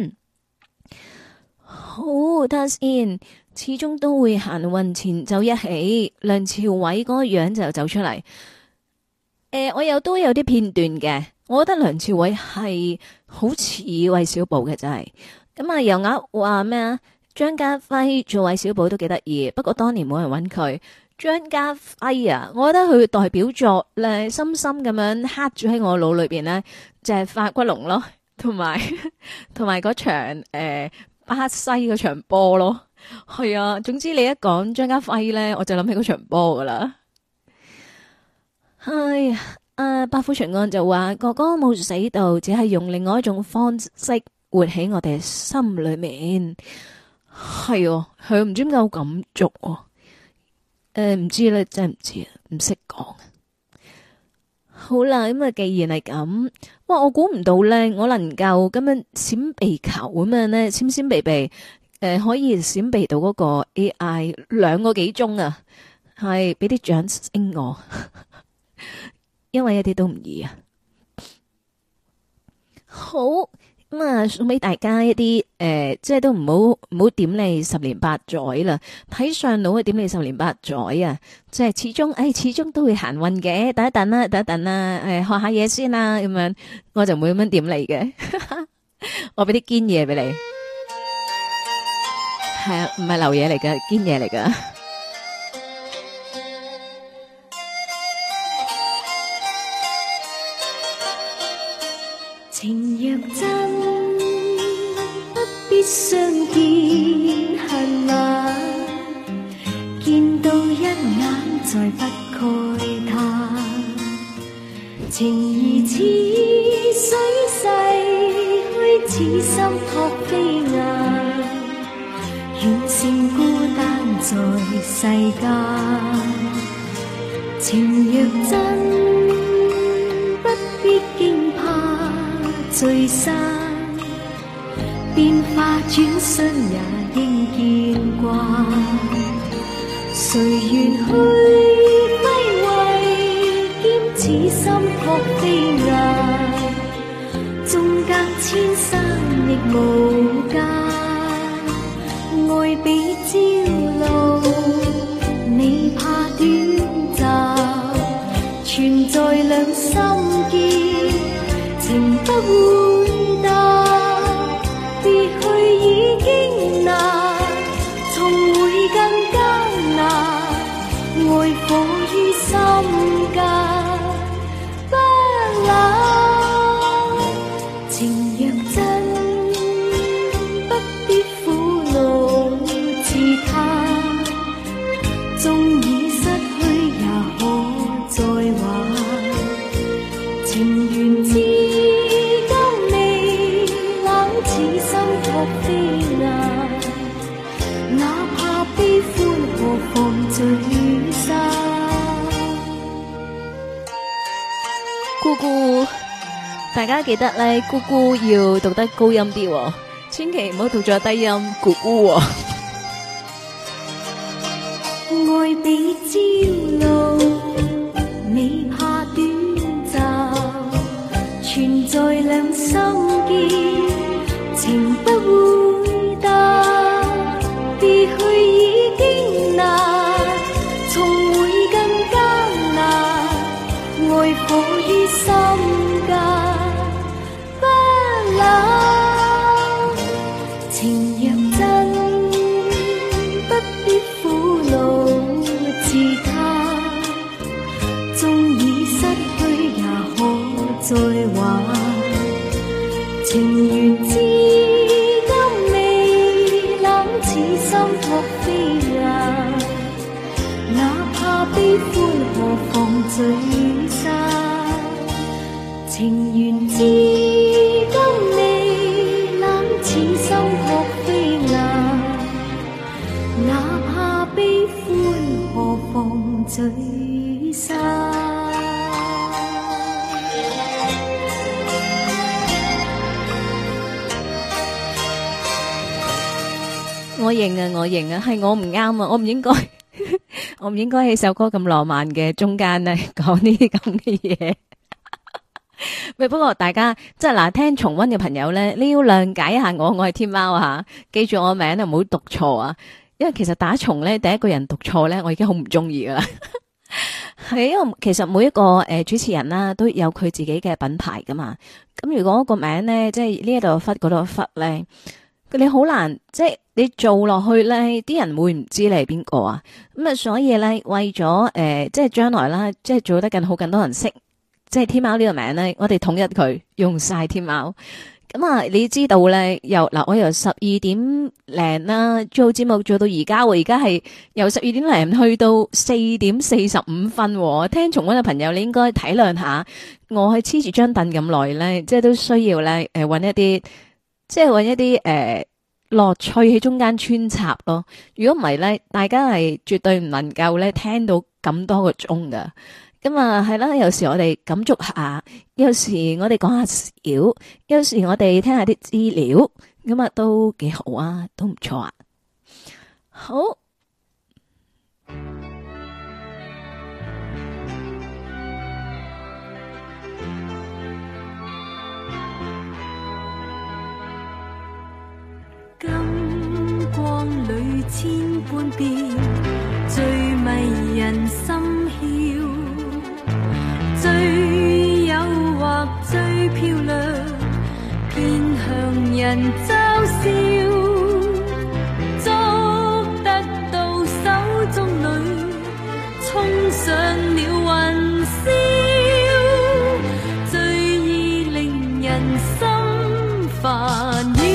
好，睇下先。始終都會行運，前奏一起，梁朝偉嗰個樣就走出嚟。我又都有啲片段嘅，我覺得梁朝偉係好似韋小寶嘅真係。咁啊，油鴨話咩啊？張家輝做韋小寶都幾得意，不過當年冇人揾佢。張家輝啊，我覺得佢代表作咧，深深咁樣刻住喺我腦裏邊呢，就係發骨龍咯，同埋嗰場巴西嗰場波咯。係啊，總之你一講張家輝咧，我就諗起嗰場波噶啦。唉，百虎巡案就話哥哥冇死到，只係用另外一種方式活喺我哋心裏面。 係哦，佢唔知點解好咁做喎。唔知咧，真係唔知啊，唔識講。好啦，咁啊，既然係咁，哇，我估唔到咧，我能夠咁樣閃避球咁樣咧，閃避避，可以閃避到嗰個 AI 2個幾鐘啊，係俾啲掌聲我，因為一啲都唔易啊。好。咁啊，送俾大家一啲即係都唔好點你10年8載啦，睇上腦啊點你10年8載啊，即係始終都會行運嘅，等一等啦，學下嘢先啦，咁樣我就唔會咁樣點你嘅，我俾啲堅嘢俾你，係啊，唔係流嘢嚟㗎，堅嘢嚟㗎。 情若真，不必相見恨晚，見到一眼再不慨嘆。情如似水逝去，似心託飛雁，遠勝孤單在世間。情若真，不必驚怕聚散，變化轉身也應見慣。誰願去揮慧，兼此心託飛雁，縱隔千山亦無間。愛比朝露，你怕短暫，存在兩心間，情不會淡，別去已經難，重會更艱難。愛火於心間，不冷。情若真，不必苦惱自嘆，縱已失去也可再還。情緣至今未冷，此心託飛雁，哪怕悲歡何妨聚散。 姑姑，大家記得咧，姑姑要讀得高音啲喎，千祈唔好讀咗低音姑姑喎。 愛比朝露，未怕短暫，存在兩心間，情不會淡，別去已經難，重會更艱難。愛火於心間，不冷。情若真，不必苦惱自嘆，縱已失去也可再還。情緣至今未冷，此心託飛雁，哪怕悲歡何妨聚散。情緣至今未冷，此心託飛雁，哪怕悲歡何妨聚散。 我認啊，係我唔啱啊，我唔應該，我唔應該喺首歌咁浪漫嘅中間咧講呢啲咁嘅嘢。喂，不過大家即係嗱，聽重溫嘅朋友咧，你要諒解一下我係天喵啊吓，記住我名啊，唔好讀錯啊，因為其實打重咧第一個人讀錯咧，我已經好唔中意噶啦。係因為其實每一個主持人啦都有佢自己嘅品牌噶嘛，咁如果個名咧即係呢一度忽嗰度忽咧。你好難，即係你做落去咧，啲人會唔知你係邊個啊？咁啊，所以咧，為咗即係將來啦，即係做得更好，更多人識，即係天喵呢個名咧，我哋統一佢用晒天喵。咁啊，你知道咧，我由12點零啦做節目做到而家，而家係由12點零去到4點45分。聽重溫嘅朋友，你應該體諒下，我係黐住張凳咁耐咧，即係都需要咧，搵一啲。即係搵一啲樂趣喺中間穿插咯。如果唔係咧，大家係絕對唔能夠咧聽到咁多個鐘噶。咁啊係啦，有時我哋感觸下，有時我哋講下笑，有時我哋聽下啲資料，咁啊都幾好啊，都唔錯啊。好。 金光裏千般變，最迷人心竅，最誘惑最漂亮，偏向人嘲笑，捉得到手中裏，衝上了雲霄，最易令人心煩擾。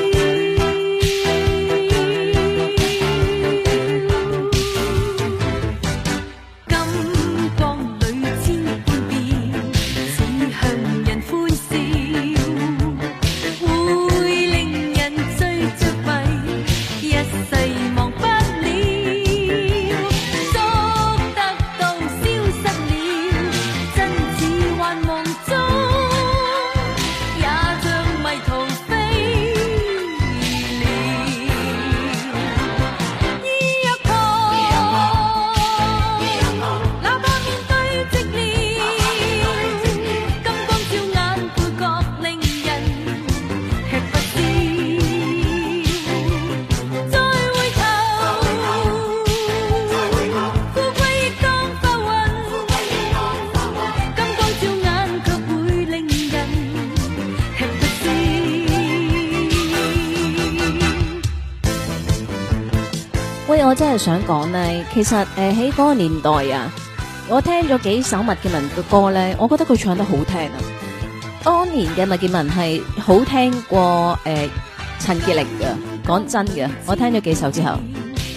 我真係想講咧，其實喺嗰個年代啊，我聽咗幾首麥潔文嘅歌咧，我覺得佢唱得好聽啊。當年嘅麥潔文係好聽過陳潔靈嘅，講真嘅，我聽咗幾首之後。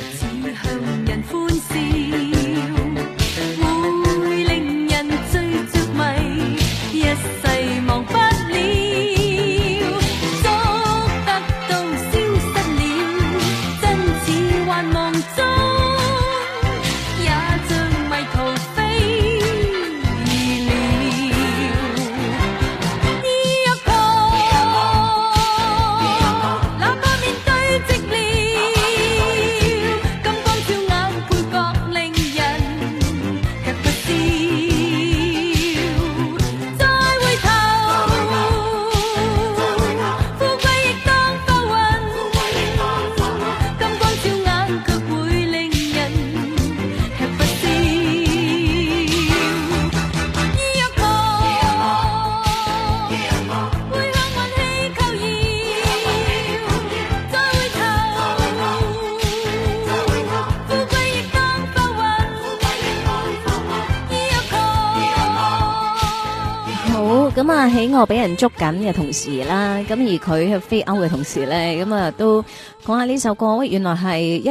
咁啊，喺我俾人捉緊嘅同時啦，咁而佢係飛歐嘅同時咧，咁啊都講下呢首歌。原來係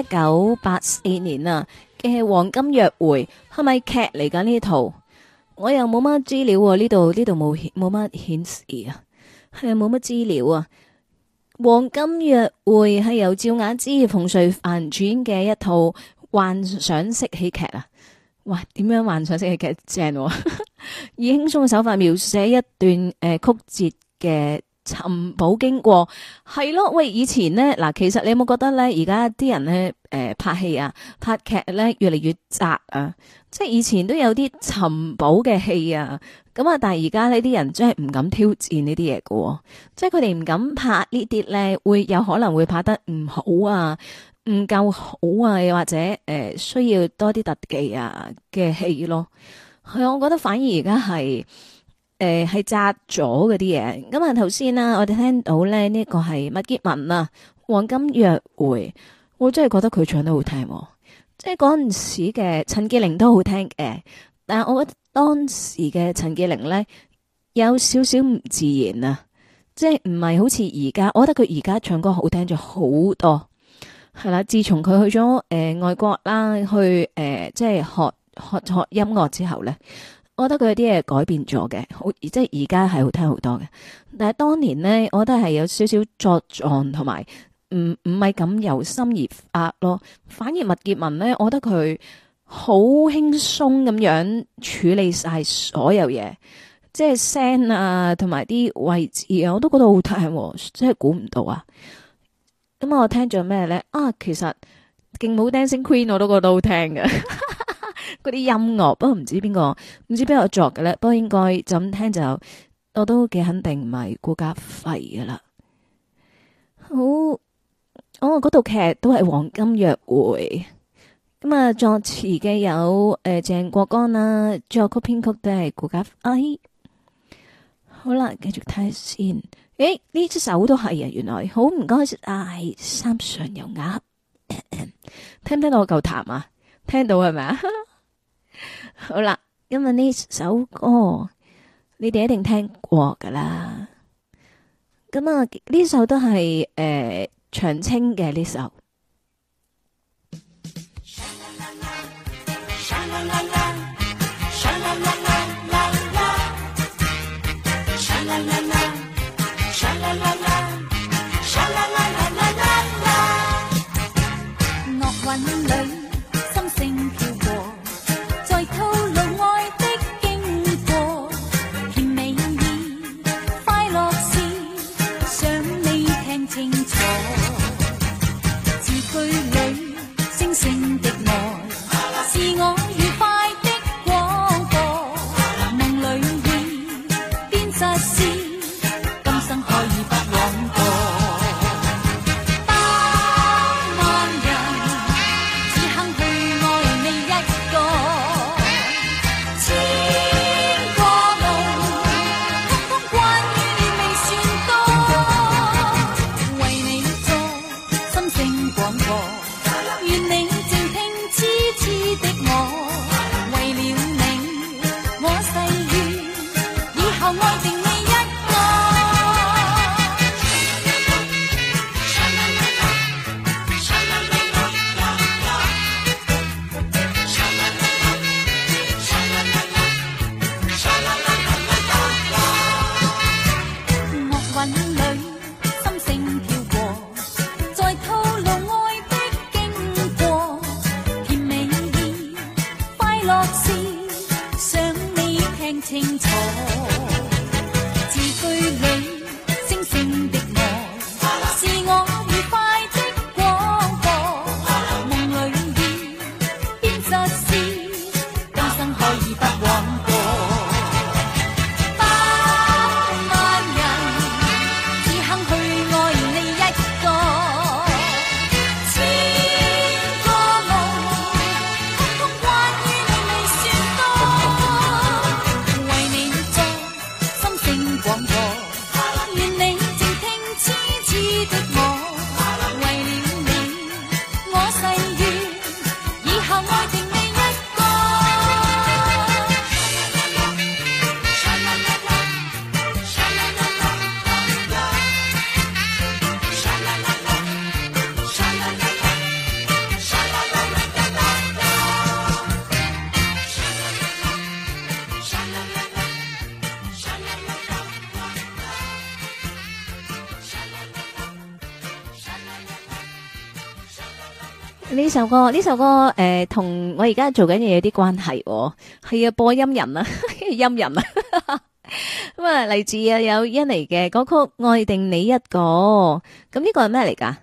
1984年啊嘅《黃金約會》，係咪劇嚟㗎呢套？我又冇乜資料喎，呢度冇乜顯示啊，係冇乜資料啊。《黃金約會》係由趙雅芝、馮淬帆主演嘅一套幻想式喜劇啊！哇，點樣幻想式喜劇正喎？以輕鬆嘅手法描寫一段曲折嘅尋寶經過，係咯。喂，以前呢，嗱，其實你有冇覺得咧？而家啲人咧拍戲啊、拍劇咧越嚟越窄啊，即係以前都有啲尋寶嘅戲啊，咁啊，但係而家呢啲人真係唔敢挑戰呢啲嘢喎，即係佢哋唔敢拍呢啲咧，會有可能會拍得唔好啊，唔夠好啊，又或者需要多啲特技啊嘅戲咯。係啊，我覺得反而而家係窄咗嗰啲嘢。咁啊，頭先啦，我哋聽到咧呢個係麥潔文啊，《黃金約會》，我真係覺得佢唱得好聽，即係嗰陣時嘅陳潔靈都好聽嘅，但係我覺得當時嘅陳潔靈咧有少少唔自然啊，即係唔係好似而家，我覺得佢而家唱歌好聽咗好多，係啦。自從佢去咗外國啦，去即係學音樂之後咧，我覺得佢有啲嘢改變咗嘅，好即係而家係好聽好多嘅。但係當年咧，我覺得係有少少作狀同埋唔係咁由心而發咯。反而麥潔文咧，我覺得佢好輕鬆咁樣處理晒所有嘢，即係聲啊，同埋啲位置啊，我都覺得好聽，真係估唔到啊！咁我聽咗咩咧？啊，其實勁舞 Dancing Queen 我都覺得好聽嘅，嗰啲音樂，不過唔知邊個作嘅咧，不過應該就咁聽就，我都幾肯定唔係顧嘉輝噶啦。好，嗰套劇都係黃金約會。咁啊，作詞嘅有鄭國江啦，作曲編曲都係顧嘉輝。好啦，繼續睇先。誒，呢首都係啊，原來好唔該晒三上油鴨，聽唔聽到我夠痰啊？聽到係咪啊？好啦，因為呢首歌你哋一定聽過噶啦。咁啊，呢首都係長青嘅呢首。 樂韻裏心聲飄過，在透露愛的經過，甜美意快樂事，想你聽清楚。字句裏星星的愛，是我愉快的廣播。夢裏意變實事，今生可以不枉過。 呢首歌同我而家做緊嘢有啲關係，係啊，播音人啊，音人啊，咁啊嚟自啊有印尼嘅歌曲《愛定你一個》，咁呢個係咩嚟噶？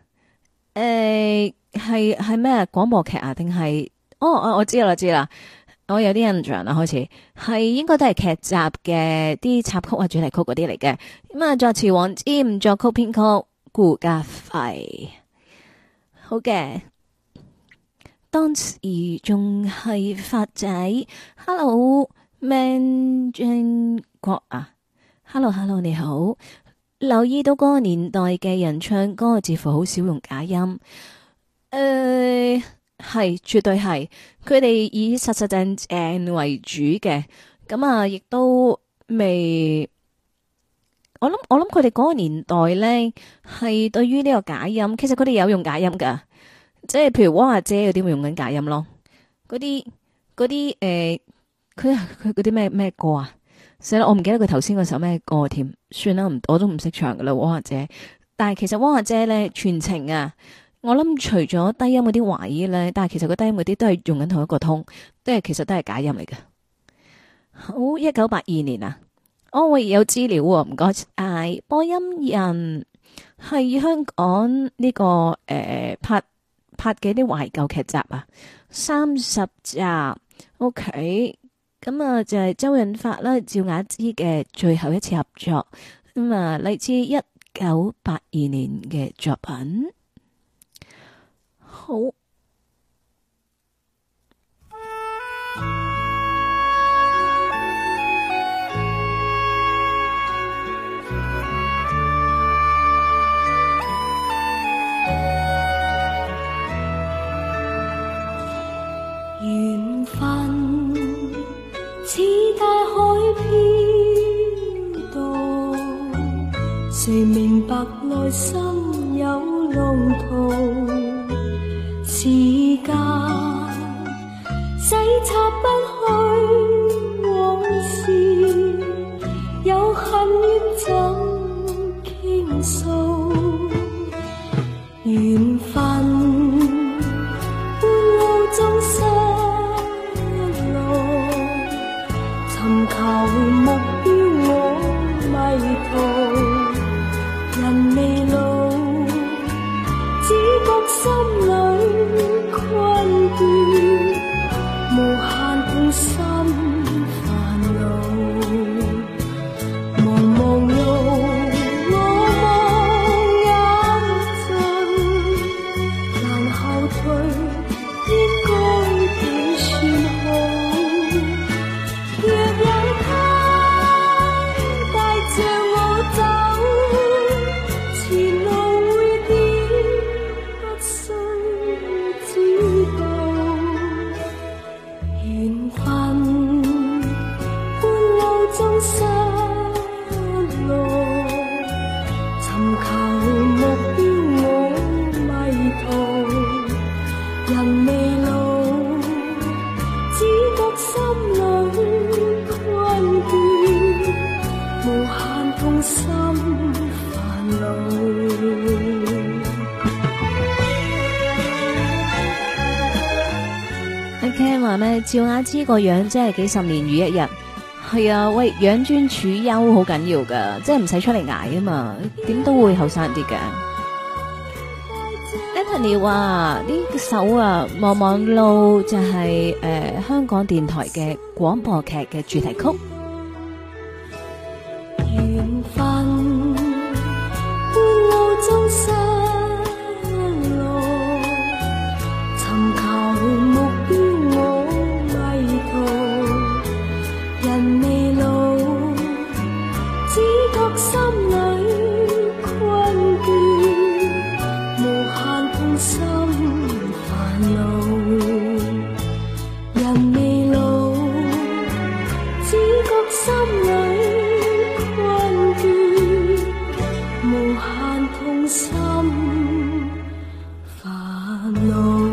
係咩廣播劇啊？定係？我知啦，我有啲印象啦，開始係應該都係劇集嘅啲插曲啊、主題曲嗰啲嚟嘅。咁啊，作詞黃霑，作曲編曲顧嘉輝，好嘅。當時仲係發仔 ，Hello Man 張國啊 ，Hello 你好，留意到嗰個年代嘅人唱歌，似乎好少用假音，係絕對係，佢哋以實實正正為主嘅，咁啊，亦都未，我諗佢哋嗰個年代咧，係對於呢個假音，其實佢哋有用假音噶。即係譬如汪阿姐嗰啲會用緊假音咯，嗰啲佢嗰啲咩歌啊？死啦，我唔記得佢頭先嗰首咩歌添，算啦，我都唔識唱噶啦，汪阿姐但係其實汪阿姐咧全程啊，我諗除咗低音嗰啲位咧，但係其實個低音嗰啲都係用緊同一個通，其實都係假音嚟嘅。好，1982年啊，我有資料喎，唔該晒。播音人係香港呢個拍嘅啲懷舊劇集啊，30集。OK， 咁啊就係周潤發啦、趙雅芝嘅最後一次合作，咁啊嚟自1982年嘅作品。好。 緣分似大海飄蕩，誰明白內心有浪濤？時間洗刷不去往事，有恨怨怎傾訴？緣分半路中失落，尋求目標我迷途，人未老，只覺心裏困倦，無限痛心煩惱，茫茫路我望眼盡，難後退，應該點算好？若有他帶着我走，前路會點不需知道。緣分半路中失落，尋求目標我迷途，人未老，只覺心裏困倦，無限痛心煩惱。 阿 Ken 話呢，趙雅芝個樣真係幾十年如一日。係啊，喂，養尊處優好緊要噶，即係唔使出嚟捱啊嘛，點都會後生啲嘅。Anthony 話呢首啊《忙忙路》就係香港電台嘅廣播劇嘅主題曲。 緣分半路中失落，尋求目標我迷途，人未老，只覺心裏困倦，無限痛心煩惱，人未老，只覺心裏困倦，無限痛心煩惱。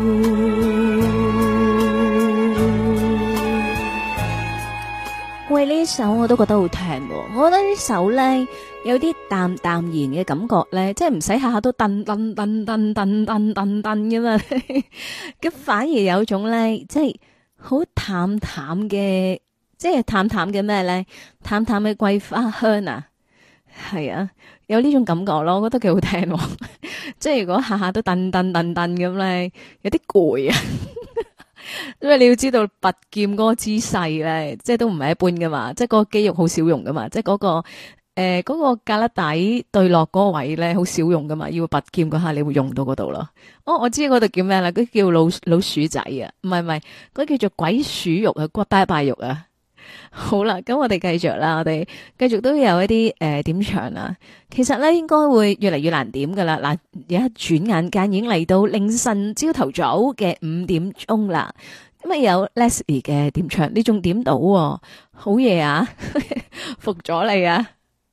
喂，呢首我都覺得好聽喎，我覺得呢首咧有啲淡淡然嘅感覺咧，即係唔使下下都噔噔噔噔噔噔噔噔咁嘛，咁反而有種咧即係好淡淡嘅，即係淡淡嘅咩咧？淡淡嘅桂花香啊，係啊，有呢種感覺咯，我覺得幾好聽喎。即係如果下下都噔噔噔噔咁咧，有啲攰啊。因為你要知道拔劍嗰個姿勢咧，即係都唔係一般噶嘛，即係嗰個肌肉好少用噶嘛，即係嗰個嗰個胳肋底對落嗰個位咧好少用噶嘛，要拔劍嗰下你會用到嗰度咯。哦，我知嗰度叫咩啦？嗰叫老鼠仔啊，唔係，嗰叫做鬼鼠肉啊，骨拜拜肉啊。好啦，咁我哋繼續啦，我哋繼續都有一啲點唱啊。其實咧應該會越嚟越難點噶啦。嗱，而家轉眼間已經嚟到凌晨朝頭早嘅5點鐘啦。咁啊有 Leslie 嘅點唱，你仲點到喎？好嘢啊！服咗你啊！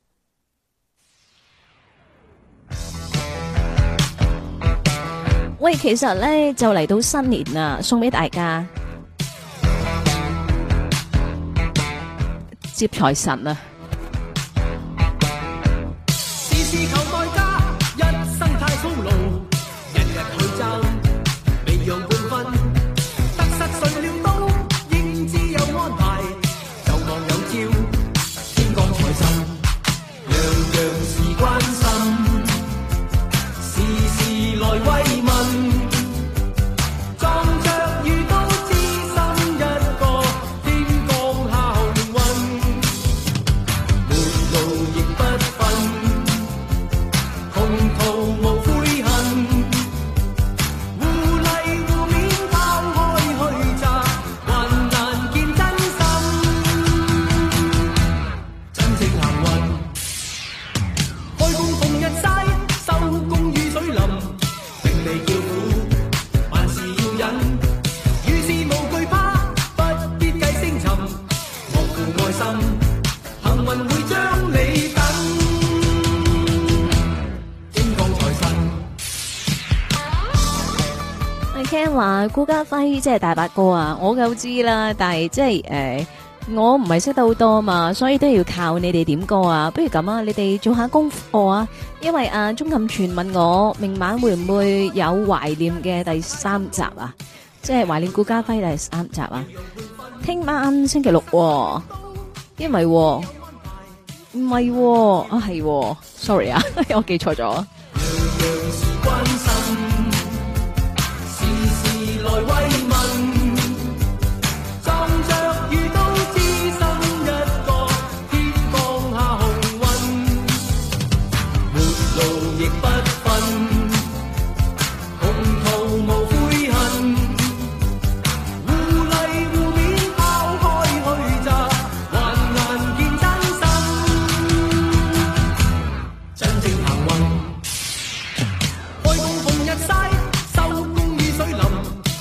喂，其實咧就嚟到新年啦，送俾大家。接財神啊！ 事事求代價，人話顧嘉輝即係大伯哥啊，我夠知啦，但係即係我唔係識得好多嘛，所以都要靠你哋點歌啊。不如咁啊，你哋做下功課啊，因為鐘錦全問我明晚會唔會有懷念嘅第3集啊，即係懷念顧嘉輝第3集啊。聽晚星期六喎，因為唔係喎，啊係喎，sorry 啊，我記錯咗。 來慰問，撞着遇到知心一個，天降下紅運，沒路亦不分，同途無悔恨，互勵互勉拋開虛詐，還眼見真心，真正行運，開工逢日曬，收工雨水淋。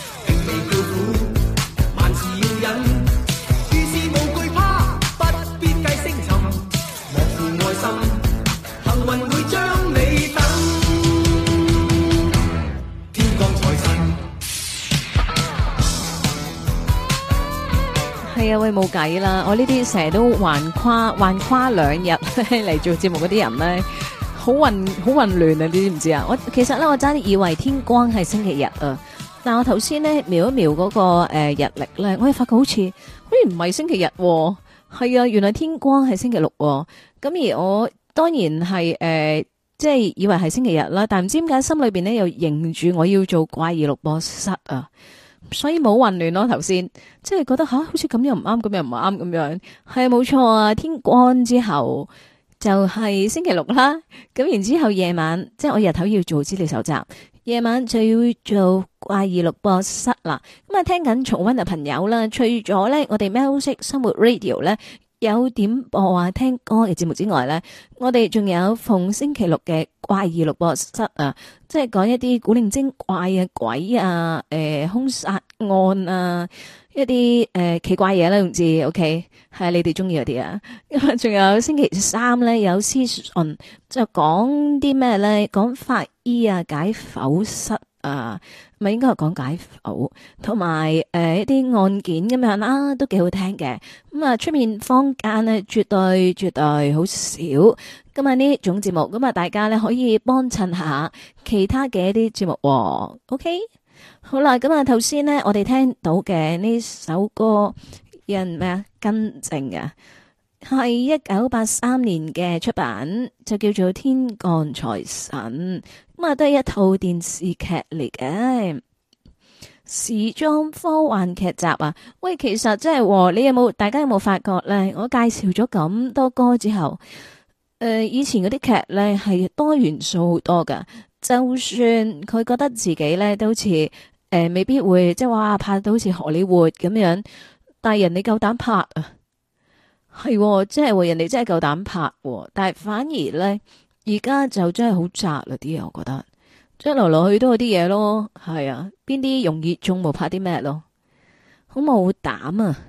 係啊，喂，冇計啦！我呢啲成日都橫跨2日嚟做節目嗰啲人咧，好混亂啊！你知唔知啊？其實咧，我差啲以為天光係星期日啊，但我頭先咧瞄一瞄嗰個日曆咧，我哋發覺好似唔係星期日喎。係啊，原來天光係星期六喎。咁而我當然係即係以為係星期日啦，但唔知點解心裏邊咧又認住我要做怪異錄播室啊。所以冇混亂咯，頭先即係覺得好似咁又唔啱，咁又唔啱咁樣，係冇錯啊！天光之後就係星期六啦，咁然之後夜晚即係我日頭要做資料搜集，夜晚就要做怪異錄播室啦。咁啊，聽緊重溫嘅朋友啦，除咗咧我哋喵式生活 Radio 咧有點播啊聽歌嘅節目之外咧，我哋仲有逢星期六嘅怪異錄播室啊，即係講一啲古靈精怪啊、鬼啊、兇殺案啊，一啲奇怪嘢啦，總之 OK 係你哋中意嗰啲啊。咁啊，仲有星期三咧有屍訊，就講啲咩咧？講法醫啊、解剖室啊，咪應該係講解剖，同埋一啲案件咁樣啦，都幾好聽嘅。咁啊，出面坊間咧絕對好少。咁啊呢種節目，咁啊大家咧可以幫襯下其他嘅一啲節目喎。OK， 好啦，咁啊頭先咧我哋聽到嘅呢首歌，有人咩啊更正啊，係1983年嘅出版，就叫做《天降財神》。咁啊，都係一套電視劇嚟嘅，時裝科幻劇集啊！喂，其實即係大家有冇發覺咧？我介紹咗咁多歌之後，以前嗰啲劇咧係多元素好多噶。就算佢覺得自己咧都好似未必會即係話拍到好似荷里活咁樣，但係人哋夠膽拍啊，係即係人哋真係夠膽拍，但係反而咧。而家就真係好窄啦啲嘢，我覺得即係來來去都有啲嘢咯，係啊，邊啲容易中冇拍啲咩咯，好冇膽啊！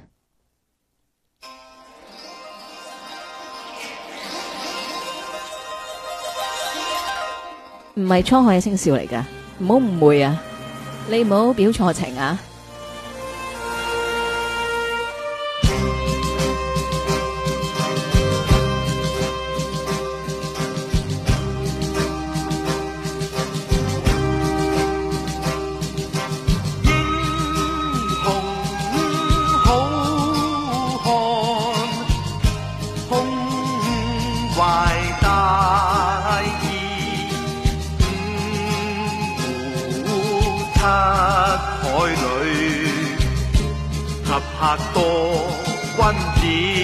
唔係滄海嘅聲笑嚟噶，唔好誤會啊！你唔好表錯情啊！ 客多君子，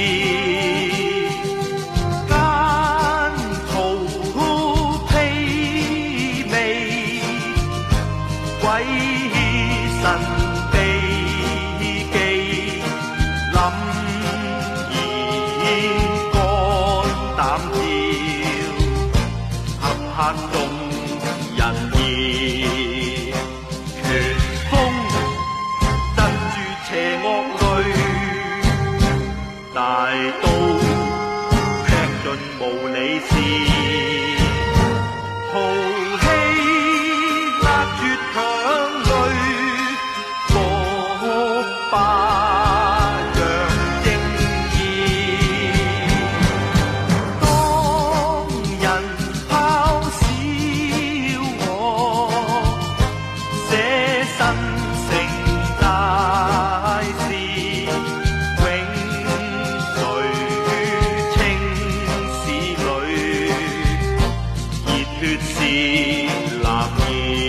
間途披靡，鬼神秘技，凛然肝膽跳，合眾人意，拳風鎮住邪惡。大刀劈盡無理事，豪氣壓絕強淚， 男兒。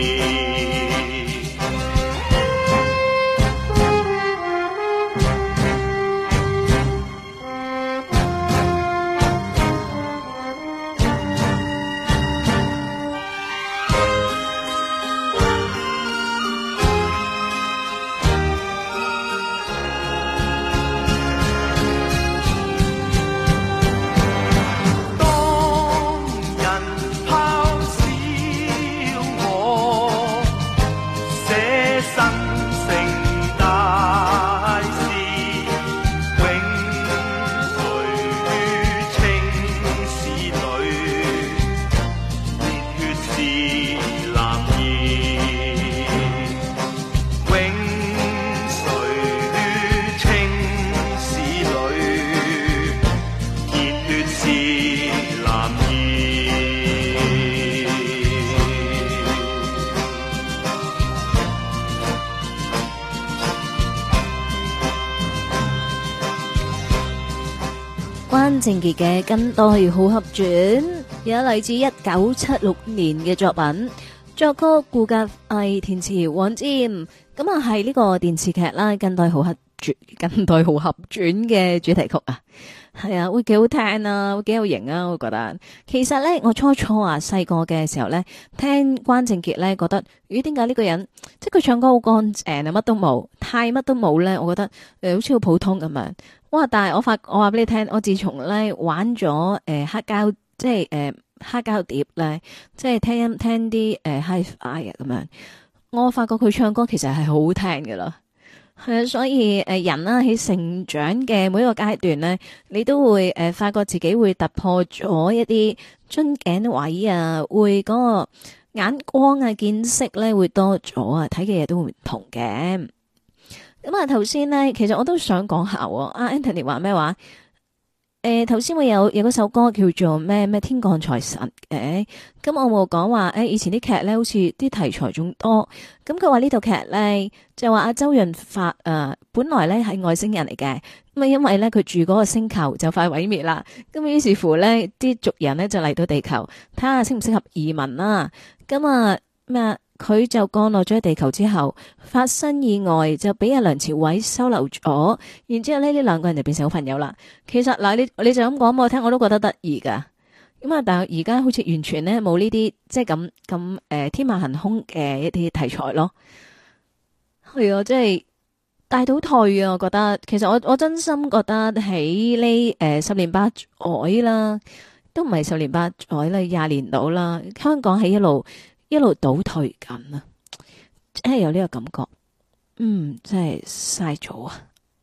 關正傑嘅《近代好合傳》有嚟自1976年嘅作品，作曲顧嘉煇，填詞黃霑。咁啊係呢個電視劇啦，《近代好合傳》嘅主題曲啊，係啊，會幾好聽啊，會幾有型啊，我覺得。其實咧，我初細個嘅時候咧，聽關正傑咧，覺得咦，點解呢個人即係佢唱歌好乾淨啊，乜都冇，太乜都冇咧，我覺得好似好普通咁樣。哇！但係我話俾你聽，我自從咧玩咗黑膠，即係黑膠碟咧，即係聽啲Hi-Fi 啊咁樣，我發覺佢唱歌其實係好好聽㗎啦。係啊，所以人啦喺成長嘅每一個階段咧，你都會發覺自己會突破咗一啲樽頸位啊，會嗰個眼光啊見識咧會多咗啊，睇嘅嘢都會唔同嘅。咁啊，頭先咧，其實我都想講下喎。阿 Anthony 話咩話？頭先會有嗰首歌叫做咩天降財神嘅。咁我冇講話以前啲劇咧，好似啲題材仲多。咁佢話呢套劇咧，就話阿周潤發本來咧係外星人嚟嘅。咁啊，因為咧佢住嗰個星球就快毀滅啦。咁於是乎咧，啲族人咧就嚟到地球睇下適唔適合移民啦。咁啊咩？佢就降落咗喺地球之後，發生意外就俾阿梁朝偉收留咗，然之後呢兩個人就變成好朋友啦。其實嗱，你就咁講俾我聽，我都覺得得意噶。咁啊，但係而家好似完全咧冇呢啲即係咁天馬行空嘅一啲題材咯。係啊，即係大倒退啊！我覺得其實我真心覺得喺呢10年8載啦，都唔係10年8載啦，20年到啦，香港係一路倒退緊啊！真係有呢個感覺，真係嘥咗啊！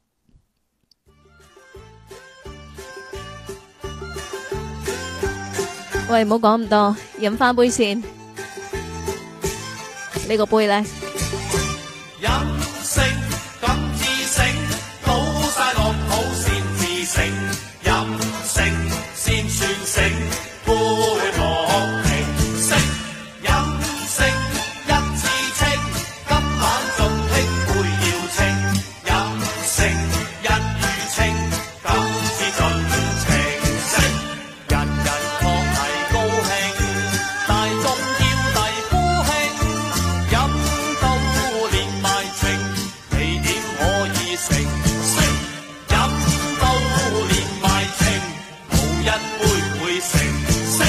喂，唔好講咁多，飲翻杯先。呢個杯咧， 飲勝咁至醒，倒晒落肚先至醒，飲勝先算醒，杯莫停息。飲勝一次清，今晚仲聽杯要清，飲勝一語清，今次盡情色。人人確係高興，大眾叫大呼慶，飲到連埋情，你點可以成色？飲到連埋情，冇一杯會成色。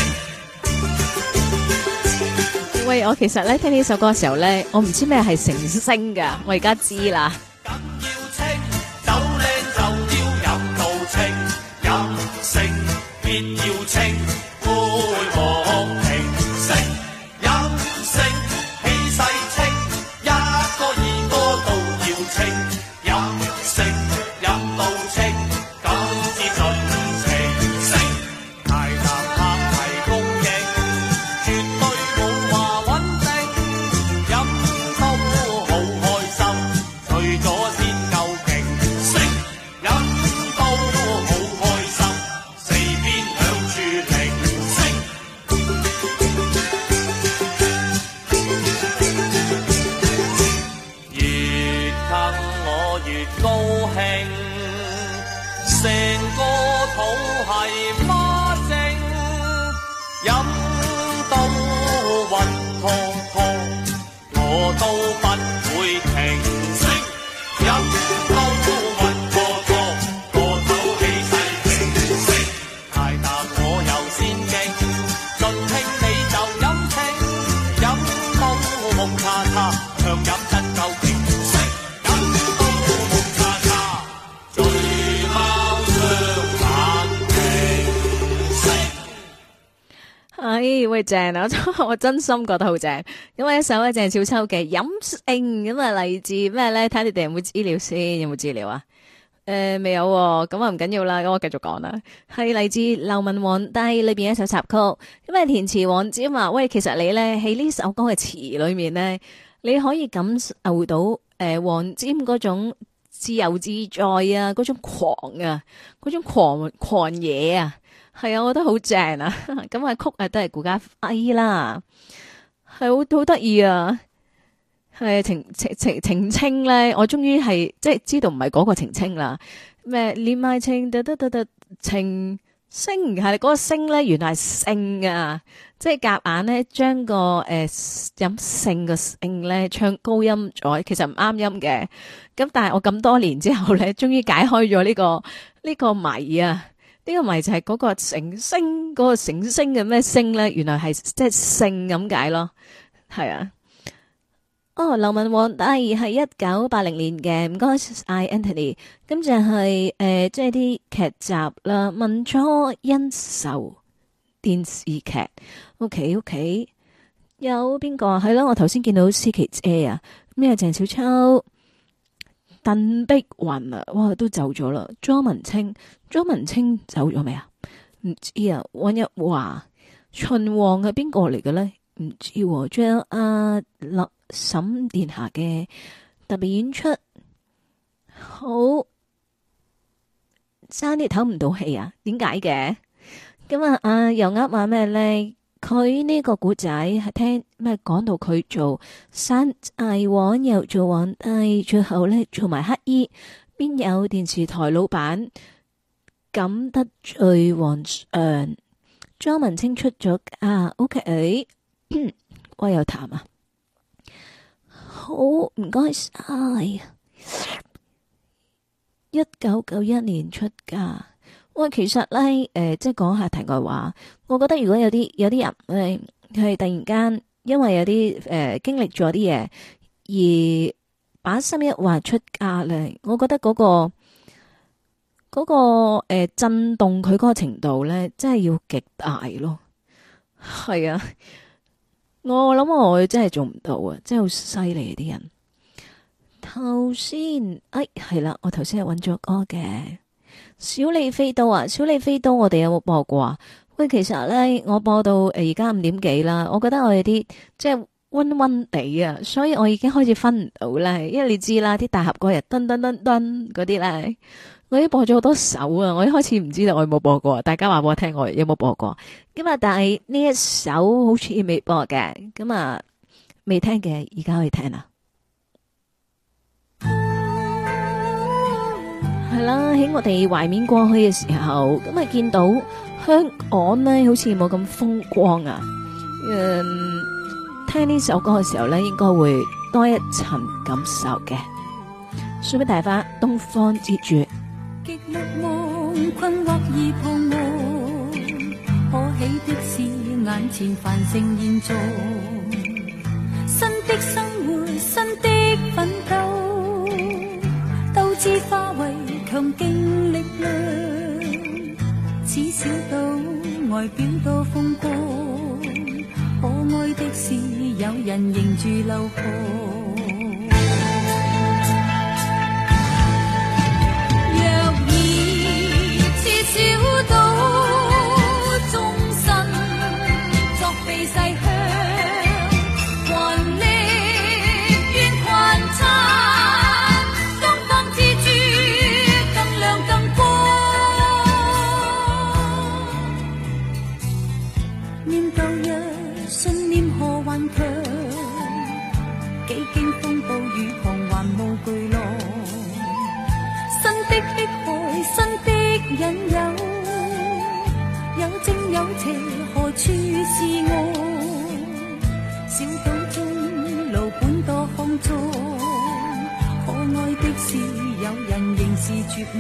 喂，我其實咧聽呢首歌嘅時候咧，我唔知咩係成聲噶，我而家知啦。 緊要清，酒靚就要飲到清，飲勝必要清，杯莫停息。飲勝氣勢清，一個二個都要清，飲勝飲到清，今次盡情色。大談客係公認，絕對冇話穩定，飲到好開心，除咗先夠勁色，飲到好開心，四邊響處鈴聲。越坑我越高興，成個肚係孖精，飲到係喂正啊！我真心覺得好正。咁啊，一首咧鄭少秋嘅《飲勝》，咁啊嚟自咩咧？睇下你哋有冇資料先，有冇資料啊？未有喎，咁啊唔緊要啦，咁我繼續講啦。係嚟自《流氓皇帝》裏邊一首插曲，咁啊填詞黃霑啊，喂，其實你咧喺呢首歌嘅詞裏面咧，你可以感受到黃霑嗰種自由自在啊，嗰種狂啊，嗰種狂野啊，係啊，我覺得好正啊。咁啊曲啊都係顧嘉輝啦，係好得意啊。係澄清咧，我終於係即係知道唔係嗰個澄清啦。咩連埋情情聲係嗰個聲咧，原來係性啊！即係夾硬咧將個飲勝個聲咧唱高音咗，其實唔啱音嘅。咁但係我咁多年之後咧，終於解開咗呢個謎啊！呢個謎就係嗰個成聲嗰個成聲嘅咩聲咧，原來係即係性咁解咯，係啊。哦，流氓皇帝係1980年嘅，唔該晒 Anthony。咁就係即係啲劇集啦，民初恩仇電視劇。OK， 有邊個係啦？我頭先見到思琪姐啊，咩鄭少秋、鄧碧雲啊，哇都走咗啦。莊文清走咗未啊？唔知啊。溫日華、秦王係邊個嚟嘅咧？唔知喎。仲有阿沈殿霞嘅特別演出，好差啲唞唔到氣啊！點解嘅？咁啊，又話咩咧？佢呢個古仔係聽咩講到佢做山寨王，又做皇帝，最後咧做埋乞衣，邊有電視台老闆敢得罪皇上？莊文清出咗啊 ，OK， 我有談啊。好唔該晒，1991年出嫁。喂，其實咧，即係講下題外話，我覺得如果有啲人咧，係突然間因為有啲經歷咗啲嘢，而把心一劃出嫁咧，我覺得嗰個震動佢嗰個程度咧，真係要極大咯。係啊。我諗我真係做唔到啊！真係好犀利啲人。頭先，係啦，我頭先係揾咗歌嘅小李飛刀啊！小李飛刀，我哋有冇播過啊？喂，其實咧，我播到而家5點幾啦，我覺得我有啲即係溫溫地啊，所以我已經開始分唔到咧。因為你知啦，啲大合歌日噔噔噔噔嗰啲咧，我已經播咗好多首啊！我一開始唔知道我有冇播過，大家話俾我聽我有冇播過。咁啊，但係呢一首好似未播嘅，咁啊未聽嘅，而家可以聽啦。係啦，喺我哋懷緬過去嘅時候，咁啊見到香港呢好似冇咁風光啊。聽呢首歌嘅時候呢，應該會多一層感受嘅。送俾大家東方之珠。 極目夢困惑而彷徨，可喜的是眼前繁盛現狀，新的生活，新的奮鬥，鬥志化為強勁力量，此小島外表多風光，可愛的是有人迎住流放。小島終身作避世鄉，還力願群參，東方之珠更亮更光。念舊日信念何頑強，幾經風暴雨彷還無巨浪，新的碧海，新的引誘，有正有邪，何處是我？小島中路本多康莊，可愛的是有人仍是絕望。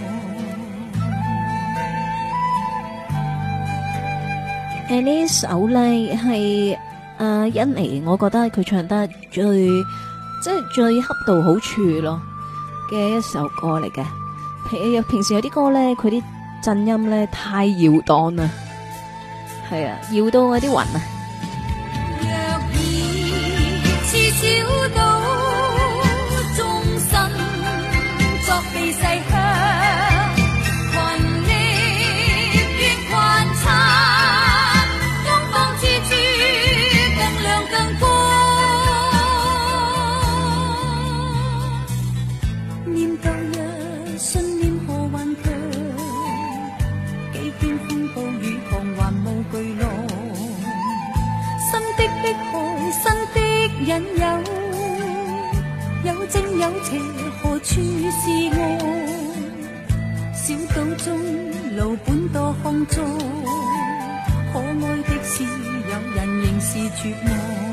呢首呢係甄妮，我覺得佢唱得最恰到好處咯嘅一首歌嚟嘅。平時有啲歌咧，佢啲震音咧太搖蕩啦，係係啊，搖到我啲魂啊！ 若然似小島，終身作避世鄉，群力越群策，東方之珠更亮更光。念舊日，信念何頑強，幾經風暴雨彷還無巨浪。新的迫害，新的引誘，有正有邪，何處是愛？小島中路本多康莊，可愛的是有人仍是絕望。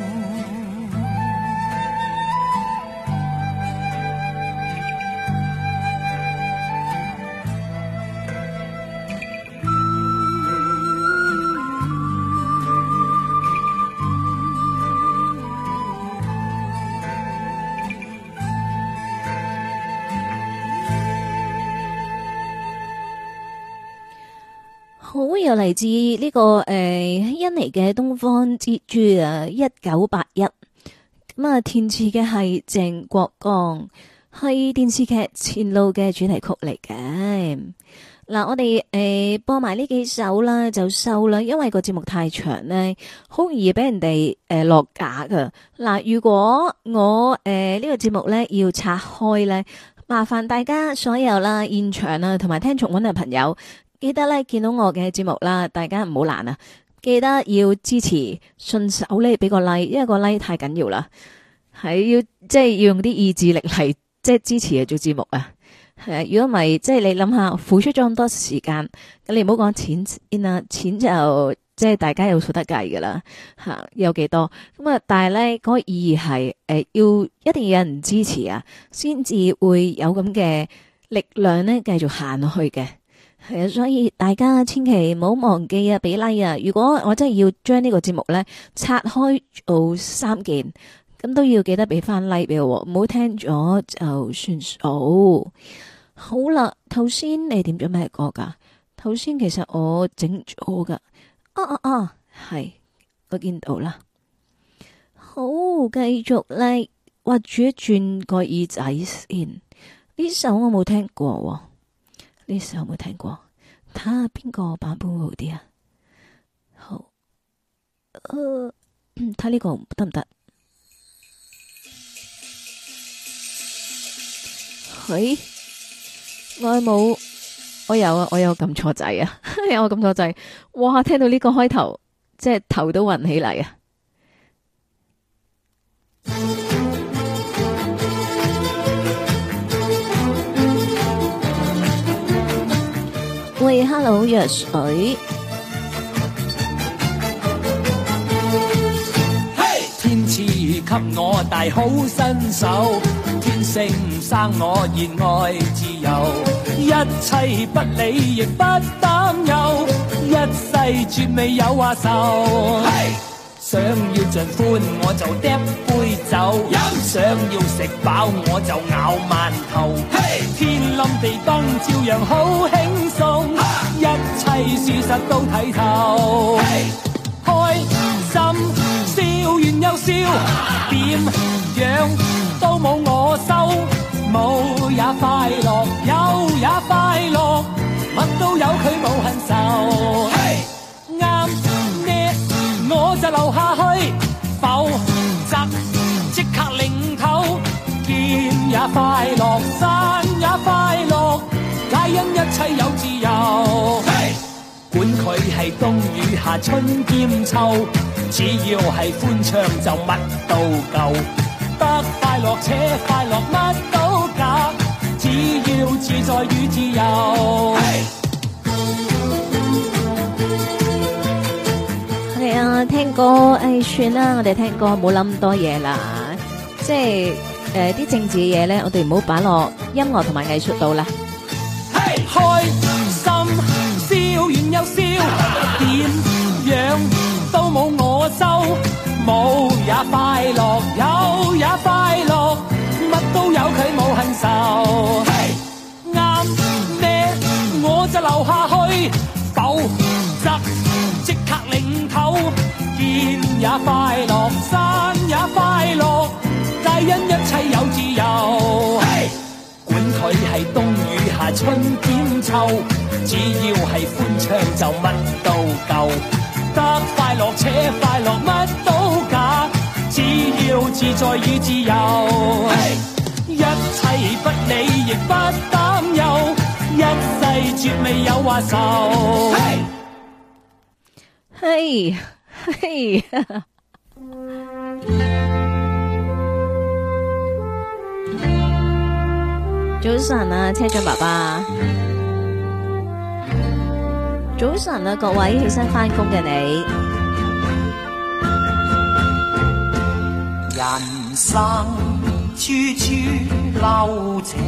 好，又嚟自呢個印尼嘅東方之珠啊，1981咁啊，填詞嘅係鄭國江，係電視劇《前路》嘅主題曲嚟嘅。嗱，我哋播埋呢幾首啦，就收啦，因為個節目太長咧，好容易俾人哋落架噶。嗱，如果我呢個節目咧要拆開咧，麻煩大家所有啦現場啊同埋聽重溫嘅朋友。記得咧見到我嘅節目啦，大家唔好懶啊！記得要支持，順手咧俾個 like， 因為個 like 太緊要啦，係要即係要用啲意志力嚟即係支持嚟做節目啊！係啊，如果唔係即係你諗下，付出咗咁多時間，咁你唔好講錢先啦，錢就即係大家有數得計噶啦吓，有幾多咁啊？但係咧嗰個意義係要一定要有人支持啊，先至會有咁嘅力量咧繼續行落去嘅。係啊，所以大家千祈唔好忘記啊，俾 like 啊！如果我真係要將呢個節目咧拆開做3件，咁都要記得俾翻 like 俾我，唔好聽咗就算數。好啦，頭先你點咗咩歌噶？頭先其實我整咗噶，係我見到啦。好，繼續咧，畫住一轉個耳仔先。呢首我冇聽過。呢首有冇聽過？睇下邊個版本好啲啊！好，睇呢個得唔得？喂，我冇，我有啊，我有撳錯掣啊！有我撳錯掣，哇！聽到呢個開頭，即係頭都暈起嚟啊！喂 ，Hello， 藥水。 天賜給我大好身手，天性生我熱愛自由，一切不理亦不擔憂，一世絕未有話愁。想要盡歡我就嗒杯酒，想要食飽我就咬饅頭。天冧地崩照樣好輕鬆，一切事實都睇透。開心笑完又笑，點樣都冇我收，冇也快樂，有也快樂，乜都有佢冇恨愁。啱呢我就留下去，否則即刻擰頭。見也快樂，散也快樂，皆因一切有自由。管佢係冬雨夏春兼秋，只要係歡暢就乜都夠。得快樂且快樂乜都假，只要自在與自由。 係啊，聽歌算啦，我哋聽歌冇諗咁多嘢啦，即係啲政治嘅嘢咧，我哋唔好擺落音樂同埋藝術度啦。 開心笑完又笑，點樣都冇我收，冇也快樂，有也快樂，乜都有佢冇恨愁。啱呢我就留下去，否則即刻領頭，天也快樂，山也快樂，皆因一切有自由。管佢係冬雨夏春兼秋，只要係歡暢就乜都夠。得快樂且快樂，乜都假，只要自在與自由。一切不理亦不擔憂，一世絕未有話愁。 嘿，嘿，早晨啊，車長爸爸，早晨啊，各位起身返工嘅你。 人生處處留情，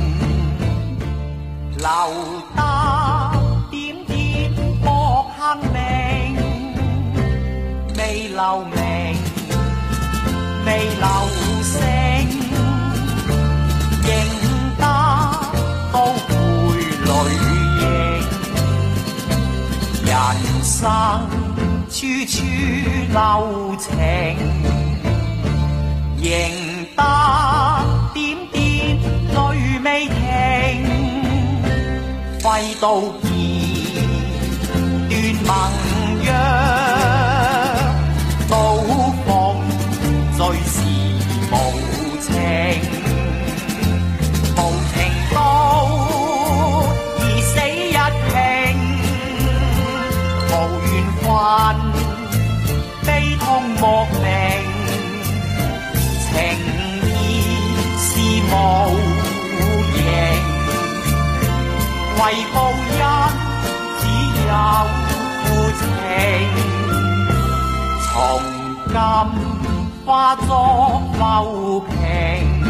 留得點點莫幸名，未留名，未留聲，認得都會淚盈。人生處處留情，認得點點淚未停，揮刀劍斷盟約，刀鋒最是無情，無情刀而死一拼，無緣分悲痛莫名，情義是無形，為報恩只有負情，從今化作浮萍，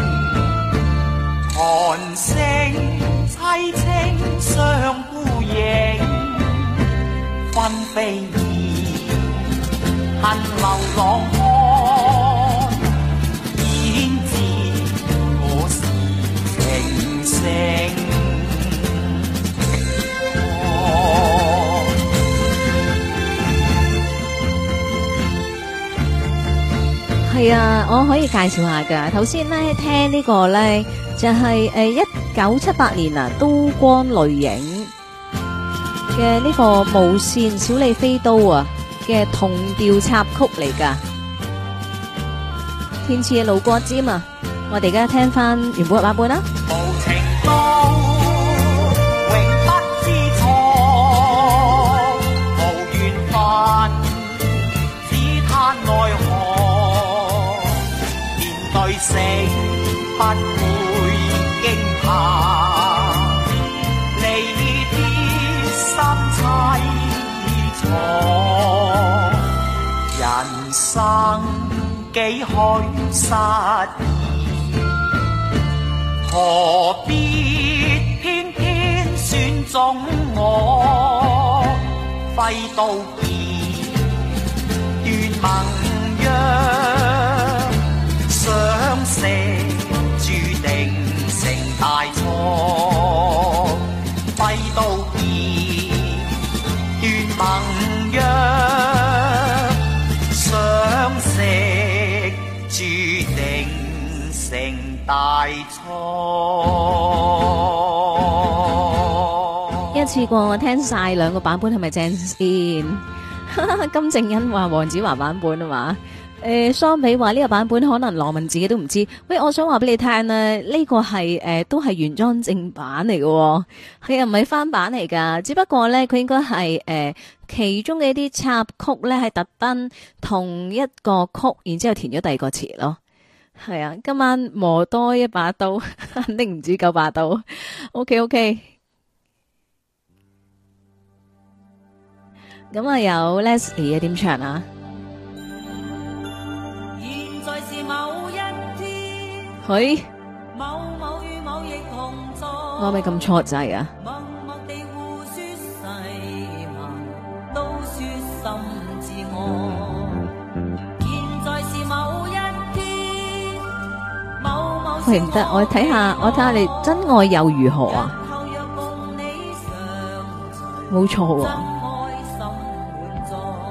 寒聲凄清相呼應，分飛燕恨流浪漢，焉知我是情聖。 係啊，我可以介紹下噶。頭先咧聽呢個咧就係1978年啊，都光淚影嘅呢個無線小李飛刀啊嘅同調插曲嚟噶，填詞嘅盧國沾啊。我哋而家聽翻原本嘅版本啦。 無情刀永不知錯，無緣分只嘆奈何，面對死不會驚怕，離別心凄楚，人生幾許失意，何必偏偏選中我，揮刀劍斷盟約，相識注定成大錯，揮刀劍斷盟約，相識注定成大錯。 一次過我聽晒兩個版本係咪正先？金正恩話黃子華版本啊嘛，相比話呢個版本可能羅文自己都唔知。喂，我想話俾你聽咧，呢個係都係原裝正版嚟嘅，係啊，唔係翻版嚟噶。只不過咧，佢應該係其中嘅一啲插曲咧，係特登同一個曲，然之後填咗第二個詞咯。係啊，今晚磨多一把刀，肯定唔止9把刀。OK。咁啊，有 Leslie 嘅點唱啊？ 現在是某一天， 佢某某與某亦同在， 我咪咁錯掣啊！ 默默地互說誓盟，都說心自我。現在是某一天，某某喂，唔得，我睇下你真愛又如何啊？冇錯喎。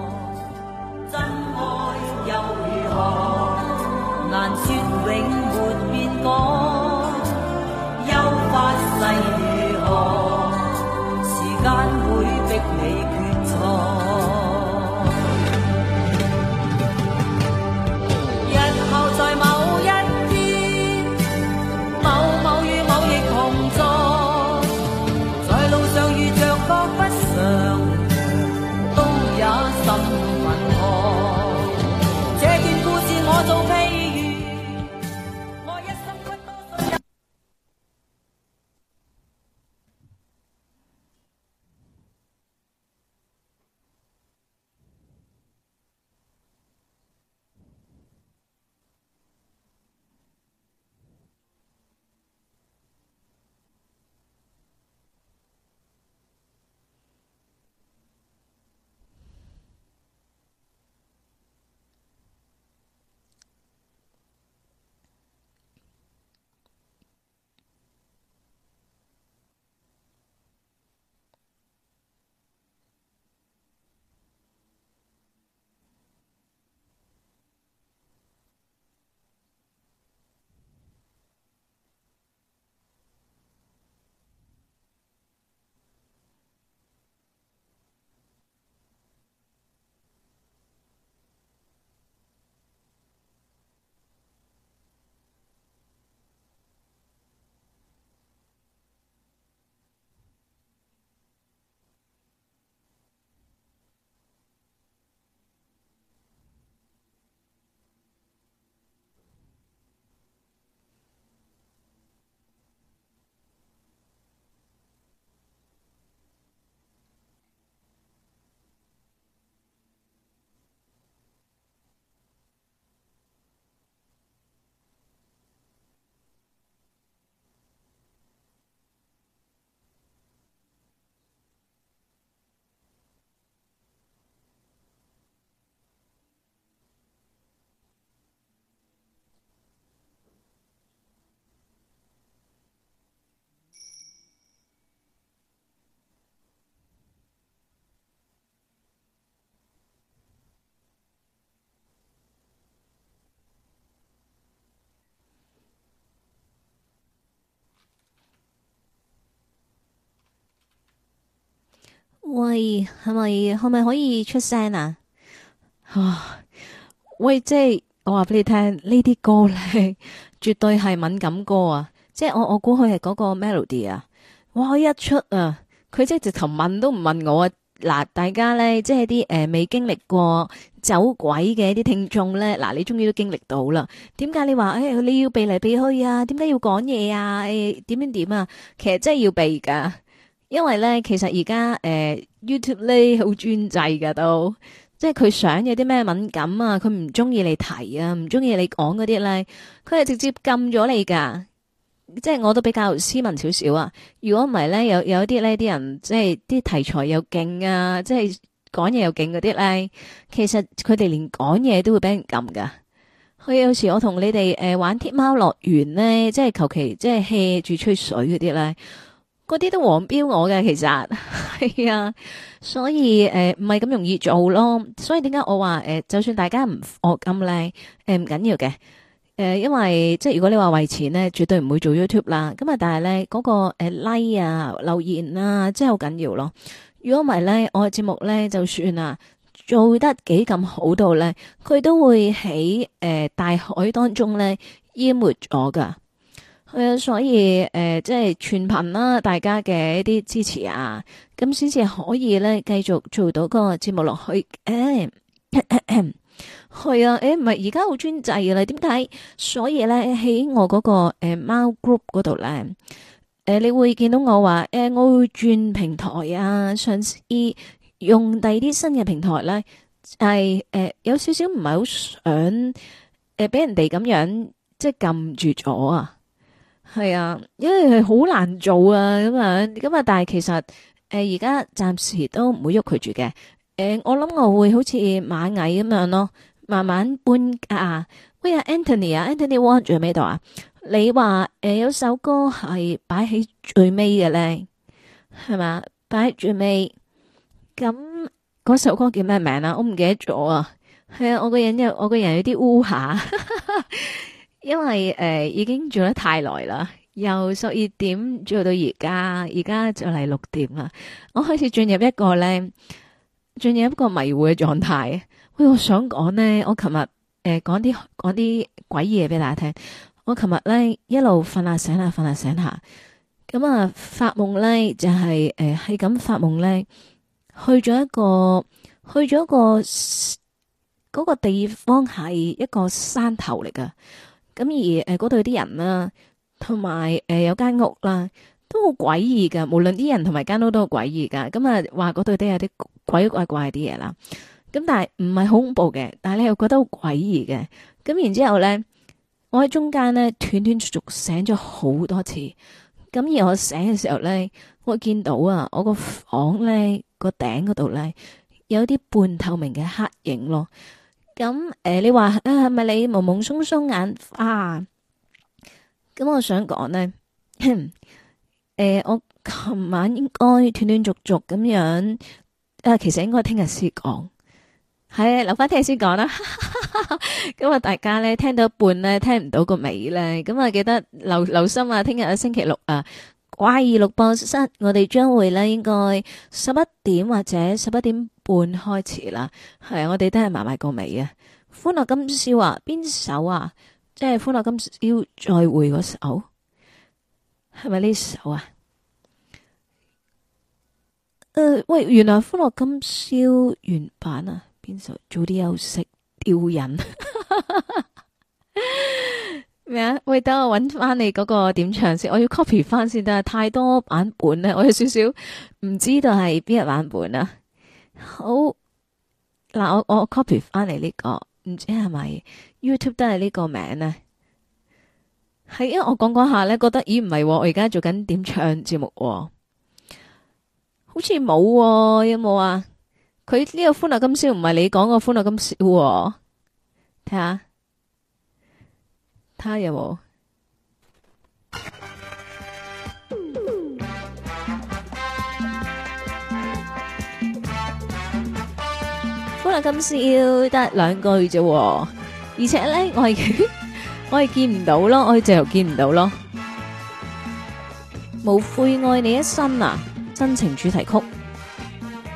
喂，係咪可以出聲啊？啊，喂，即係我話俾你聽，呢啲歌咧絕對係敏感歌啊！即係我估佢係嗰個 melody 啊！哇，一出啊，佢即係直頭問都唔問我啊！嗱，大家咧即係啲未經歷過走鬼嘅啲聽眾咧，嗱，你終於都經歷到啦。點解你話你要避嚟避去啊？點解要講嘢啊？點啊？其實真係要避噶。因為咧，其實而家YouTube 咧好專制噶都，即係佢想有啲咩敏感啊，佢唔中意你提啊，唔中意你講嗰啲咧，佢係直接禁咗你噶。即係我都比較斯文少少啊。如果唔係咧，有啲呢啲人即係啲題材又勁啊，即係講嘢又勁嗰啲咧，其實佢哋連講嘢都會俾人禁噶。佢有時我同你哋玩天貓樂園咧，即係求其即係 hea 住吹水嗰啲咧。嗰啲都黃標我嘅，其實係啊，所以唔係咁容易做咯。所以點解我話就算大家唔課金咧，唔緊要嘅，因為即係如果你話為錢咧，絕對唔會做 YouTube 啦。咁啊，但係咧嗰個like 啊、留言啊，真係好緊要咯。如果唔係咧，我嘅節目咧，就算啊做得幾咁好到咧，佢都會喺大海當中咧淹沒咗噶。係啊，所以即係全憑啦，大家嘅一啲支持啊，咁先至可以咧繼續做到個節目落去。係啊，唔係而家好專制噶啦，點解？所以咧喺我嗰個貓 group 嗰度咧，你會見到我話我會轉平台啊，嘗試用第二啲新嘅平台咧，係有少少唔係好想俾人哋咁樣即係撳住咗啊。係啊，因為係好難做啊，咁啊，但係其實而家暫時都唔會喐佢住嘅。我諗我會好似螞蟻咁樣咯，慢慢搬家。喂啊 Anthony Wong 仲喺邊度啊？你話有首歌係擺喺最尾嘅咧，係嘛？擺喺最尾，咁嗰首歌叫咩名啊？我唔記得咗啊。係啊，我個人有啲烏下。因為已經做得太耐啦，由12點做到而家就嚟6點啦。我開始進入一個迷糊嘅狀態。喂，我想講呢，我琴日講啲鬼嘢俾大家聽。我琴日咧一路瞓下醒下，咁啊發夢咧就係咁發夢咧，去咗一個嗰個地方係一個山頭嚟噶。咁而嗰度啲人啦，同埋有間屋啦，都好詭異噶。無論啲人同埋間屋都好詭異噶。咁啊話嗰度都有啲鬼怪啲嘢啦。咁但係唔係好恐怖嘅，但係你又覺得好詭異嘅。咁然之後咧，我喺中間咧斷斷續續醒咗好多次。咁而我醒嘅時候咧，我見到啊，我個房咧個頂嗰度咧有啲半透明嘅黑影咯。咁你話係咪你朦朦鬆鬆眼花？咁我想講呢，我琴晚應該斷斷續續咁樣，其實應該聽日先講，係留翻聽日先講啦。咁啊，大家咧聽到一半咧聽唔到個尾咧，咁啊記得留心啊！聽日星期六啊，怪異錄播室，我哋將會咧應該11點或者11點半開始啦。係啊，我哋都係埋個尾啊！歡樂今宵啊，邊首啊？即係歡樂今宵再會嗰首，係咪呢首啊？喂，原來歡樂今宵原版啊，邊首？早啲休息，吊人咩啊？喂，等我搵翻你嗰個點唱先，我要 copy 翻先，但係太多版本咧，我有少少唔知道係邊個版本啊。好，嗱，我 copy 翻嚟呢個，唔知係咪 YouTube 都係呢個名呢？係因為我講下咧，覺得咦唔係，我而家做緊點唱節目，好似冇，有冇啊？佢呢個歡樂今宵唔係你講個歡樂今宵，睇下有冇？歡樂今宵得2句啫，而且咧我係見唔到咯，我係直頭見唔到咯。無悔愛你一生啊，真情主題曲。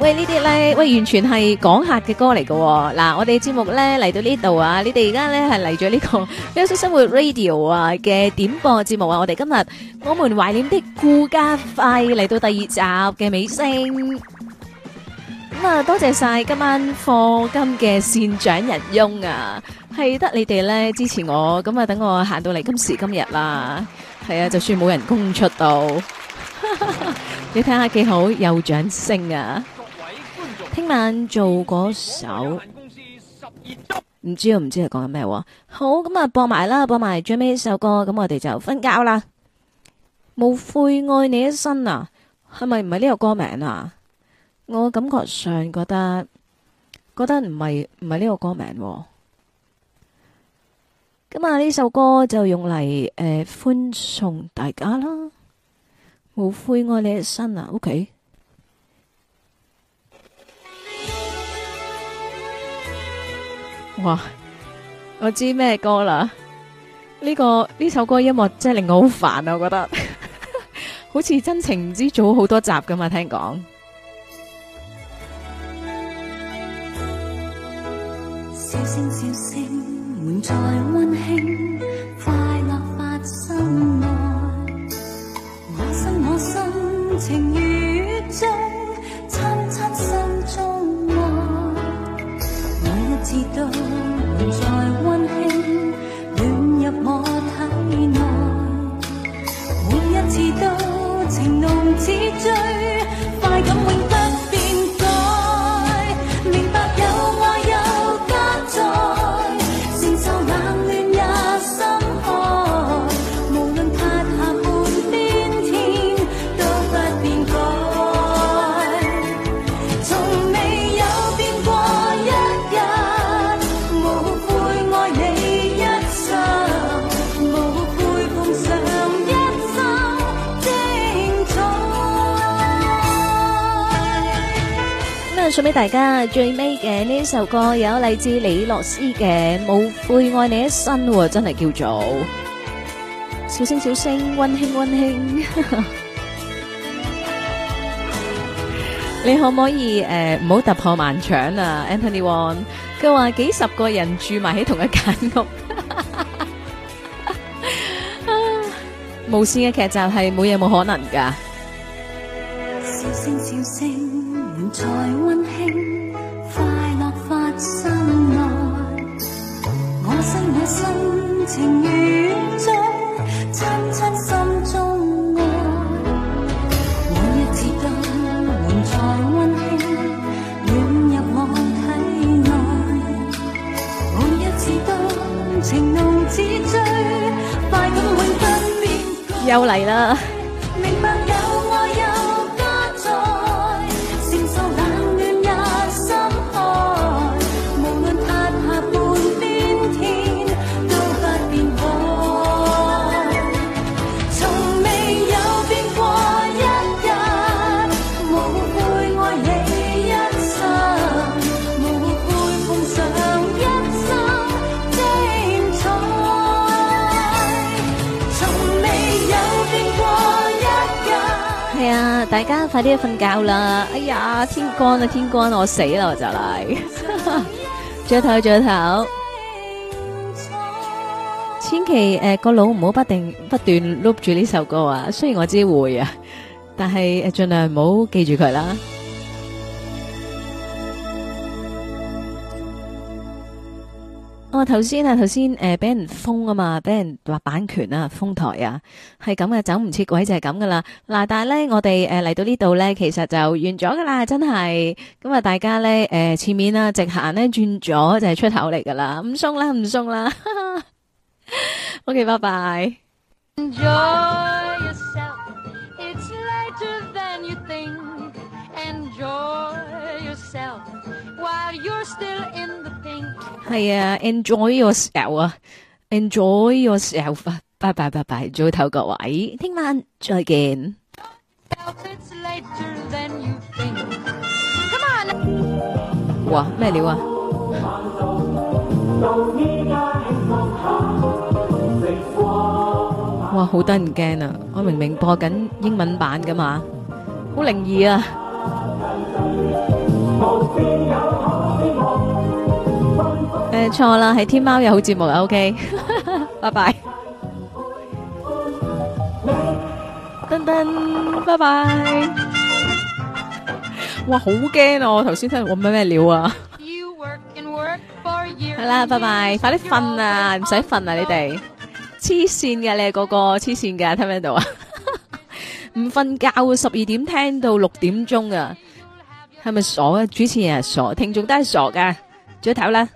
喂，呢啲咧，喂，完全係講客嘅歌嚟嘅。嗱，我哋節目咧嚟到呢度啊，你哋而家咧係嚟咗呢個喵式生活 Radio 啊嘅點播節目啊。我哋今日我們懷念的顧家輝嚟到第2集嘅尾聲。咁啊，多謝晒今晚課金嘅善長人翁啊，係得你哋咧支持我，咁啊等我行到嚟今時今日啦。係啊，就算冇人工出到，你睇下幾好，有掌聲啊！聽晚做嗰首，唔知係講緊咩喎？好，咁啊播埋啦，播埋最尾一首歌，咁我哋就瞓覺啦。無悔愛你一生啊，係咪唔係呢個歌名啊？我感覺上覺得唔係呢個歌名喎。咁啊呢首歌就用嚟歡送大家啦。無悔愛你一生啊 ，OK。哇！我知咩歌啦？呢首歌音樂真係令我好煩啊！我覺得好似真情唔知做好多集噶嘛，聽講。 笑聲笑聲，滿載溫馨，快樂發生愛。我心情雨中，親親心中愛。每一次都滿載溫馨，暖入我體內。每一次都情濃似醉，快感永不變改。明白有愛有家在，承受冷暖也心開。無論塌下半邊天，都不變改。從未有變過一日，無悔愛你一生，無悔奉上一生精彩。 咁啊，送俾大家最尾嘅呢首歌，有嚟自李樂詩嘅《無悔愛你一生》喎，真係叫做小聲小聲，溫馨溫馨。你可唔可以唔好突破盲腸啊 ，Anthony Wong？佢話幾十個人住埋喺同一間屋，無線嘅劇集係冇嘢冇可能㗎。 笑聲笑聲，滿載溫馨，快樂發生愛。我心情雨中，親親心中愛。每一次都滿載溫馨，暖入我體內。每一次都情濃似醉，快感永不變改。 又嚟啦！ 明白有愛有家在，承受冷暖也心開。無論塌下半邊天，都不變改。從未有變過一日，無悔愛你一生，無悔奉上一生精彩。從未有變過一日。 係啊，大家快啲去瞓覺啦！哎呀，天光啊，天光，我死啦，我就嚟。早唞，早唞。千祈個腦唔好不斷碌住呢首歌啊！雖然我知會啊，但係盡量唔好記住佢啦。我頭先俾人封啊嘛，俾人話版權啊，封台啊，係咁嘅，走唔切鬼就係咁噶啦。嗱，但係咧，我哋嚟到呢度咧，其實就完咗噶啦，真係。咁啊，大家咧前面啊直行咧轉咗就係出口嚟噶啦，唔送啦，唔送啦。OK， 拜拜。 Enjoy yourself, it's later than you think. Enjoy yourself while you're still in the pink. 係啊 ，enjoy yourself 啊 ，enjoy yourself 啊，拜拜拜拜，早唞各位，聽晚再見。 It's later than you think. Come on. 哇，咩料啊？哇，好得人驚啊！我明明播緊英文版噶嘛，好靈異啊！ 錯啦，係天貓有好節目啊 ，OK， 拜拜，噔噔，拜拜。哇，好驚啊！我頭先聽我咩料啊？係啦，拜拜，快啲瞓啊，唔使瞓啊，你哋黐線嘅，你係個個黐線嘅，聽唔聽到啊？唔瞓覺12點聽到6點鐘啊，係咪傻啊？主持人係傻，聽眾都係傻噶，早唞啦。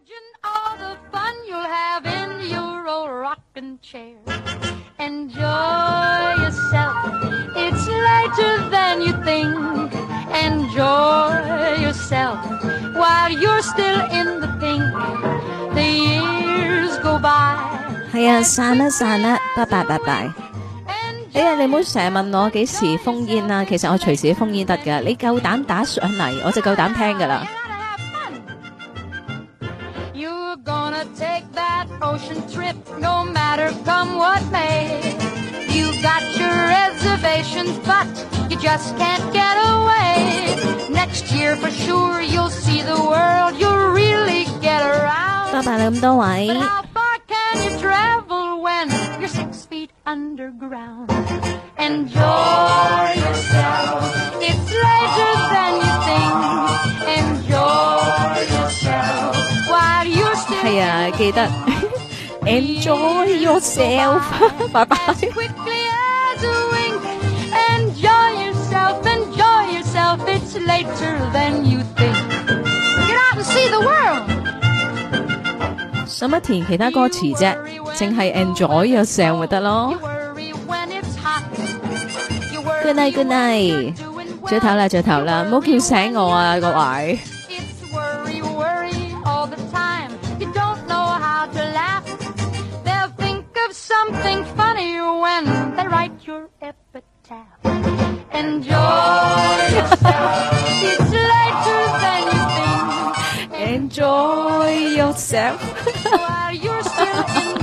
Enjoy yourself, it's later than you think. Enjoy yourself while you're still in the pink. The years go by. 係啊，散啦散啦，拜拜拜拜。哎呀，你唔好成日問我幾時封煙啊，其實我隨時封煙得噶，你夠膽打上嚟，我就夠膽聽噶啦。 Gonna take that ocean trip no matter come what may. You got your reservations but you just can't get away. Next year for sure you'll see the world, you'll really get around. 拜拜啦咁多位。 But how far can you travel when you're 6 feet underground? Enjoy yourself, it's later than you think. Enjoy yourself while you're still 係啊，記得 enjoy yourself 拜拜 quickly as a wink. Enjoy yourself, enjoy yourself, it's later than you think. Get out and see the world. 使乜填其他歌詞啫？淨係 enjoy yourself 咪得咯。Good night, good night。早唞啦，早唞啦，唔好叫醒我啊，各位。 Something funny when they write your epitaph. Enjoy yourself, it's later than you think. Enjoy yourself while you're still in